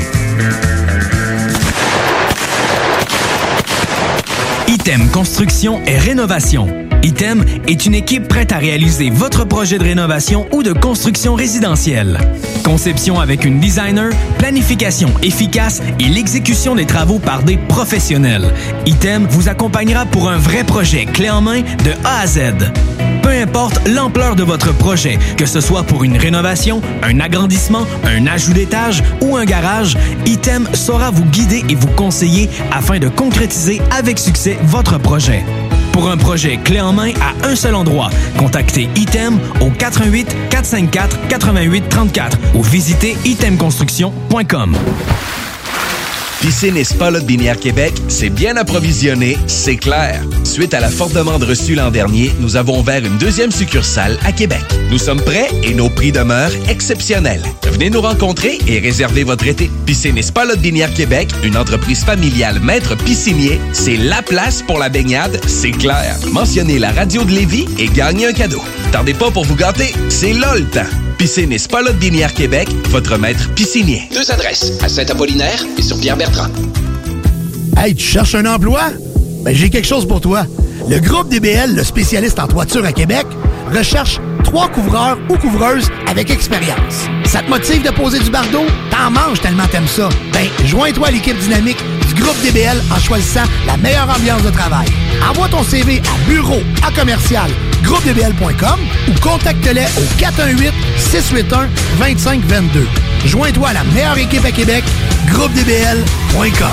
Item Construction et Rénovation. Item est une équipe prête à réaliser votre projet de rénovation ou de construction résidentielle. Conception avec une designer, planification efficace et l'exécution des travaux par des professionnels. Item vous accompagnera pour un vrai projet clé en main de A à Z. Peu importe l'ampleur de votre projet, que ce soit pour une rénovation, un agrandissement, un ajout d'étage ou un garage, Item saura vous guider et vous conseiller afin de concrétiser avec succès votre projet. Pour un projet clé en main à un seul endroit, contactez Item au quatre un huit, quatre cinq quatre, huit huit trois quatre ou visitez item construction point com. Piscine et Spa Lot-Binière Québec, c'est bien approvisionné, c'est clair. Suite à la forte demande reçue l'an dernier, nous avons ouvert une deuxième succursale à Québec. Nous sommes prêts et nos prix demeurent exceptionnels. Venez nous rencontrer et réservez votre été. Piscine et Spa Lot-Binière Québec, une entreprise familiale maître piscinier, c'est la place pour la baignade, c'est clair. Mentionnez la radio de Lévis et gagnez un cadeau. Tardez pas pour vous gâter, c'est là le temps. Piscine et Spa Lot-Binière Québec, votre maître piscinier. Deux adresses, à Saint-Apollinaire et sur Pierre-Bertrand. Hey, tu cherches un emploi? Ben, j'ai quelque chose pour toi. Le groupe D B L, le spécialiste en toiture à Québec, recherche trois couvreurs ou couvreuses avec expérience. Ça te motive de poser du bardeau? T'en manges tellement t'aimes ça. Ben, joins-toi à l'équipe dynamique du groupe D B L en choisissant la meilleure ambiance de travail. Envoie ton C V à bureau à commercial groupe d b l point com ou contacte-les au quatre un huit, six huit un, deux cinq deux deux. Joins-toi à la meilleure équipe à Québec, groupe d b l point com.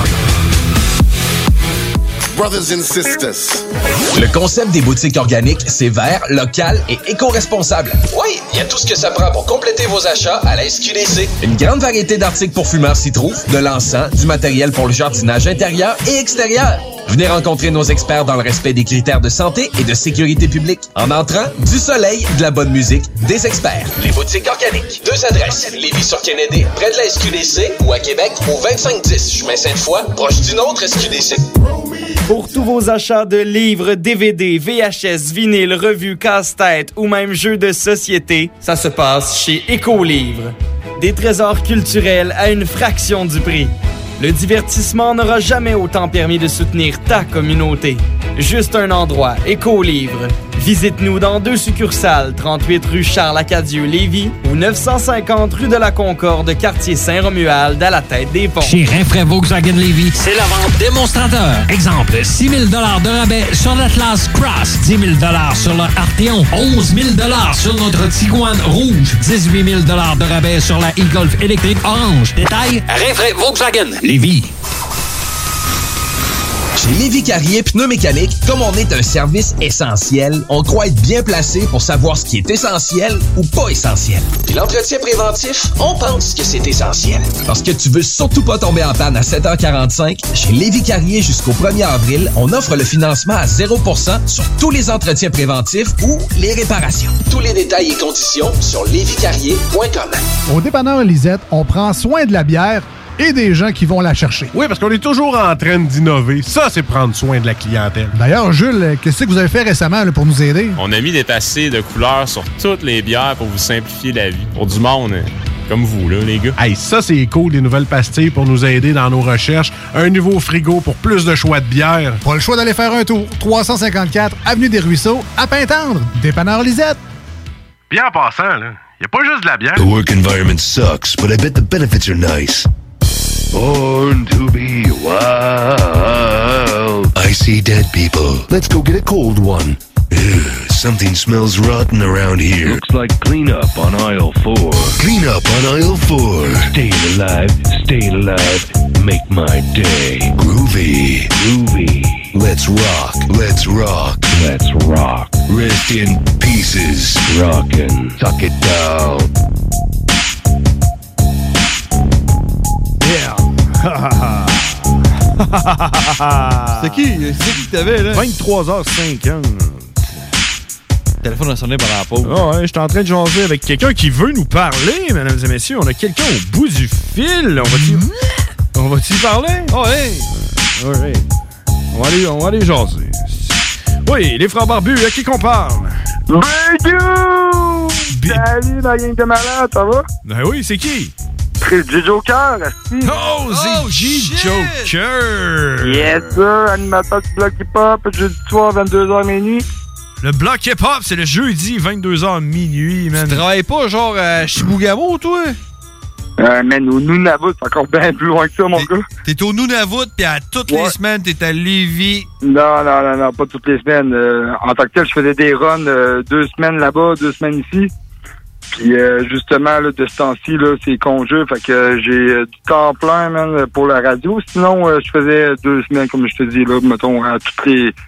Brothers and sisters. Le concept des boutiques organiques, c'est vert, local et éco-responsable. Oui, il y a tout ce que ça prend pour compléter vos achats à la S Q D C. Une grande variété d'articles pour fumeurs s'y trouve, de l'encens, du matériel pour le jardinage intérieur et extérieur. Venez rencontrer nos experts dans le respect des critères de santé et de sécurité publique. En entrant, du soleil, de la bonne musique, des experts. Les boutiques organiques. Deux adresses. Lévis-sur-Kennedy, près de la S Q D C, ou à Québec, au vingt-cinq dix, chemin Sainte-Foy, proche d'une autre S Q D C. Pour tous vos achats de livres, D V D, V H S, vinyle, revues, casse-tête ou même jeux de société, ça se passe chez Écolivre. Des trésors culturels à une fraction du prix. Le divertissement n'aura jamais autant permis de soutenir ta communauté. Juste un endroit, Écolivre. Visite-nous dans deux succursales, trente-huit rue Charles-Acadieux-Lévis ou neuf cent cinquante rue de la Concorde, quartier Saint-Romuald, à la tête des ponts. Chez Rinfraie Volkswagen Lévis, c'est la vente démonstrateur. Exemple, six mille dollars de rabais sur l'Atlas Cross, dix mille dollars sur le Arteon, onze mille dollars sur notre Tiguan Rouge, dix-huit mille dollars de rabais sur la e-Golf électrique orange. Détail, Rinfraie Volkswagen Lévis. Chez Lévis Carrier Pneumécanique, comme on est un service essentiel, on croit être bien placé pour savoir ce qui est essentiel ou pas essentiel. Puis l'entretien préventif, on pense que c'est essentiel. Parce que tu veux surtout pas tomber en panne à sept heures quarante-cinq, chez Lévis Carrier jusqu'au premier avril, on offre le financement à zéro pour cent sur tous les entretiens préventifs ou les réparations. Tous les détails et conditions sur lévis carrier point com. Au dépanneur Lisette, on prend soin de la bière et des gens qui vont la chercher. Oui, parce qu'on est toujours en train d'innover. Ça, c'est prendre soin de la clientèle. D'ailleurs, Jules, qu'est-ce que vous avez fait récemment là, pour nous aider? On a mis des tassés de couleurs sur toutes les bières pour vous simplifier la vie. Pour du monde, hein, comme vous, là, les gars. Hey, ça, c'est cool, des nouvelles pastilles pour nous aider dans nos recherches. Un nouveau frigo pour plus de choix de bières. Pas le choix d'aller faire un tour. trois cent cinquante-quatre Avenue des Ruisseaux, à Pintendre. Dépanneur Lisette. Bien en passant, là, y a pas juste de la bière. The work environment sucks, but I bet the benefits are nice. Born to be wild. I see dead people. Let's go get a cold one. Ugh, something smells rotten around here. Looks like cleanup on aisle four. Cleanup on aisle four. Stay alive, stay alive. Make my day. Groovy. Groovy. Let's rock, let's rock. Let's rock. Rest in pieces. Rockin'. Tuck it down. Yeah! C'est qui? C'est qui que t'avais, là? vingt-trois heures cinquante. Le téléphone a sonné pendant la pause. Ah ouais, j'étais en train de jaser avec quelqu'un qui veut nous parler, mesdames et messieurs. On a quelqu'un au bout du fil. On va-tu... On va-tu parler? Oh, hey! All right. On va aller, on va aller jaser. Oui, les frères barbus, à qui qu'on parle? Bonjour! Salut, la gang de malade, ça va? Ben oui, c'est qui? C'est J Joker, oh, oh, c'est J Joker! Yes, sir, animateur du bloc hip-hop, jeudi soir, vingt-deux heures minuit. Le bloc hip-hop, c'est le jeudi, vingt-deux heures minuit, man. Tu travailles pas, genre, à Chibougamau, toi? Euh, man, au Nunavut, c'est encore bien plus loin que ça, mon gars. T'es au Nunavut, pis à toutes ouais. les semaines, t'es à Lévis. Non, non, non, non, pas toutes les semaines. Euh, en tant que tel, je faisais des runs euh, deux semaines là-bas, deux semaines ici. Puis euh, justement, là, de ce temps-ci, là, c'est congé, fait que euh, j'ai euh, du temps plein, man, pour la radio. Sinon, euh, je faisais deux semaines, comme je te dis, là, mettons, à toutes les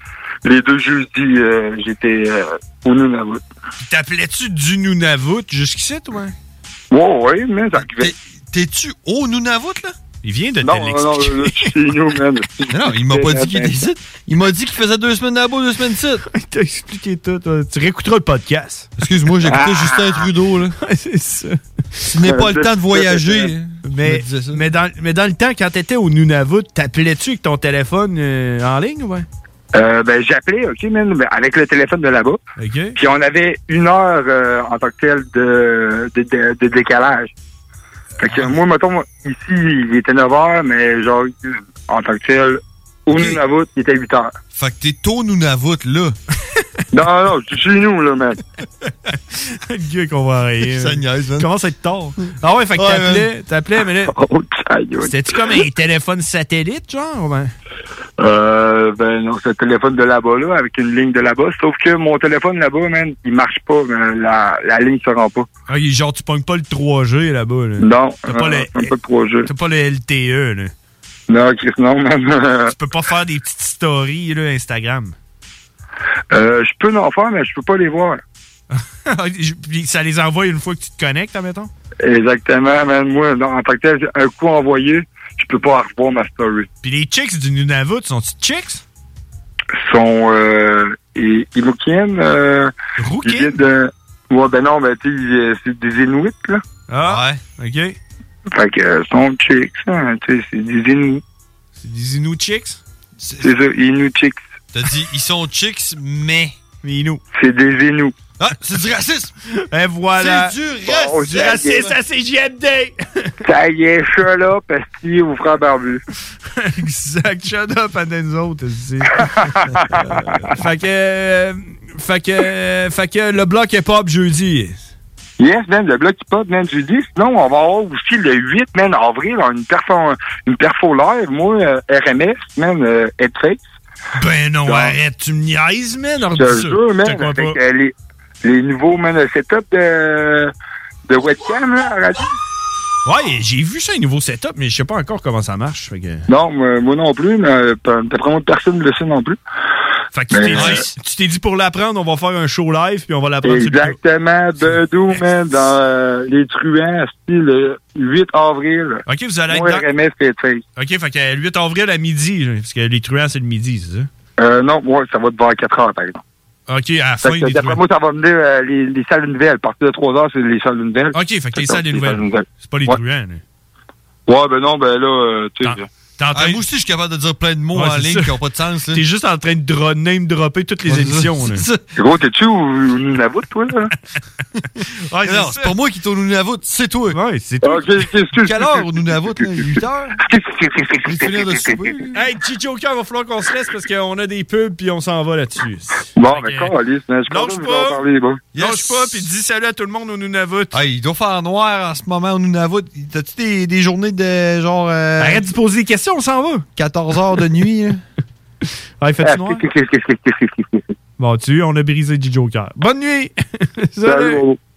les deux jeudis, euh, j'étais euh, au Nunavut. T'appelais-tu du Nunavut jusqu'ici, toi? Ouais, ouais, mais ça arrivait. T'es-tu au Nunavut, là? Il vient de te Non, non, l'expliquer. là, je suis chez nous, man. Non, non, il m'a pas dit qu'il était ici. Il m'a dit qu'il faisait deux semaines là-bas, deux semaines ici. Il t'a expliqué tout. toi. Tu réécouteras le podcast. Excuse-moi, j'écoutais Ah. Justin Trudeau, là. C'est ça. Ce n'est pas le temps de voyager. Mais, Je me disais ça. mais, dans, mais dans le temps, quand t'étais au Nunavut, t'appelais-tu avec ton téléphone euh, en ligne, ouais? Euh, ben, j'appelais, OK, man, ben, avec le téléphone de là-bas. OK. Puis on avait une heure euh, en tant que tel de, de, de, de décalage. Fait que moi, mettons, moi, ici, il était neuf heures, mais genre, en tant que tel, au Nunavut, il était huit heures. Fait que t'es au Nunavut, là. Non, non, je suis chez nous, là, man. Le gars qu'on va arrêter. Ça niaise, man. Commence à être tard. Ah ouais, fait que Ouais, t'appelais, man. t'appelais, mais là. Oh, aïe, aïe. C'était-tu comme un téléphone satellite, genre? ou Ben? Euh, ben non, c'est le téléphone de là-bas, là, avec une ligne de là-bas. Sauf que mon téléphone là-bas, man, il marche pas. Ben, la, la ligne se rend pas. Ah, il- genre, tu pognes pas le trois G là-bas, là. Non, T'as pas, euh, le, même pas de trois G. t'as pas le L T E, là. Non, Chris, non, man. Tu peux pas faire des petites stories, là, Instagram. euh, je peux en faire, mais je peux pas les voir. Puis ça les envoie une fois que tu te connectes, admettons? Exactement, man. Moi, non, en tant que tel, un coup envoyé, je peux pas revoir ma story. Puis les chicks du Nunavut, sont-tu chicks? Sont, euh, et- Inukiennes, euh, ils viennent de, ouais, ben non, ben, tu sais, euh, c'est des Inuits, là. Ah, ouais. OK. Fait que, euh, sont chicks, hein, tu sais, c'est des Inuits. C'est des Inuit chicks? C'est ça, Inuit chicks. T'as dit, ils sont chicks, mais. Mais Inuits. C'est des Inuits. Ah, c'est du racisme! Et voilà. C'est du Bon, racisme! Du racisme à C J M D! Ça y est, je suis là, parce qu'il vous fera barbu. Exact. Shut up à nous autres. c'est- fait que... euh, fait que... euh, fait que le bloc est pop jeudi. Yes, man, le bloc hip-hop, man, jeudi. Sinon, on va avoir aussi le huit, man, avril, une perfo, une perfo live, moi, euh, R M S, man, euh, Headface. Ben non, Donc, arrête, tu me niaises, man. Je te jure, man, avec euh, les, les nouveaux, man, setup de, de webcam, là, à la radio. Ouais, j'ai vu ça, un nouveau setup, mais je sais pas encore comment ça marche. Fait que, Non, moi, moi non plus, mais euh, d'après moi, personne ne le sait non plus. fait que tu t'es Ben, dit, tu t'es dit pour l'apprendre, on va faire un show live, puis on va l'apprendre sur le Exactement, Bedou, man, dans euh, les truands, style le huit avril. OK, vous allez être Moi, dans... R M S Headface. OK, fait que le huit avril à midi, là, parce que les truands, c'est le midi, c'est ça? Euh, non, ouais, ça va te voir à quatre heures, par exemple. OK, à la Fait fin que, des d'après truands. moi, ça va venir euh, les, les salles nouvelles. À partir de trois heures, c'est les salles nouvelles. OK, fait que les ça, salles des les nouvelles. C'est pas les Ouais. truands, là. Ouais, ben non, ben là, euh, tu sais. T'es en train Ah, de- moi aussi, je suis capable de dire plein de mots Ouais, en c'est ligne ça. qui n'ont pas de sens. là. T'es juste en train de dro- name dropper toutes les Ouais, c'est émissions, ça, là. c'est ça. Gros, t'es-tu au au Nunavut, toi, là? Ouais, non, c'est pas moi qui tourne au Nunavut, c'est toi. Ouais, c'est toi. Ok, excuse. Quelle heure au Nunavut, là? huit heures? Je vais finir de souper. là. Hey, Chichoka, va falloir qu'on se laisse parce qu'on a des pubs puis on s'en va là-dessus. Bon, ben, quand, Alice, je suis content Lâche de vous en pas. parler, bon. Lâche pas, puis dis salut à tout le monde au Nunavut. Ah, il doit faire noir en ce moment au Nunavut. T'as-tu des, des journées de genre. euh, Arrête de poser des questions, on s'en va. quatorze heures de nuit, là? Ah, il fait-tu noir? Bon, tu on a brisé J-Joker. Bonne nuit! Salut!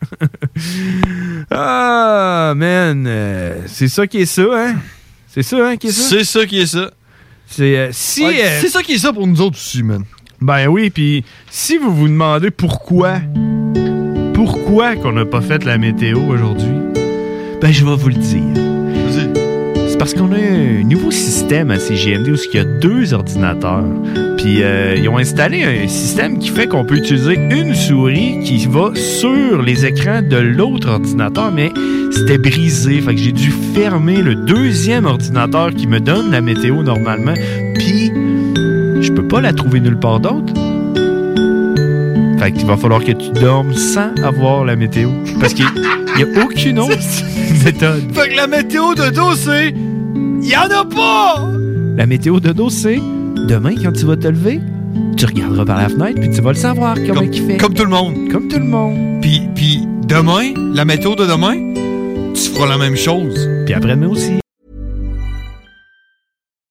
Ah, man, euh, c'est ça qui est ça, hein? C'est ça, hein, qui est ça? C'est ça qui est ça. C'est euh, si... Ouais, euh, c'est ça qui est ça pour nous autres aussi, man. Ben oui, puis si vous vous demandez pourquoi, pourquoi qu'on n'a pas fait la météo aujourd'hui, ben je vais vous le dire. C'est parce qu'on a un nouveau système à C G M D où il y a deux ordinateurs. Puis euh, ils ont installé un système qui fait qu'on peut utiliser une souris qui va sur les écrans de l'autre ordinateur, mais c'était brisé. Fait que j'ai dû fermer le deuxième ordinateur qui me donne la météo normalement. Puis je peux pas la trouver nulle part d'autre. Fait qu'il va falloir que tu dormes sans avoir la météo. Parce qu'il n'y a aucune autre méthode. Fait que la météo de dos, c'est. Y'en a pas! La météo de dos, c'est demain, quand tu vas te lever, tu regarderas par la fenêtre puis tu vas le savoir comment Comme, il fait. comme tout le monde. Comme tout le monde. Puis, puis demain, la météo de demain, tu feras la même chose. Puis après-demain aussi. Mom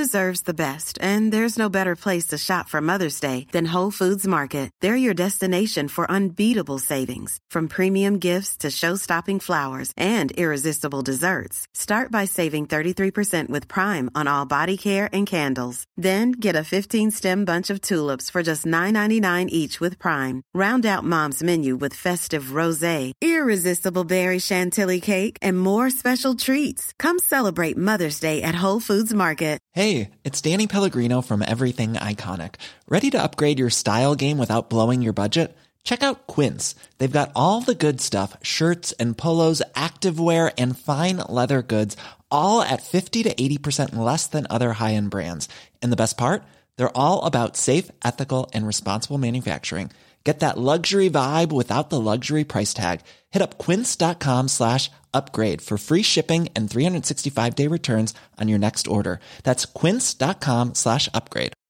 deserves the best, and there's no better place to shop for Mother's Day than Whole Foods Market. They're your destination for unbeatable savings, from premium gifts to show-stopping flowers and irresistible desserts. Start by saving thirty-three percent with Prime on all body care and candles. Then get a fifteen-stem bunch of tulips for just nine ninety-nine each with Prime. Round out Mom's menu with festive rosé, irresistible berry chantilly cake, and more special treats. Come celebrate Mother's Day at Whole Foods Market. Hey, it's Danny Pellegrino from Everything Iconic. Ready to upgrade your style game without blowing your budget? Check out Quince. They've got all the good stuff, shirts and polos, activewear, and fine leather goods, all at fifty to eighty percent less than other high-end brands. And the best part? They're all about safe, ethical, and responsible manufacturing. Get that luxury vibe without the luxury price tag. Hit up quince.com slash upgrade for free shipping and three sixty-five day returns on your next order. That's quince.com slash upgrade.